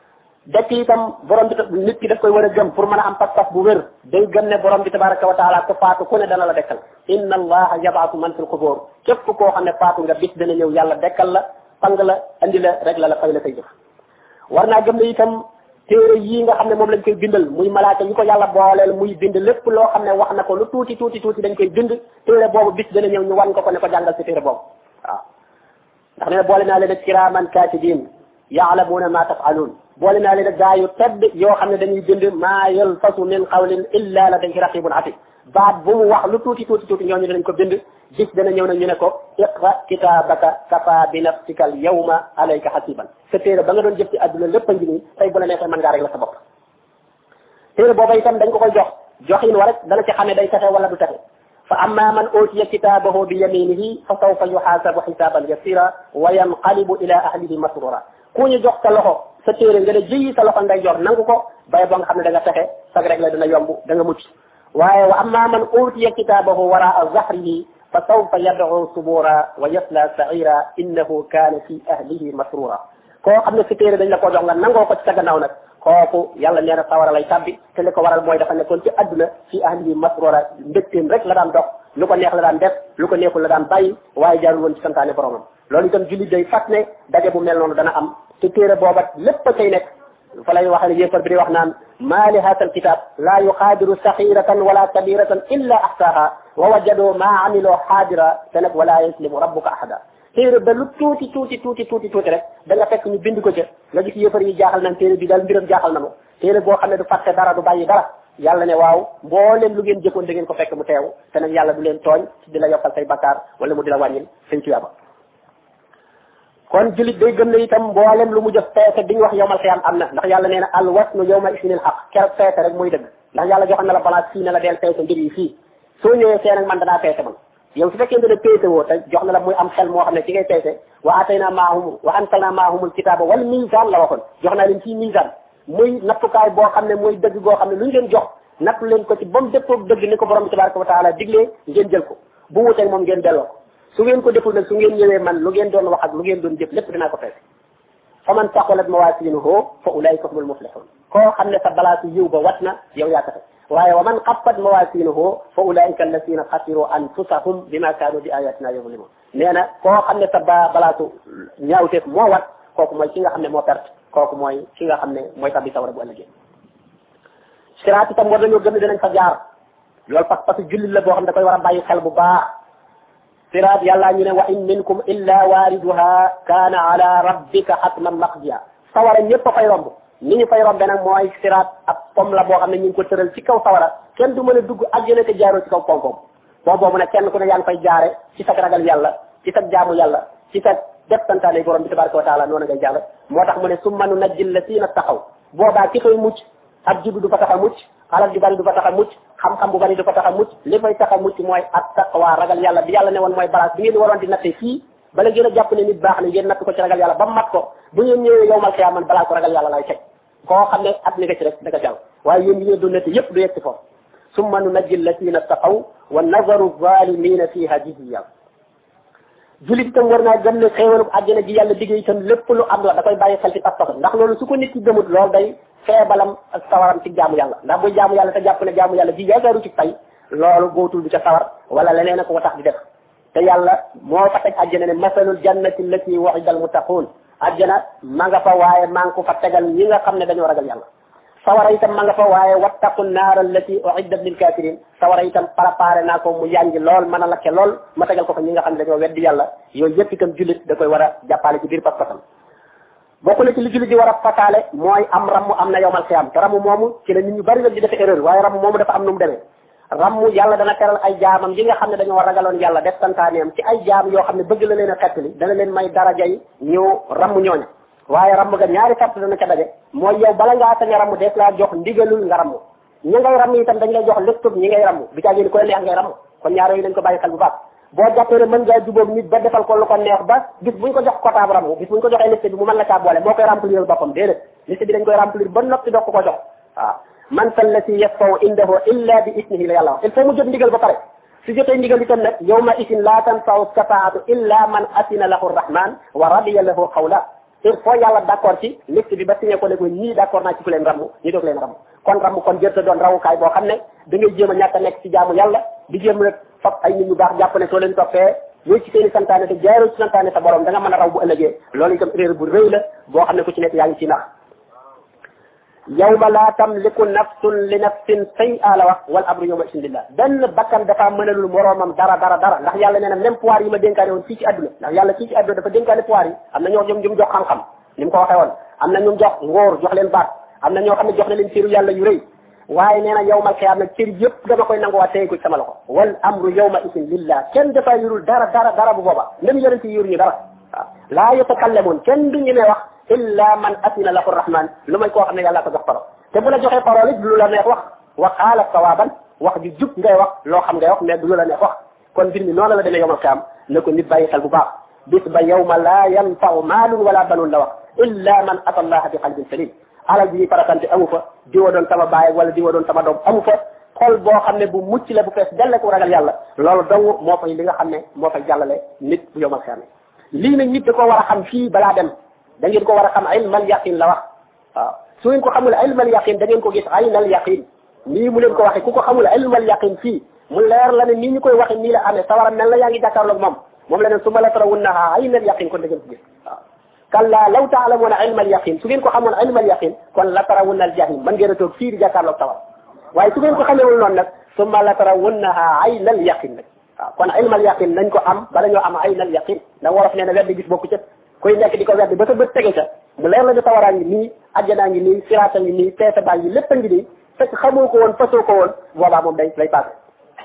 dekk itam borom bi nit ki daf koy war a gëm pour mën a am pas-pas bu wér day gëm ne borom bi tabaraka wa taala ko faatu ku ne dana la dekkal inna allaha yabaatu man fil qubur képp koo xam ne faatu nga bis dana ñëw yàlla dekkal la pang la andi la rek la fay la koy jëf war naa gëm ne itam téere yii nga xam ne moom lañ koy bindal muy malaaka yi ko yàlla booleel muy bind lépp loo xam ne wax na ko lu tuuti dañ koy bind téere boobu bis dana ñëw ñu wan ko ne ko jàngal si téere boobu waaw ndax ne boole naa leen ak kiraaman kaatibin yaalamuuna ma tafaluun boole naa leen ak gaa yu tedd yoo xam ne dañuy bind maa yalfasu min qawlin illa ladayhi raqibun atid baat bu mu wax lu tuuti ñooñu danañ ko bind bis dana ñëw nag ñu ne ko iqra kitaabaka kafa bi nafsika al yawma alayka hasiban sa téere ba nga doon jëf ci àdduna lépp a ngi nii tey bu la neexee mën ngaa rek la sa bopp téere booba itam dañ ko koy joxin wa rek dana ci xamee day texe wala du texe fa amma man utiya kitaabahu bi yaminihi fa sawfa yuhaasabu xisaaban yasira wa yanqalibu ila ahlihi masrura ku ñu jox sa loxo sa téere nga ne jëyi sa loxo nday jor nangu ko bay boo nga xam ne da nga texe sag rek la dina yomb da nga mucc waaye wa amma man utiya kitaabahu waraa zahrihi fa sawfa yad'u subura wa yasla sa'ira innahu kaana fi ahlihi masrura koo xam ne sa téere dañ la ko jox nga nangoo ko ci sa gannaaw nag kooku yàlla nee na sawara lay tabbi te li ko waral mooy dafa nekkoon ci adduna fi ahlihi masrura mbégteem rek la daan dox lu ko neex la daan def lu ko neexul la daan bàyyi waaye jaarul woon ci santaane boromam loolu itam jullit day fat ne daje bu mel noonu dana am te téere booba lépp a cay nekk fa lay waxee ne yéefar bi di wax naan maa li haata alkitab laa yuxaadiru saxiratan wala kabiratan illa ahsaha wa wajadu maa amiloo xaadira te nag wala yaslimu rabbuka ahada téere ba lu tuuti rek da nga fekk ñu bind ko ca nga gis yéefar yi jaaxal naan téere bi daal mbiram jaaxal na ma téere boo xam ne du fàtte dara du bàyyi dara yàlla ne waaw mbooleem lu ngeen jëkkoon da ngeen ko fekk mu teew te nag yàlla du leen tooñ di la yokkal say bakkaar wala mu di la wàññil say tuyaaba kon julit day gëm ne itam mboolem lu mu jëf peese bi ñu wax yowmal xiyaam am na ndax yàlla nee na al wasnu yowma isinil xaq keroog peese rek mooy dëgg ndax yàlla joxoon na la balance fii ne la deel peese mbir yi fii soo ñëwee fee nag man danaa peese man yow su fekkee ne peese woo te jox na la muy am xel moo xam ne ci ngay peese wa atayna maahum wa ansalna maahumul kitaaba wal misaan la waxoon jox naa leen fii misaan muy nattukaay boo xam ne muy dëgg goo xam ne lu ñu leen jox nattu leen ko ci ba mu dëppoog dëgg ni ko borom bi tabaraka wa taala diglee ngeen jël ko bu wuteeg moom ngeen delloo ko su ngeen ko deful nag su ngeen ñëwee man lu ngeen doon wax ak lu ngeen doon jëf lépp dinaa ko peese fa man saqulat mawaasinuhu fa ulaika humul muflihun koo xam ne sa balaasu yiw ba wat na yow yaa taxe waaye wa man xaffat mawaasinuhu fa ulaika alladina xasiru anfusahum bima kaanu bi ayatina yuzlimun nee na koo xam ne sa balaasu ñaawteef moo wat kooku mooy ki nga xam ne moo perte kooku mooy ki nga xam ne mooy tabbi sawara bu ëllëgee siraat itam war nañoo gëm ne dinañ fa jaar loolu parce que jullit la boo xam ne da koy war a bàyyi xel bu baax siraat yàlla ñu ne wa in minkum illa waariduha kaana ala rabbika hatman maqdiya sawara ñëpp a fay romb ni ñu fay rombe nag mooy siraat ak pom la boo xam ne ñu ngi ko tëral ci kaw sawara kenn du mën a dugg àjjana te jaaroo ci kaw pom-pom boobu nag kenn ku ne yaa ngi fay jaare ci sa ragal yàlla ci sa jaamu yàlla ci sa def santaane borom bi tabaraka wa taala noonu ngay jàll moo tax mu ne summa nunajji llazina taqaw boobaa ki fay mucc ak juddu du fa tax a mucc alal ju bari du fa tax a mucc xam-xam bu bari du fa tax a mucc li fay tax a mucc mooy at taqwa ragal yàlla bi yàlla ne woon mooy balance bi ngeen di waroon di natte fii bala ngeen a jàpp ne nit baax na ngeen natt ko ci ragal yàlla ba mat ko bu ngeen ñëwee yowmal xiyaam man balaa ko ragal yàlla lay teg koo xam ne at mi nga ci rek da nga jàll waaye yéen yi ngeen doon natte yëpp du yegg ci foofu summa nunajji llazina taqaw wa nazaru zalimina fiha jithiya julit itam war naa gëm ne xéewalu àjjana ji yàlla liggéey itam lépp lu am la da koy bàyyi xel ci pas-pas ndax loolu su ko nit ki gëmut loolu day feebalam ak sawaram ci jaamu yàlla ndax bu jaamu yàlla te jàpp ne jaamu yàlla ji yaakaaru ci fay loolu góotul du ca sawar wala leneen a ko tax di def te yàlla moo fa teg àjjana ne masalul jannati allati wa'ida al muttaqun àjjana ma nga fa waaye maa ngi ko fa tegal ñi nga xam ne dañoo ragal yàlla sawara itam ma nga fa waaye wattaqu naar allati u'iddat lil kafirin sawara itam préparé naa ko mu yàngi lool mën a lakke lool ma tegal ko fa ñi nga xam ne dañoo weddi yàlla yooyu yëpp itam jullit da koy war a jàppale ci biir pas-pasam bokk na ci li jullit di war a fataale mooy am ramm am na yowmal xiyaam te ramm moomu ci la nit ñu bari nag di defe erreur waaye ramm moomu dafa am nu mu demee ramm yàlla dana teral ay jaamam yi nga xam ne dañoo ragaloon yàlla def santaaneem ci ay jaam yoo xam ne bëgg la leen a xettali dana leen may daraja yi ñu ramm ñooña waaye ramm ga ñaari sart dana ca daje mooy yow bala ngaa sañ a ramm des laa jox ndigalul nga ramm ñi ngay ramm itam dañ lay jox lëstub ñi ngay ramm bi caa génn koy neex ngay ramm kon ñaar yooyu dañ ko bàyyi xel bu baax boo jàppee ne mën ngaa jubóog nit ba defal ko lu ko neex ba bis buñ ko jox kotaab ramm bis buñ ko joxee liste bi mu mën la caa boole moo koy remplir boppam déedéet liste bi dañ koy remplir ba noppi doog ko ko jox waaw man sallati yasfaw indahu illa bi isnihi la yàlla wax il faut mu jot ndigal ba pare su jotee ndigal itam nag yawma isin la tanfa'u shafaatu illa man asina lahu rahman wa radiya lahu qawla il faut yàlla d'accord ci liste bi ba signé ko ne ko ñii d'accord naa ci ku leen ramm ñi doog leen ramm kon ramm kon jërta doon rawukaay boo xam ne da ngay jéem a ñàkk a nekk ci jaamu yàlla di jéem rek fab ay nit ñu baax jàpp ne soo leen toppee yooyu ci seeni santaane te jaaroo ci santaane sa borom da nga mën a raw bu ëllëgee loolu itam erreur bu rëy la boo xam ne ku ci nekk yaa ngi ci nax yawma laa tamliku nafsun li nafsin shay'a la wax wal amru yawma idin lillah benn bakkan dafa mënalul moroomam dara ndax yàlla nee na même pouvoir yi ma dénkaane woon fii ci àdduna ndax yàlla fii ci àdduna dafa dénkaane pouvoir yi am na ñoo ñoom ñu jox xam-xam ni mu ko waxee woon am na ñu jox ngóor jox leen baat am na ñoo xam ne jox na leen cëru yàlla yu rëy waaye nee na yawmal qiyaama nag cër yëpp dama koy nanguwaat tey ko ci sama loxo wal amru yawma idin lillah kenn dafa yurul dara bu booba même yonent yi yuruñu dara waaw laa yatakallamuun kenn du ñemee wax illa man asina lahu rahman lu may koo xam ne yàlla ko jox parole te bu la joxee parole it lu la neex wax qaala sawaban wax ju jub ngay wax loo xam ngay wax mais du lu la neex wax kon mbir mi noonu la demee yawmal qiyaama na ko nit bàyyi xel bu baax bis ba yawma laa yanfa'u maalun wala banuun la wax illa man ata allaha bi qalbin salim alal bi faratante amu fa diwa doon sama baay wala diwa doon sama doom amu fa xol boo xam ne bu mucc la bu fees delle ko ragal yàlla loolu dong moo fay li nga xam ne moo fay jàllale nit bu yawmal qiyaama lii nag nit da ko war a xam fii balaa dem da ngeen ko war a xam ilmal yaqin la wax waaw su ngeen ko xamul ilmal yaqin da ngeen ko gis aynal yaqin nii mu leen ko waxee ku ko xamul ilmal yaqin fii mu leer la ne nii ñu koy waxe nii la amee sawara mel na yaa ngi jàkkaarloog moom la ne summa la tarawunnaha aynal yaqin kon da ngeen ko gis waaw kalla law ta'lamuna ilmal yaqin su ngeen ko xamoon ilmal yaqin kon la tarawunna al jahim man ngeen a toog fii di jàkkaarloog sawara waaye su ngeen ko xamewul noonu nag summa la tarawunnaha aynal yaqin nag waaw kon ilmal yaqin nañ ko am bala ñoo am aynal yaqin ndax wolof nee na weddi gis bokku ca koy nekk di ko weddi ba sa bët tege ca mu leer la ne sawaraa ngi nii ajjanaa ngi nii siraata ngi nii teesa baa ngi lépp a ngi nii fekk xamoo ko woon fasoo ko woon boobaa moom day lay passé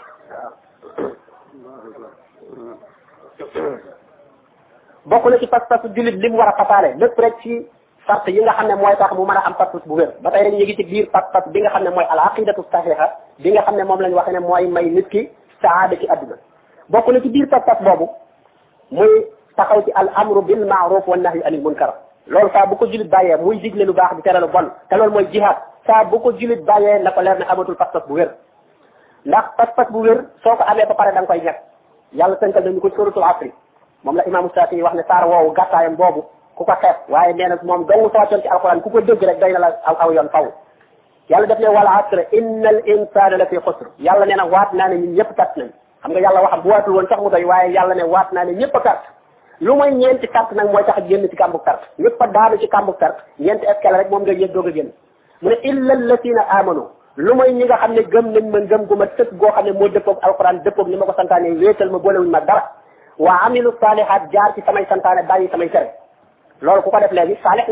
waaw bokk na ci pas-pas jullit li mu war a fasaale lépp rek ci sart yi nga xam ne mooy tax mu mën a am pas-pas bu wér ba tey rek ñu ngi ci biir pas-pas bi nga xam ne mooy al aqidatu sahiha bi nga xam ne moom lañ waxee ne mooy may nit ki saada ci adduna bokk na ci biir pas-pas boobu muy taxaw ci al amru bil ma'ruf wan nahyi anil munkar loolu saa bu ko jullit bàyyee muy digle lu baax di tere lu bon te loolu mooy jihaad saa bu ko jullit bàyyee na ko leer ne amatul pas-pas bu wér ndax pas-pas bu wér soo ko amee ba pare da nga koy ñàkk yàlla tënkal nañu ko suratul asri moom la imaamu Saafi wax ne saar woowu gàttaayam boobu ku ko xeeb waaye nee na moom dong soo wàccoon ci alquran ku ko dégg rek doy na la aw yoon faw yàlla def ne wal asr innal insana la fi xusr yàlla nee na waat naa ne ñun ñëpp kat nañ xam nga yàlla waxam bu waatul woon sax mu doy waaye yàlla ne waat naa ne ñëpp a carte lu mooy ñeenti carte nag mooy tax a génn ci kàmbu carte ñëpp a daanu ci kàmbu carte ñeenti escale rek moom nga yëg doog a génn mu ne illa allatina amanu lu mooy ñi nga xam ne gëm nañ ma ngëm gu ma tëkk goo xam ne moo dëppoog alquran dëppoog ni ma ko santaane wéetal ma boolewuñ ma dara wa amilu salihat jaar ci samay santaane bàyyi samay tere loolu ku ko def léegi saalix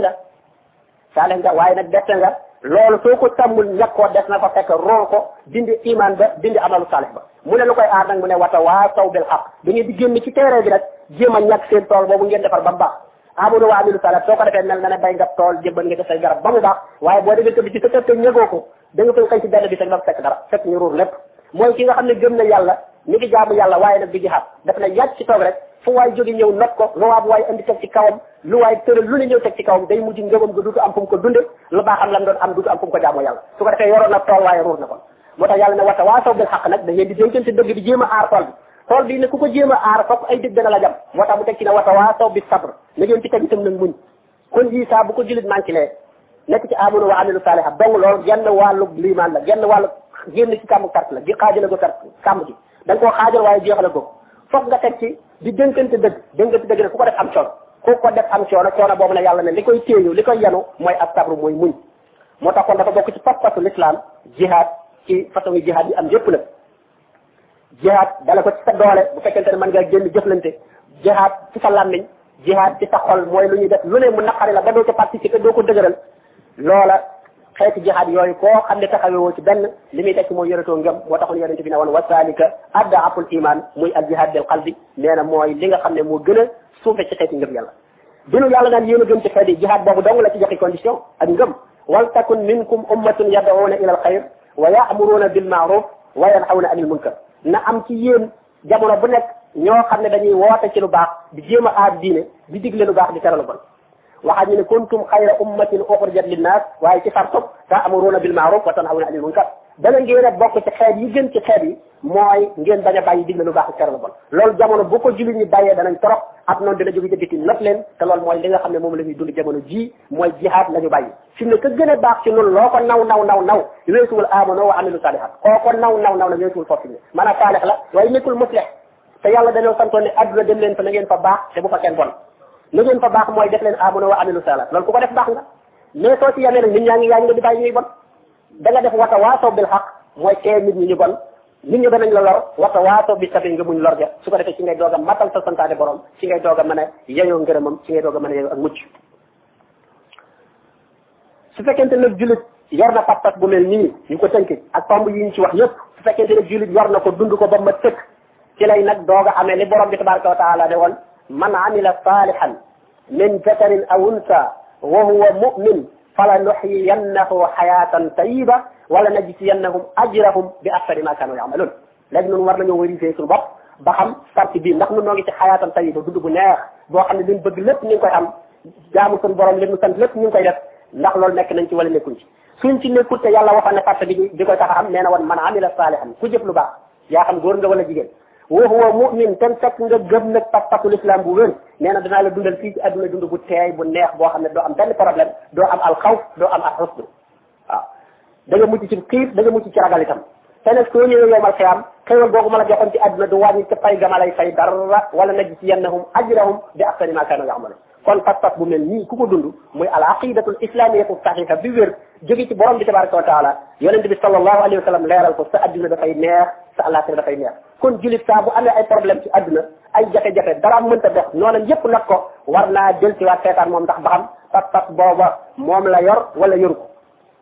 nga waaye nag def nga loolu soo ko tàmmul ñàkk koo def na ko fekk rool ko dindi iman ba dindi amalu saalix ba mu ne lu koy aar nag mu ne wata waasaw bil xaq da ngeen di génn ci terrain bi nag jéem a ñàkk seen tool boobu ngeen defar ba mu baax amanu wa amilu salihat soo ko defee mel na ne bay nga tool jébbal nga def say garab ba mu baax waaye boo demee tëdd ci sa kër te ñëgoo ko da nga koy xëy ci benn bi sa fekk dara fekk ñu ruur lépp mooy ki nga xam ne gëm na yàlla mi ngi jaamu yàlla waaye nag di jihaad daf na yàgg ci toog rek fu waay jóge ñëw not ko lu waa bu waay indi teg ci kawam lu waay tëral lu ne ñëw teg ci kawam day mujj ngëmam ga duutu am fu mu ko dunde lu baaxam lam doon am duutu am fu mu ko jaamoo yàlla su ko defee yoroon na tool waaye ruur na ko moo tax yàlla ne wata waasaw bil xaq nag da ngeen di dénkante dëgg di jéem a aar tool bi ne ku ko jéem a aar fokk ay dëgg dana la jam moo tax mu teg ci ne wata waasaw bi sabr na ngeen ci teg itam nag muñ kon yii saa bu ko jullit manqué lee nekk ci amanu wa amilu salihat donc loolu genn wàllu liimaan la genn wàllu génn ci kàmbu carte la di xaajale ko carte kàmb gi da nga koo xaajal waaye jeexale ko foog nga teg ci di dénkante dëgg ne ku ko def am coono boobu ne yàlla ne li koy téeñu li koy yanu mooy ak sabru mooy muñ moo tax kon dafa bokk ci pas-pasu l'islam jihaad ci façon yi jihaad yi am yépp nag jihaad dala ko ci sa doole bu fekkente ne mën ngaa génn jëflante jihaad ci sa làmmiñ jihaad ci sa xol mooy lu ñuy def lu ne mu naqari la ba doo ca participer doo ko dëgëral loola xeeti jihaad yooyu koo xam ne taxawewoo ci benn li muy tekk mooy yoretoo ngëm moo taxoon yonente bi ne woon wasalika addaaful iman muy al jihad bil qalbi nee na mooy li nga xam ne moo gën a suufe ci xeeti ngëm yàlla binu yàlla naan yéen a gën ci xeeti jihaad boobu dong la ci joxe condition ak ngëm wal takun minkum ummatun yad'una ila al xayr wa ya'muruna bil ma'ruf wa yanhawna anil munkar na am ci yéen jamono bu nekk ñoo xam ne dañuy woote ci lu baax di jéem a aar diine di digle lu baax di tere lu bon waxaat ñu ne kuntum xayra ummatin uxrijat linnaas waaye ci fartub ta'muruna bil ma'ruf wa tanhawna anil munkar dana ngeen a bokk ci xeet yi gën ci xeet yi mooy ngeen bañ a bàyyi digle lu baax ak tere lu bon loolu jamono bu ko jullit ñi bàyyee danañ torox ab noonu dina jóge ca biti lépp leen te loolu mooy li nga xam ne moom la ñuy dund jamono ji mooy jihaad la ñu bàyyi fi mu ne ka gën a baax ci noonu loo ko naw weesuwul amano wa amilu salihat koo ko naw la weesuwul foofu ne maanaam saalix la waaye nekkul muslih te yàlla dañoo santoon ne adduna dem leen fa na ngeen fa baax te bu fa kenn bon na ngeen fa baax mooy def leen amano wa amilu salihat loolu ku ko def baax nga mais soo ci yamee nag nit ñaa ngi nga di bàyyi ñuy bon da nga def wata waasaw bil xaq mooy tee nit ñi ñu bon nit ñi danañ la lor wata waasaw bi sabi nga muñ lor ja su ko defee ci ngay doog a matal sa santaane borom ci ngay doog a mën a yeyoo ngërëmam ci ngay doog a mën a yeyoo ak mucc su fekkente nag jullit yor na pas-pas bu mel nii ñu ko tënk ak tomb yi ñu ci wax yëpp su fekkente nag jullit yor na ko dund ko ba ma tëkk ci lay nag doog a amee li borom bi tabaraka wa taala ne woon man amila salihan min zakarin aw unsa wa huwa mu'min fala nuhyiyannahu hayatan tayyiba wala najziyannahum ajrahum bi ahsani ma kanu ya'malun léegi noonu war nañoo vérifier suñu bopp ba xam parti bii ndax nu noo ngi ci hayatan tayyiba dund bu neex boo xam ne liñ bëgg lépp ñu ngi koy am jaamu suñu borom li mu sant lépp ñu ngi koy def ndax loolu nekk nañ ci wala nekkuñ ci suñ ci nekkul te yàlla waxoon ne parti bi di koy tax a am nee na woon man amila salihan ku jëf lu baax yaa xam góor nga wala jigéen wa huwa mu'min ten fekk nga gëm nag pas-pasul islam bu wér nee na danaa la dundal fii ci adduna dund bu teey bu neex boo xam ne doo am benn problème doo am al xawf doo am al xusn waaw da nga mucc ci xiif da nga mucc ci ragal itam te nag soo ñëwee yowmal xiyaam xéewal boobu ma la joxoon ci adduna du wàññi ca fay gama lay fay dara wala najziyannahum ajrahum bi ahsani ma kanu ya'malun kon pas-pas bu mel nii ku ko dund muy al aqidatul islamiyatu sahiha bi wér jóge ci borom bi tabaraka wa taala yonente bi sallallahu alayhi wa sallam leeral ko sa adduna dafay neex sa àllaaxira dafay neex kon julit saa bu amee ay problème ci adduna ay jafe-jafe dara mënta dox noonam yépp nag ko war naa jël ci waat seetaan moom ndax ba xam pas-pas booba moom la yor wala yoru ko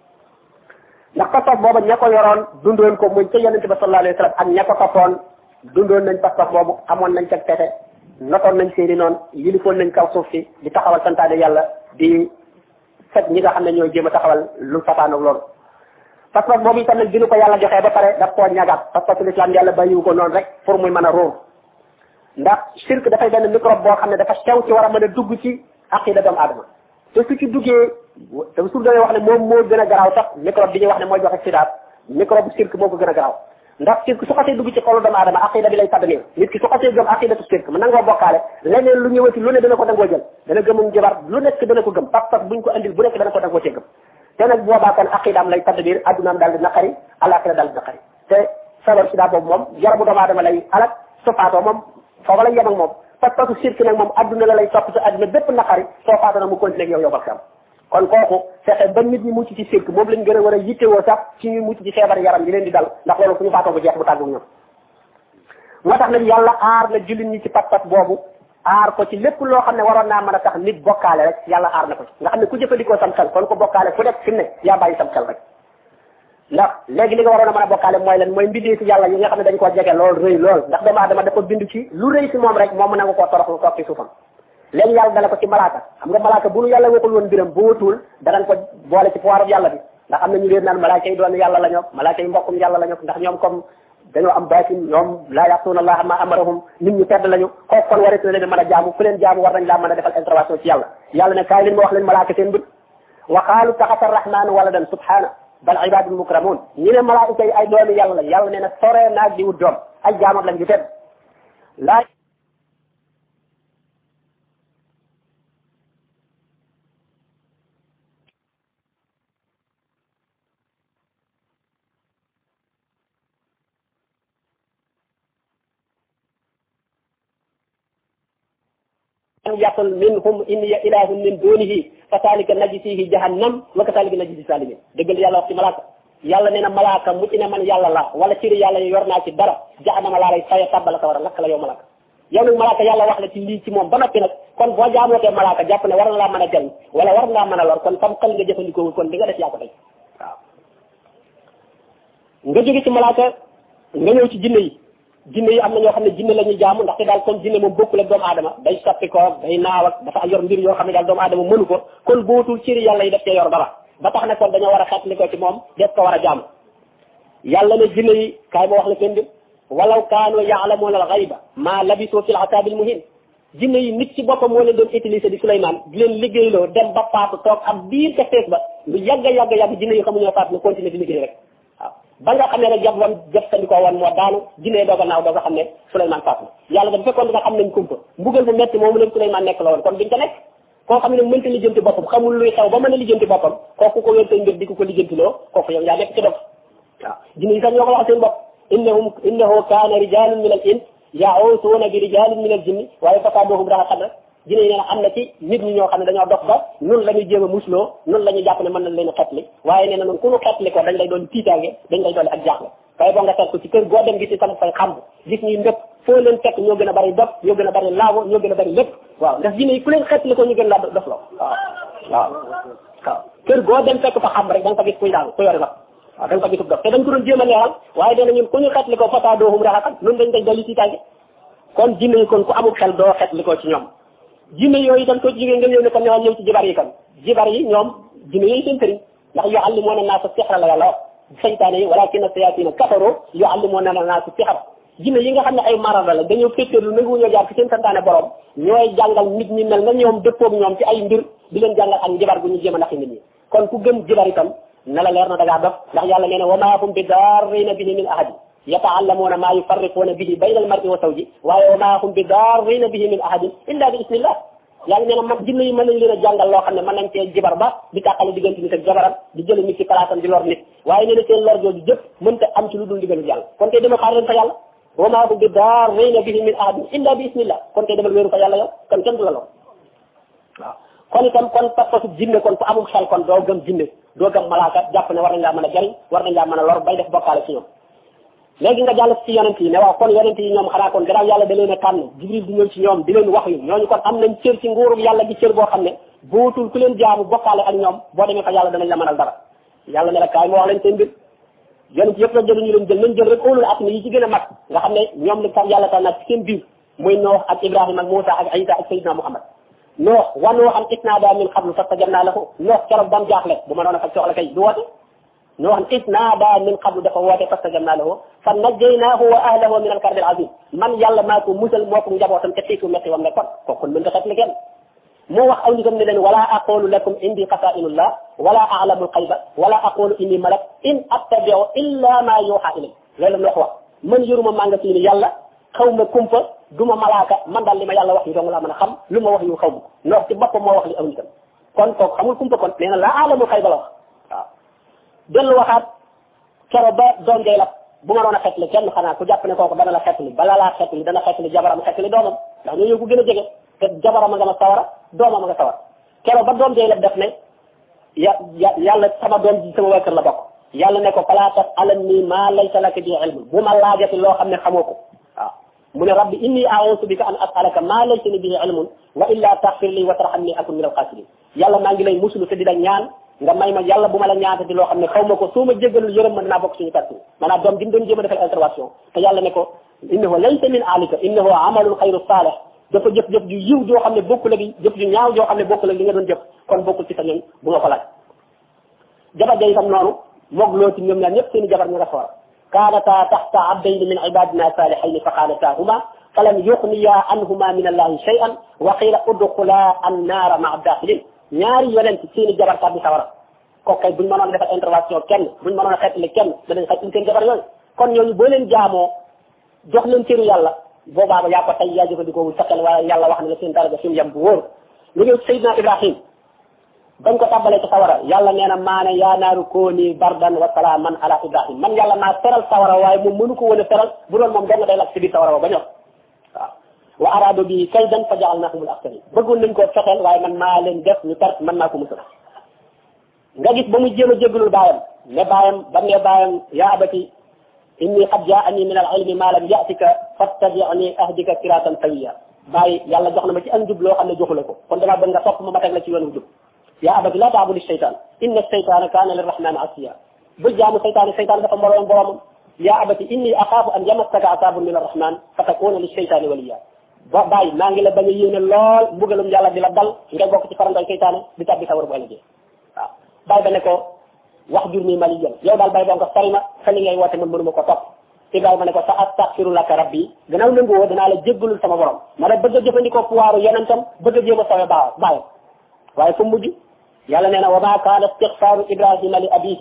ndax pas-pas booba ña ko yoroon dundoon ko muy ca yonente ba sallallahu alayhi wa sallam ak ña ko toppoon dundoon nañ pas-pas boobu amoon nañ ca pexe notoon nañ seeni noonu yilifoon nañ kaw suuf si di taxawal santaane yàlla di set ñi nga xam ne ñooy jéem a taxawal lu safaanoog loolu pas-pas boobu itam nag bi ñu ko yàlla joxee ba pare daf koo ñagaat pas-pasu l'islam yàlla bàyyiwu ko noonu rek pour muy mën a róor ndax shirk dafay benn microbe boo xam ne dafa sew ci war a mën a dugg ci aqida doomu aadama te su ci duggee te su doon wax ne moom moo gën a garaaw sax microbe bi ñuy wax ne mooy joxe sidaat microbe shirk moo ko gën a garaaw ndax shirk su xasee dugg ci xolu doomu aadama aqida bi lay tàddamee nit ki su xasee gëm aqidatu shirk mu nangoo bokkaale leneen lu ñëwati lu ne dana ko dangoo jël dana gëmum jabar lu nekk dana ko gëm pas-pas buñ ko andil bu nekk dana ko dangoo cee gëm te nag boobaa kon aqidaam lay tadd biir addunaam daal di naqari alaxira daal di naqari te sabar sida boobu moom yaramu doomu aadama lay alak su faatoo moom foofa lay yem ak moom pas-pasu shirk nag moom adduna la lay topp sa adduna bépp naqari soo faatoo nag mu continué ak yow bakam kon kooku fexe ba nit ñi mucc ci shirk moom lañ gën a war a yittewoo sax ci ñuy mucc ci feebar yaram yi leen di dal ndax loolu fu ñu faatoo bu jeex bu tàggu ñoom moo tax nag yàlla aar na jullit ñi ci pas-pas boobu aar ko ci lépp loo xam ne waroon naa mën a tax nit bokkaale rek yàlla aar na ko ci nga xam ne ku jëfandikoo sam xel kon ko bokkaale ku nekk fi mu ne yaa bàyyi sam xel rek ndax léegi li nga waroon a mën a bokkaale mooy lan mooy mbindee ci yàlla yi nga xam ne dañ koo jege lool rëy lool ndax doomu aadama dafa bind ci lu rëy si moom rek moom mën na nga koo toroxlu toog ci suufam léegi yàlla dala ko ci malaaka xam nga malaaka bu nu yàlla waxul woon mbiram bu wutul danañ ko boole ci pouvoir yàlla bi ndax am na ñu leen naan malaaka yi doon yàlla la ñoom malaaka yi mbokkum yàlla la ñoom ndax ñoom comme dañoo am baatin ñoom laa ya'tuuna allaha ma amarahum nit ñu tedd lañu kooku kon warit na leen mën a jaamu ku leen jaamu war nañ laa mën a defal intervention ci yàlla yàlla ne kaay leen ma wax leen malaaka seen mbir wa qaalu taxasa arrahmanu waladan subhana bal ibadun mukramun ñi ne malaaka yi ay doomi yàlla lañ yàlla nee na sore naag di wut doom ay jaamam lañ yu tedd laa yaqul minhum inni ilahun min dunihi fa zalika najzihi jahannam wa kadhalika najzi zalimin dëggal yàlla wax ci malaaka yàlla nee na malaaka mu ci ne man yàlla la wala ciri yàlla yor naa ci dara jahannama laa lay faye tàbbala sa war a lakk la yow malaaka yow nag malaaka yàlla wax la ci lii ci moom ba noppi nag kon boo jaamootee malaaka jàpp ne war na laa mën a jël wala war ngaa mën a lor kon sam xel nga jëfandikoo kon di nga def yaa ko tey waaw nga jóge ci malaaka nga ñëw ci jinne yi am na ñoo xam ne jinne la ñuy jaamu ndaxte daal comme jinne moom bokkul ak doomu aadama day soppi ko day naaw ak dafa yor mbir yoo xam ne daal doomu aadama mënu ko kon bootul ciri yàlla yi def cee yor dara ba tax na kon dañoo war a xeetli ko ci moom def ko war a jaamu yàlla ne jinne yi kaay ma wax la seen mbir walaw kaanu yaalamuuna al ghayba maa labisu fil azaabil muhin jinne yi nit ci boppam moo leen doon utiliser di Souleymane di leen liggéeyloo dem ba faatu toog ab biir ca fees ba lu yàgg jinne yi xamuñoo faatu ne continuer di liggéey rek waaw ba nga xam ne rek jab wam jëfandikoo woon moo daanu jinne doog a naaw doog a xam ne Souleymane faatu yàlla da bu fekkoon dina xam nañ kumpa mbugal bu metti moomu leen Souleymane nekk la woon kon duñ ko nekk koo xam ne mënta lijjanti boppam xamul luy xew ba mën a lijjanti boppam kooku ko wér say mbir di ko lijjantiloo kooku yow yaa nekk ci dof waaw jinne yi sax ñoo ko wax seen bopp innahu kaana rijalun min al ins ya'uusuuna bi rijalin min al jinni waaye fasaaduhum raxaqan rek jinne yi nee na am na ci nit ñi ñoo xam ne dañoo dox ba nun la ñuy jéem a musloo nun la ñuy jàpp ne mën nañ leen a xetli waaye nee na noonu ku ñu xetli ko dañ lay doon tiitaange dañ lay doon ak jaaxle waaye boo nga seet ko ci kër goo dem gis ci sama fay xamb gis ñuy ndëpp foo leen fekk ñoo gën a bari dof ñoo gën a bari laago ñoo gën a bari lépp waaw ndax jinne yi ku leen xetli ko ñu gën laa dof loo waaw kër goo dem fekk fa xamb rek da nga fa gis kuy daal ku yore la waaw da nga fa gisub dof te dañ ko doon jéem a leeral waaye dee na ñun ku ñu xetli ko fasaaduhum raxaqan noonu dañ dolli tiitaange kon jinne yi kon ku amul xel doo xetli ko ci ñoom jinne yooyu itam ko jógee nga ñëw ne kon ñoo ñëw ci jibar yi kan jibar yi ñoom jinne yooyu seen sëriñ ndax yu'allimuuna naasa sihra la yàlla wax saytaane yi walaakinna sayaatina kafaru yu'allimuuna naasa sihra jinne yi nga xam ne ay marada la dañoo féeteerlu nanguwuñoo jaar ci seen santaane borom ñooy jàngal nit ñi mel na ñoom dëppoog ñoom ci ay mbir di leen jàngal ak jibar gu ñu jéem a naxi nit ñi kon ku gëm jibar itam na la leer na da ngaa dof ndax yàlla nee na wa maa hum bi daarriina bihi min ahadin yata'allamuuna maa yufarriquuna bihi bayna al-mar'i wa zawji waaye wa maa hum bi daarriina bihi min ahadin illa bi ismillah yàlla nee na man jinne yi mën nañ leen a jàngal loo xam ne mën nañ cee jibar ba di tàqale diggante nit ak jabaram di jële nit ci palaasam di lor nit waaye nee na seen lor jooju jëpp mënta am ci lu dul digalu yàlla kon tey dama xaar leen fa yàlla wa maa hum bi daarriina bihi min ahadin illa bi ismillah kon tey demal wéeru fa yàlla yow kon kenn du la lor waaw kon itam kon pas-pasu jinne kon ku amul xel kon doo gëm jinne doo gëm malaaka jàpp ne war nañ laa mën a jariñ war nañ laa mën a lor bay def bokkaale ci ñoom léegi nga jàll ci yonent yi ne waaw kon yonent yi ñoom xanaa kon gannaaw yàlla da leen a tànn jibril di ñëw ci ñoom di leen wax yu ñooñu kon am nañ cër ci nguurub yàlla gi cër boo xam ne bootul ku leen jaamu bokkaale ak ñoom boo demee fa yàlla danañ la mënal dara yàlla ne la kaay moo wax leen seen mbir yonent yëpp la jël ñu leen jël nañ jël rek óolul at mi yi ci gën a mag nga xam ne ñoom la tam yàlla tànn ci seen biir muy Noox ak Ibrahima ak Muusa ak Isa ak Seydina Muhammad Noox wa Nooxan isnaadaa min qablu fastajabnaa lahu Noox keroog bam jaaxle bu ma doon a faj soxla kay du woote Nooxan isnaadaa min qablu dafa woote fastajabnaa lahu fa najjaynaahu wa ahlahu min al-karbi al-aziim man yàlla maa ko musal moo ko njabootam te tiitu metti wam nekkoon kooku kon mën nga xetli kenn moo wax aw nitam ne leen wala aqulu lakum indi xasaa'inullah wala a'lamu al-ghayba wala aqulu inni malak in attabi'u illa ma yuuhaa ilay loolu la wax man yoruma maa nga ni yàlla xaw ma kumpa duma malaaka man daal li ma yàlla wax yu dong laa mën a xam lu ma wax yu xaw ma ko Noox ci boppam moo wax li aw nitam kon kooku xamul kumpa kon nee na la a'lamu al-ghayba la wax waaw dellu waxaat kero ba doom jay la bu ma doon a xetli kenn xanaa ku jàpp ne kooku dana la xetli bala laa xetli dana xetli jabaram xetli doomam ndax ñoo ñëw ko gën a jege te jabaram a nga ma sawara doomam a nga sawar kero ba doom jay la def ne yàlla sama doom ji sama waa kër la bokk yàlla ne ko falaa tas'alnii maa laysa laka bihi ilmun bu ma laajati loo xam ne xamoo ko waaw mu ne rabbi inni a'uuzu bika an as'alaka maa laysa li bihi ilmun wa illaa taghfir lii wa tarhamnii akun min al-khasiriin yàlla maa ngi lay musulu te di la ñaan nga may ma yàlla bu ma la ñaatati loo xam ne xaw ma ko soo ma jéggalul yërëm ma dinaa bokk suñu perte maanaam doom gi mu doon jéem a defal intervention te yàlla ne ko innahu laysa min aalika innahu amalun xayru saalih dafa jëf-jëf ju yiw joo xam ne bokkul ak jëf ju ñaaw joo xam ne bokkul ak li nga doon jëf kon bokkul ci sa ñoñ bu nga ko laaj jabar ja itam noonu moog loo ci ñoom ñaar ñëpp seen i jabar ñu nga sawar kaanataa taxta abdayni min ibadina salihayni fa xaanataahuma falam yuxniya anhuma min allahi shay'an wa qiila udxula annaara maa daxilin ñaari yonent seen i jabar kat bi sawara kooku kay buñ mënoon defal intervention kenn buñ mënoon a xeetli kenn danañ xeetli seen jabar yooyu kon ñooñu boo leen jaamoo jox leen cëru yàlla boobaa ba yaa ko tey yaa jëfandikoo wul sa xel waaye yàlla wax na la seen daraja fi mu yem bu wóor lu ñëw Seydina Ibrahim bañ ko tàbbalee ci sawara yàlla nee na maane yaa naaru kooni bardan wa salaaman ala Ibrahim man yàlla maa teral sawara waaye moom mënu ko woon a teral bu doon moom dong day lakk si biir sawara ba ñor waaw wa araado bi kaydan fa ja'alnaahumul akhsariin bëggoon nañ koo fexeel waaye man maa leen def ñu perte man maa ko musal nga gis ba mu jéem a jéggalul baayam ne baayam ba ne baayam yaa abati inni qad jaa'anii min al-ilmi maa lam ya'tika fattabi'nii ahdika siraatan sawiyya bàyyi yàlla jox na ma ci ak njub loo xam ne joxu la ko kon damaa bëgg nga topp ma teg la ci yoonu jub yaa abati laa ta'budi shaytaan inna shaytaana kaana lirrahmaani asiyyaa bul jaamu seytaane seytaane dafa moroom boromam yaa abati inni axaafu an yamassaka azaabun min arrahmaan fa takuuna lishaytaani waliyyaa ba bàyyi maa ngi la bañ a yéene lool mbugalum yàlla di la dal ngay bokk ci farandoy seytaane di tabbi sawar bu ëllëgee waaw bàyyi ba ne ko wax jur nii maliyan yow daal bàyyi boo nga sori ma fa li ngay woote man mënuma ko topp Ibrahima ne ko sa astaghfiru laka rabbi gannaaw nangu woo danaa la jéggalul sama borom ma ne bëgg a jëfandikoo pouvoiru yonentam bëgg a jéem a sowe bàyyi waaye fu mujj yàlla nee na wa maa kaana istighfaaru Ibrahima li abiihi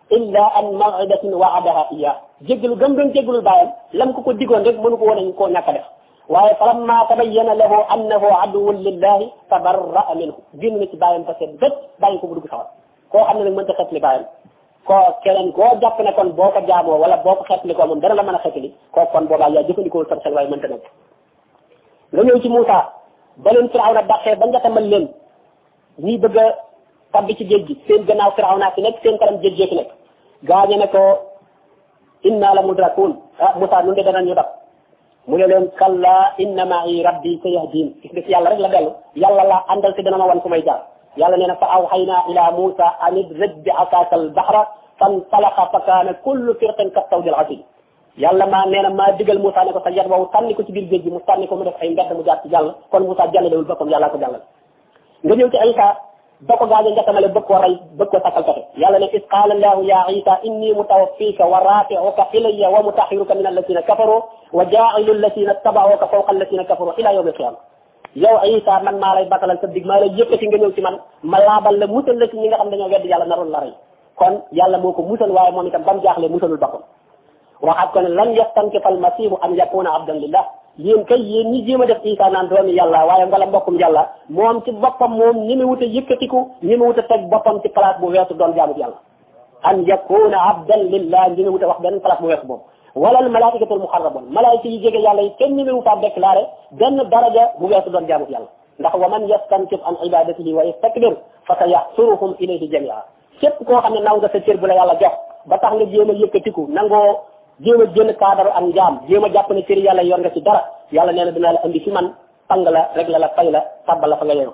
illa an maw'idatin wa'adaha iya jéggalu gëm doon jéggalul bàyyam lam ko digoon rek mënu ko woon koo ñàkk a def waaye falamma tabayyana lahu annahu aduwwun lillahi tabarra'a minhu génn na ci bàyyam parce que bët bàyyi ko bu dugg sawar koo xam ne nag mënta xetli bàyyam koo keneen koo jàpp ne kon boo ko jaamoo wala boo ko xetli ko moom dana la mën a xetli koo kon boobaa yaa jëfandikoo sam xel waaye mënta nekk nga ñëw ci Moussa ba leen Firawna dàqee ba njatamal leen ñii bëgg a tabbi ci géej gi seen gannaaw Firawna fi nekk seen kanam géej fi nekk gaañe ne ko inna la mudrakun Moussa nun de danañ ñu dab mu ne leen kalla inna ma'i rabbi sayahdin gis nga ci yàlla rek la dellu yàlla la àndal te dana ma wan fu may jaar yàlla nee na fa awhayna ila Moussa an idrib bi asaka al bahra fantalaqa fa kaana kullu firqin ka tawdil asim yàlla nee na maa digal Moussa ne ko sa yat boobu sànni ko ci biir géej gi mu sànni ko mu def ay mbedd mu jaar ci jàll kon Moussa jàllalewul boppam yàllaa ko jàllal nga ñëw ci Isa ba ko gaañe njatamale bëgg koo rey bëgg ko takkal pexe yàlla ne is qaala allahu ya Isa inni mutawaffika wa rafi'uka ilayya wa mutahhiruka min alladhina kafaru wa ja'ilu alladhina taba'uka fawqa alladhina kafaru ila yawm al-qiyamah yow Isa man maa lay batalal sa dig maa lay yëkkati nga ñëw ci man ma laabal la musal la ci ñi nga xam dañoo weddi yàlla naroon la rey kon yàlla moo ko musal waaye moom itam ba mu jaaxle musalul boppam waxaat ko ne lan yastankifa almasihu an yakuna abdan lillah yéen kay yéen ñi jéem a def Isa naan doomi yàlla waaye ngala mbokkum yàlla moom ci boppam moom ñi mu wut a yëkkatiku ñi mu wut a teg boppam ci place bu weesu doon jaamu yàlla an yakuna abdan lillah ñi mu wut a wax benn place bu weesu boobu wala al malaikatul muqarrabun malaayika yi jege yàlla yi kenn ñi mu wut a déclaré benn daraja bu weesu doon jaamu yàlla ndax wa man yastankif an ibadatihi wa yastakbir fa sayahsuruhum ilayhi jamia képp koo xam ne naw nga sa cër bu la yàlla jox ba tax nga jéem a yëkkatiku nangoo jéem a génn cadre ak njaam jéem a jàpp ne cëri yàlla yor nga ci dara yàlla nee na dinaa la andi fi man pang la rek la fay la tabbal la fa nga yeewu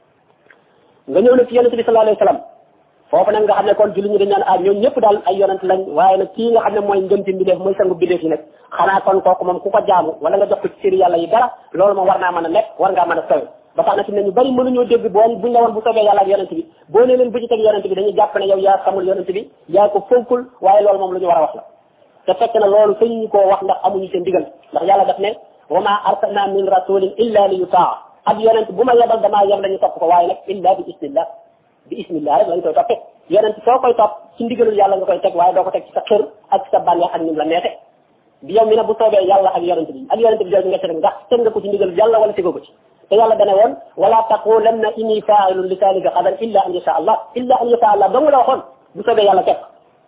nga ñëw nag ci yonente bi sallallahu alayhi wa sallam foofu nag nga xam ne kon julli ñu dañ naan ñoom ñëpp daal ay yonent lañ waaye nag kii nga xam ne mooy ngënti mbindeef mooy sangu mbindeef yi nag xanaa kon kooku moom ku ko jaamu wala nga jox ko ci cëri yàlla yi dara loolu moom war naa mën a nekk war ngaa mën a sowe ba tax na fi ne ñu bari mënuñoo dégg buñ la woon bu soobee yàlla ak yonente bi boo ne leen bu ci teg yonente bi dañuy jàpp ne yow yaa xamul yonente bi yaa ko fonkul waaye loolu moom lu ñu war a wax la te fekk na loolu sañu ñu koo wax ndax amuñu seen digal ndax yàlla daf ne wa ma arsalna min rasulin illa li yutaa ab yonent bu ma yebal damaa yeb lañu topp ko waaye nag illa bi ismillah rek lañ koy toppee yonent soo koy topp ci ndigalul yàlla nga koy teg waaye doo ko teg ci sa xër ak ci sa bànneex ak nim la neexe bi yow mi ne bu soobee yàlla ak yonent bi jooju nga teg ndax teg nga ko ci ndigalul yàlla wala tegoo ko ci te yàlla dane woon wala taqulanna inni fa'ilun li zalika ghadan illa an yasha allah dong la waxoon bu soobee yàlla teg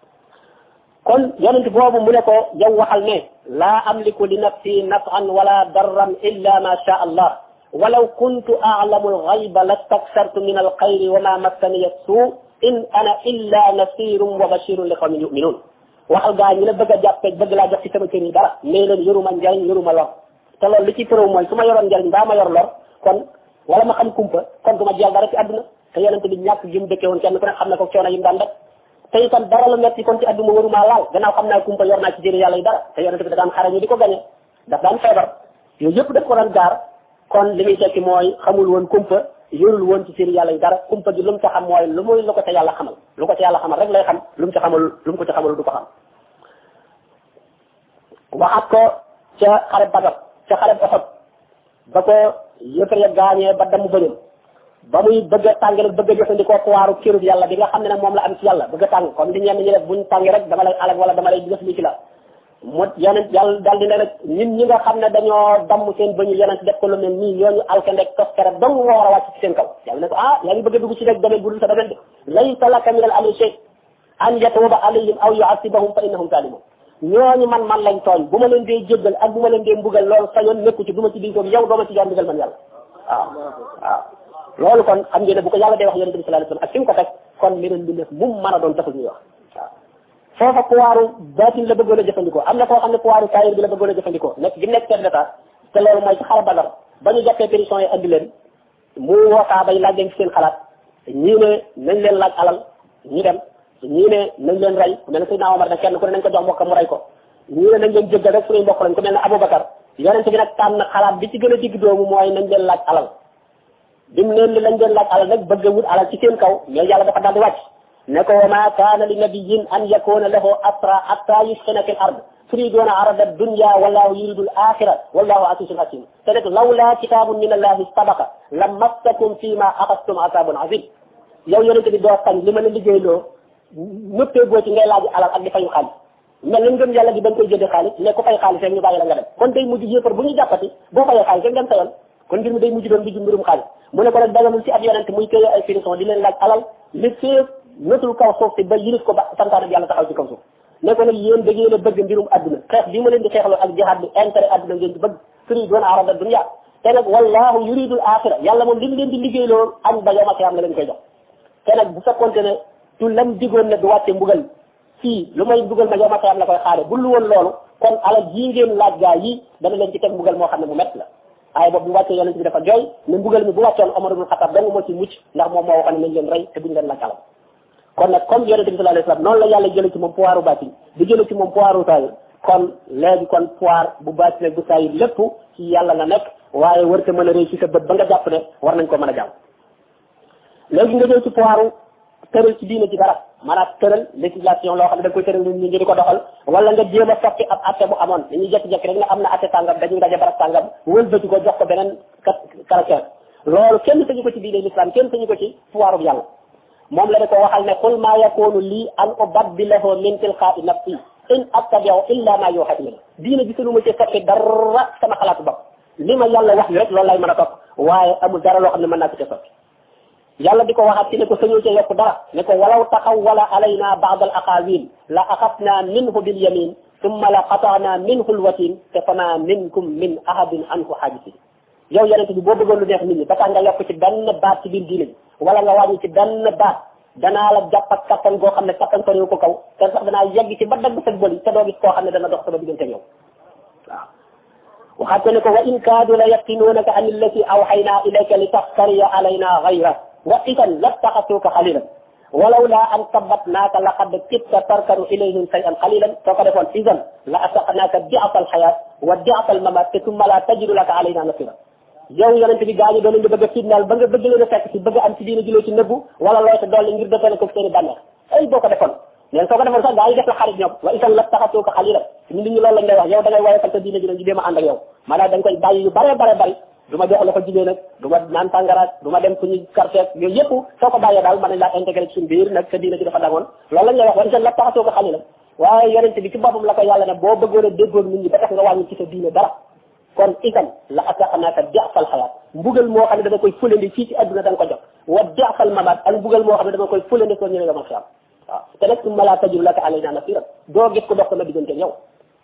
kon yonent boobu mu ne ko yow waxal ne laa amliku li nafsi naf'an wala darran illa ma sha allah walaw kuntu a'lamu al-ghayba lastakthartu min al-khayri wa ma massani as-su' in ana illa nasirun wa bashirun li qawmin yu'minun waxal gaa ñi la bëgg a jàppe bëgg laa jox ci sama kër yi dara mais leen yoruma njariñ yoruma lor te loolu li ci preuve mooy su ma yoroon njariñ mbaa ma yor lor kon wala ma xam kumpa kon du ma jël dara ci àdduna te yonent bi ñàkk gi mu dëkkee woon kenn ku ne xam ne ko coono yi mu daan def te itam dara la metti kon ci àdduna waruma laal gannaaw xam naa kumpa yor naa ci jëri yàlla yi dara te yonent bi da daan xare ñu di ko gañe daf daan feebar yooyu yëpp daf ko daan gaar kon li muy tekki mooy xamul woon kumpa yorul woon ci jëri yàlla yi dara kumpa gi lu mu ca xam mooy lu muy lu ko ca yàlla xamal lu ko ca yàlla xamal rek lay xam lu mu ca xamal lu mu ko ca xamal du ko xam waxaat ko ca xare Badar ca xare Uhud ba ko yëfër ya gaañee ba damu bëñam ba muy bëgg a tàng nag bëgg a jëfandikoo puwaaru kirub yàlla bi nga xam ne nag moom la am ci yàlla bëgg a tàng comme di ñenn ñi def buñ tàngi rek dama lay alag wala dama lay def li ci la mu yonent yàlla daal di ne nag ñi nga xam ne dañoo damm seen bëñu yonent def ko lu mel nii ñooñu alkandek toskere dong moo war a wàcc ci seen kaw yàlla ne ko yaa ngi bëgg a dugg ci rek domaine bu dul sa domaine de laysa laka min al amri shay an yatuuba alayhim aw yu'azzibahum fa innahum zalimun ñooñu man lañ tooñ bu ma leen dee jéggal ak bu ma leen dee mbugal loolu sa yoon nekku ci du ma ci diitoog yow doo ma ci jox mbugal man yàlla waaw loolu kon xam ngeen ne bu ko yàlla dee wax yonent bi sallallahu alayhi wasallam ak fi mu ko teg kon meneen bi nekk mu mën a doon taxul ñuy wax waaw foofa pouvoiru baatin la bëggoon a jëfandikoo am na koo xam ne pouvoiru kaayir bi la bëggoon a jëfandikoo nekk gi nekk chef d'état te loolu mooy ci xare Badar ba ñu jàppee pétition yi andi leen mu woo saaba yi laaj leen ci seen xalaat ñii ne nañ leen laaj alal ñu dem ñii ne nañ leen rey ku mel ne Seydina Omar ne kenn ku ne nañ ko jox mbokkam mu rey ko ñii ne nañ leen jéggal rek suñuy mbokk lañ ku mel ne Aboubacar yonent bi nag tànn xalaat bi ci gën a digg doomu mooy nañ leen laaj alal bi mu leen li lañ leen laaj alal nag bëgg a wut alal ci seen kaw mais yàlla dafa daal di wàcc ne ko wa ma kaana li nabiyyin an yakuna lahu asra hatta yuskhina fil ard turiduna arada dunya wallahu yuridu al akhirah wallahu azizun hakim te nag lawla kitabun min allahi sabaqa lamassakum fima akhadtum azabun azim yow yonent bi doo sañ li ma la liggéeyloo nëppee goo ci ngay laaj alal ak di fayu xaalis mel ni ngëm yàlla gi dañ koy jëndee xaalis mais ku fay xaalis rek ñu bàyyi la nga dem kon day mujj yéefar bu ñu jàppati boo fayee xaalis rek dem sa yoon kon mbir mi day mujj doon mbirum xaalis mu ne ko nag daganul ci ab yonent muy téye ay finition di leen laaj alal li fee nëtul kaw suuf si ba yilif ko ba santaane bi yàlla taxaw ci kaw suuf ne ko nag yéen da ngeen a bëgg mbirum adduna xeex bii ma leen di xeexloo ak jihaad bi intérêt adduna ngeen di bëgg turiiduuna arada dunya te nag wallahu yuridul axira yàlla moom li mu leen di liggéeyloo añ ba yawmal qiyaama la leen koy jox te nag bu fekkoonte ne tu lam digoon ne du wàcce mbugal fii lu may mbugal ma yawmal qiyaama la koy xaare bu lu woon loolu kon alal jii ngeen laaj gaa yi dana leen ci teg mbugal moo xam ne mu métti la waaye boobu bu wàccee yonent bi dafa jooy ne mbugal mi bu wàccoon Omar ibn Khattab dong moo ci mucc ndax moom moo waxoon ne nañ leen rey te buñ leen laaj alal kon nag comme yonent bi sallallahu alayhi wasallam noonu la yàlla jële ci moom pouvoiru baatin di jële ci moom pouvoiru saayir kon léegi kon pouvoir bu baatin bu saayir lépp ci yàlla la nekk waaye warta mën a réussir sa bët ba nga jàpp ne war nañ ko mën a jàll léegi nga jël ci pouvoiru tëral ci diine ci dara maanaam tëral législation loo xam ne da nga koy tëral nit ñi di ko doxal wala nga jéem a soppi ab atte bu amoon dañuy jekki-jekki rek ne am na atte sàngam dañuy daje barab sàngam wëlbati ko jox ko beneen caractère loolu kenn sañu ko ci diine l'islam kenn sañu ko ci pouvoiru bi yàlla moom la da ko waxal ne qul maa yakunu lii an ubaddilahu min tilqaa'i nafsi in attabi'u illa ma yuuhaa ilayya diine bi sunu ma ci soppi dara sama xalaatu bopp li ma yàlla wax rek loolu lay mën a topp waaye amul dara loo xam ne mën naa ko ci soppi yàlla di ko waxaat ci ne ko sañoo ca yokk dara ne ko walaw taqawwala alayna ba'd al aqawil la axadna minhu bil yamin thumma la qata'na minhu al watin te fama minkum min ahadin anhu haajisin yow yonent bi boo bëggoon lu neex nit ñi ba tax nga yokk ci benn baat ci biir diine bi wala nga wàññi ci benn baat danaa la jàpp ak kattan goo xam ne kattan ko réew ko kaw te sax danaa yegg ci ba dagg sa bëli te doo gis koo xam ne dana dox sama diggante yow waaw waxaat ko ne ko wa in kaadu la yaftinuunaka an allati awxaynaa ilayka li taftariya alayna gayra wa idan lattaxasuuka xalilan walawla an sabbatnaaka laqad kitta tarkanu ilayhim shay'an qalilan soo ko defoon idan la asaqnaaka di'fa alxayaat wa di'fa almamaat te summa la tajidu laka alayna nasira yow yonent bi gaañu doon nga bëgg a fitnaal ba nga bëgg leen a fekk ci bëgg am ci diina jiloo ci nëbbu wala loo ci dolli ngir defale ko seen i bànneex ay boo ko defoon neen soo ko defoon sax gaa yi def la xarit ñoom wa idan lattaxasuuka xalilan nit ñi loolu lañ lay wax yow da ngay woyofal sa diina ji jéem a ànd ak yow maanaam da nga koy bàyyi yu bare bari du ma jox la ko jigéen nag du ma naan tàngaraat du ma dem fu ñuy karteeg yooyu yëpp soo ko bàyyee daal mën nañ laa intégré ci suñu biir nag sa diina ji dafa dangoon loolu lañ lay wax wa idan lattaxasuuka xalilan waaye yonent bi ci boppam la ko yàlla ne boo bëggoon a déggoon nit ñi ba tax nga wàññi ci sa diine dara kon itam la asaqnaaka di'fal xayaat mbugal moo xam ne dama koy fulandi fii ci adduna da nga ko jox wa di'fal mamaat ak mbugal moo xam ne dama koy fulandi soo ñëwee yomal xiyam waaw te nag summa laa tajidu laka alaynaa nasiiran doo gis ko dox sama diggante yow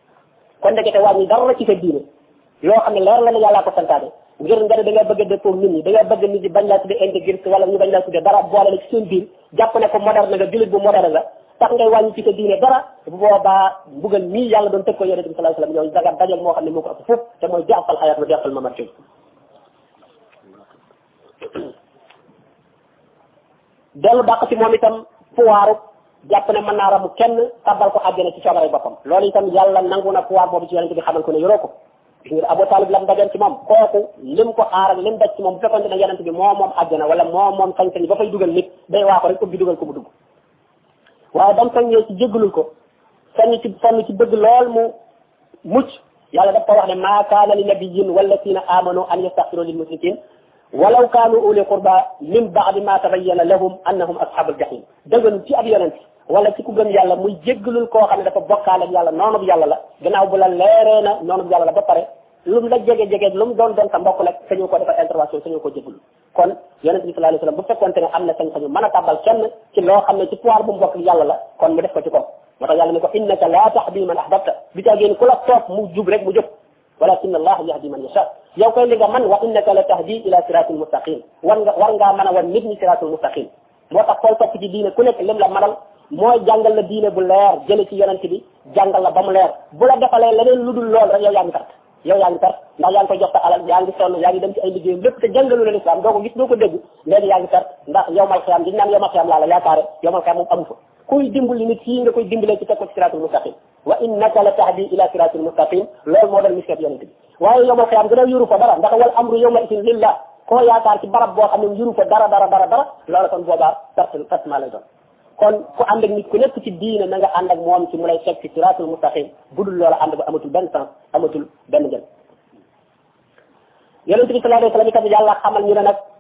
kon ndekete wàññi dara ci sa diine loo xam ne leer la ne yàllaa ko santaane ngir nga ne da nga bëgg a dëppoo nit ñi da nga bëgg nit ñi bañ laa tudde intégriste wala ñu bañ laa tudde dara boole la ci seen biir jàpp ne ko moderne nga jullit bu moderne nga tax ngay wàññi ci sa diine dara bu boobaa mbugal mii yàlla doon tëg ko yonent bi sallallahu alayhi wasallam yow daga dajal moo xam ne moo ko ëpp foofu te mooy di'fal xayaat wa di'fal mamaat dellu dàq ci moom itam pouvoiru jàpp ne mën naa ramu kenn tabbal ko àjjana ci coobare boppam loolu itam yàlla nangu na pouvoir boobu ci yonent bi xamal ko ne yoroo ko ngir Abu Talib lam dajoon ci moom kooku lim ko aar ak lim daj ci moom bu fekkoon ne yonent bi moo moom àjjana wala moo moom sañ-sañ ba fay dugal nit day waa ko rek ubbi dugal ko mu dugg waaye dam saññee ci jéggalul ko sonn ci bëgg lool mu mucc yàlla daf ko wax ne maa kaana li nabiyyin wallazina amanu an yastaghfiru lil mushrikin walaw kaanu uli qurba min ba'di ma tabayyana lahum annahum ashabul jahim dëggan ci ab yonent wala ci ku gëm yàlla muy jéggalul koo xam ne dafa bokkaale ak yàlla noonu bu yàlla la gannaaw bu la leeree na noonu bu yàlla la ba pare lu mu la jege lu mu doon sa mbokk nag sañu ko defal intervention sañu ko jéggalul kon yonent bi sallallahu alayhi wasallam bu fekkonte ne am na sañ-sañu mën a tàbbal kenn ci loo xam ne ci pouvoir bu mu bokk yàlla la kon mu def ko ci ko moo tax yàlla ne ko innaka la tahdi man ahbabta bi taa génn ku la toog mu jub rek mu jub walakin allah yahdi man yasha yow koy li nga man wa innaka la tahdi ila siratul mustaqim war ngaa mën a wan nit ñi siratul mustaqim moo tax koy topp ci diine ku nekk lim la manal mooy jàngal la diine bu leer jële ci yonent bi jàngal la ba mu leer bu la defalee leneen lu dul lool rek yow yaa ngi perte ndax yaa ngi koy jox sa alal yaa ngi sonn yaa ngi dem ci ay liggéeyam lépp te jàngalu la l'islam doo ko gis doo ko dégg léegi yaa ngi perte ndax yowmal xiyam di naan yowmal xiyam laa la yaakaare yowmal xiyam moom amu fa kuy dimbali nit fii nga koy dimbalee ci teg ko ci siratul mustaqim wa innaka la tahdi ila siratul mustaqim loolu moo doon mission yonent bi waaye yowmal xiyam gën a yuru fa dara ndax wal amru yawma idin lillah koo yaakaar ci barab boo xam ne yuru fa dara loolu kon boobaa perte maa lay doon kon ku ànd ak nit ku nekk ci diine na nga ànd ak moom ci mu lay teg ci siratul mustaqim budul loola ànd ba amatul benn sens amatul benn njël yonent bi sallallahu alayhi wasallam itam yàlla xamal ñu ne nag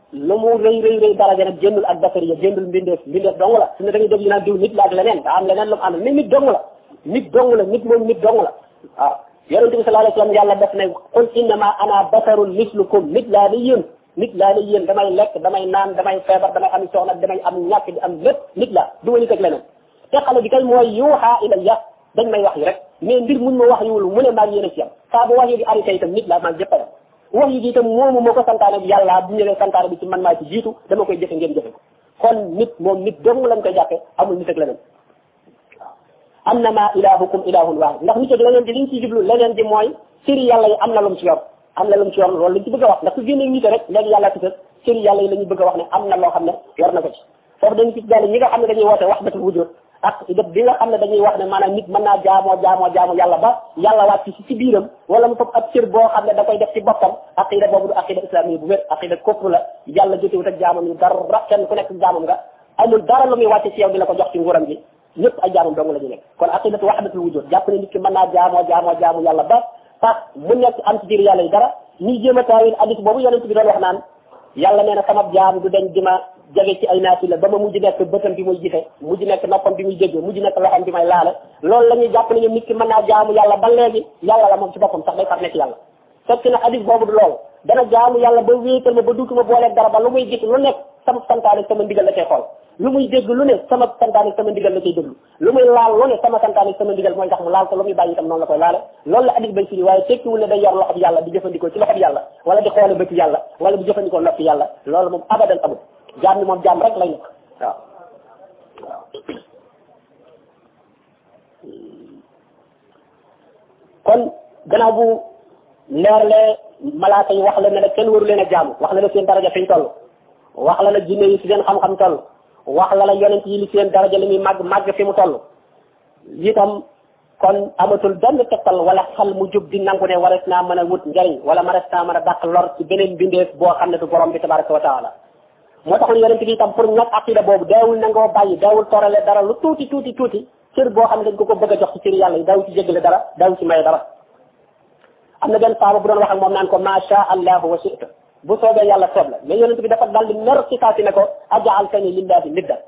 lu mu rëy daraja nag génnul ak basariya génnul mbindeef dong la su ne da ngay dégg ñu naan diw nit la ak leneen daa am leneen lu mu àndal mais nit dong la nit moom nit dong la waaw yonente bi sallallahu alayhi wasallam yàlla def ne qul innama ana basarun mislukum nit laa ni yéen damay lekk damay naan damay feebar damay am soxna damay am ñàkk di am lépp nit la du ma nit ak leneen te xale bi kay mooy yuuxa ilayya dañ may wax yi rek mais mbir muñ ma wax yiwul mu ne maa ngi yéen a ci am saa bu wax yi di arrêté itam nit la maa ngi jëppayam wax yi itam moomu moo ko santaane bi yàlla bu ñëwee santaane bi ci man maa ci jiitu dama koy jëfe ngeen jëfe ko kon nit moom nit dong lañ koy jàppe amul nit ak leneen annama ilahukum ilahun wahid ndax nit ak leneen di liñ ci jublu leneen di mooy sëri yàlla yi am na lu mu ci yor loolu lañ ci bëgg a wax ndax su génnee nit rek léegi yàlla ci sëri yàlla yi la ñu bëgg a wax ne am na loo xam ne yor na ko ci foofu dañu ci daal ñi nga xam ne dañuy woote wahdatul wujud ak bi nga xam ne dañuy wax ne maanaam nit mën naa jaamoo yàlla ba yàlla wàcc ci biiram wala mu fop ab cër boo xam ne da koy def ci boppam aqida boobu du aqida islami bu wér aqida kufr la yàlla jotewut ak jaamam yi dara kenn ku nekk jaamam nga amul dara lu muy wàcce ci yow di la ko jox ci nguuram gi ñëpp ay jaamam dong la ñu nekk kon aqidatu wahdatul wujud jàpp ne nit ki mën naa jaamu yàlla ba tax mu nekk am ci biir yàlla yi dara ñuy jéem a taawil hadith boobu yonent bi doon wax naan yàlla nee na sama jaam du dañ di ma jege ci ay naafila ba ma mujj nekk bëtam bi muy gisee mujj nekk noppam bi muy déggee mujj nekk loxam bi may laale loolu la ñuy jàpp ne ñoom nit ki mën naa jaamu yàlla ba léegi yàlla la moom ci boppam sax day far nekk yàlla fekk na hadith boobu du loolu dana jaamu yàlla ba wéetal ma ba duutuma booleeg dara ba lu muy gis lu nekk sama santaane sama ndigal la cay xool lu muy dégg lu ne sama santaane sama ndigal la cay déglu lu muy laal lu ne sama santaane sama ndigal mooy tax mu laal ko lu muy bàyyi itam noonu la koy laale loolu la hadith bay firi waaye tekkiwul ne day yor loxob yàlla di jëfandikoo ci loxob yàlla wala di xoole bëti yàlla wala di jëfandikoo noppi yàlla loolu moom abadan amul jaam ni moom jaam rek lay nekk waaw kon gannaaw bu leerlee malaaka yi wax la ne la kenn waru leen a jaamu wax la ne seen daraja fiñ toll wax la la jinne yi ci seen xam-xam toll wax la la yonent yi li seen daraja li muy màgg fi mu toll itam kon amatul benn tegtal wala xel mu jub di nangu ne wares naa mën a wut njariñ wala mares naa mën a dàq lor ci beneen bindeef boo xam ne du borom bi tabaraka wa taala moo taxoon yonent bi itam pour ñàkk aqida boobu daawul nangoo bàyyi daawul torale dara lu tuuti cër boo xam ne dañ ko bëgg a jox ci cër yàlla yi daawu ci jéggale dara daawu ci maye dara am na benn saaba bu doon wax ak moom naan ko ma sha allahu wa shi'ta bu soobee yàlla soob la mais yonent bi dafa daal di mer ci saa si ne ko aj'altani lillahi nidda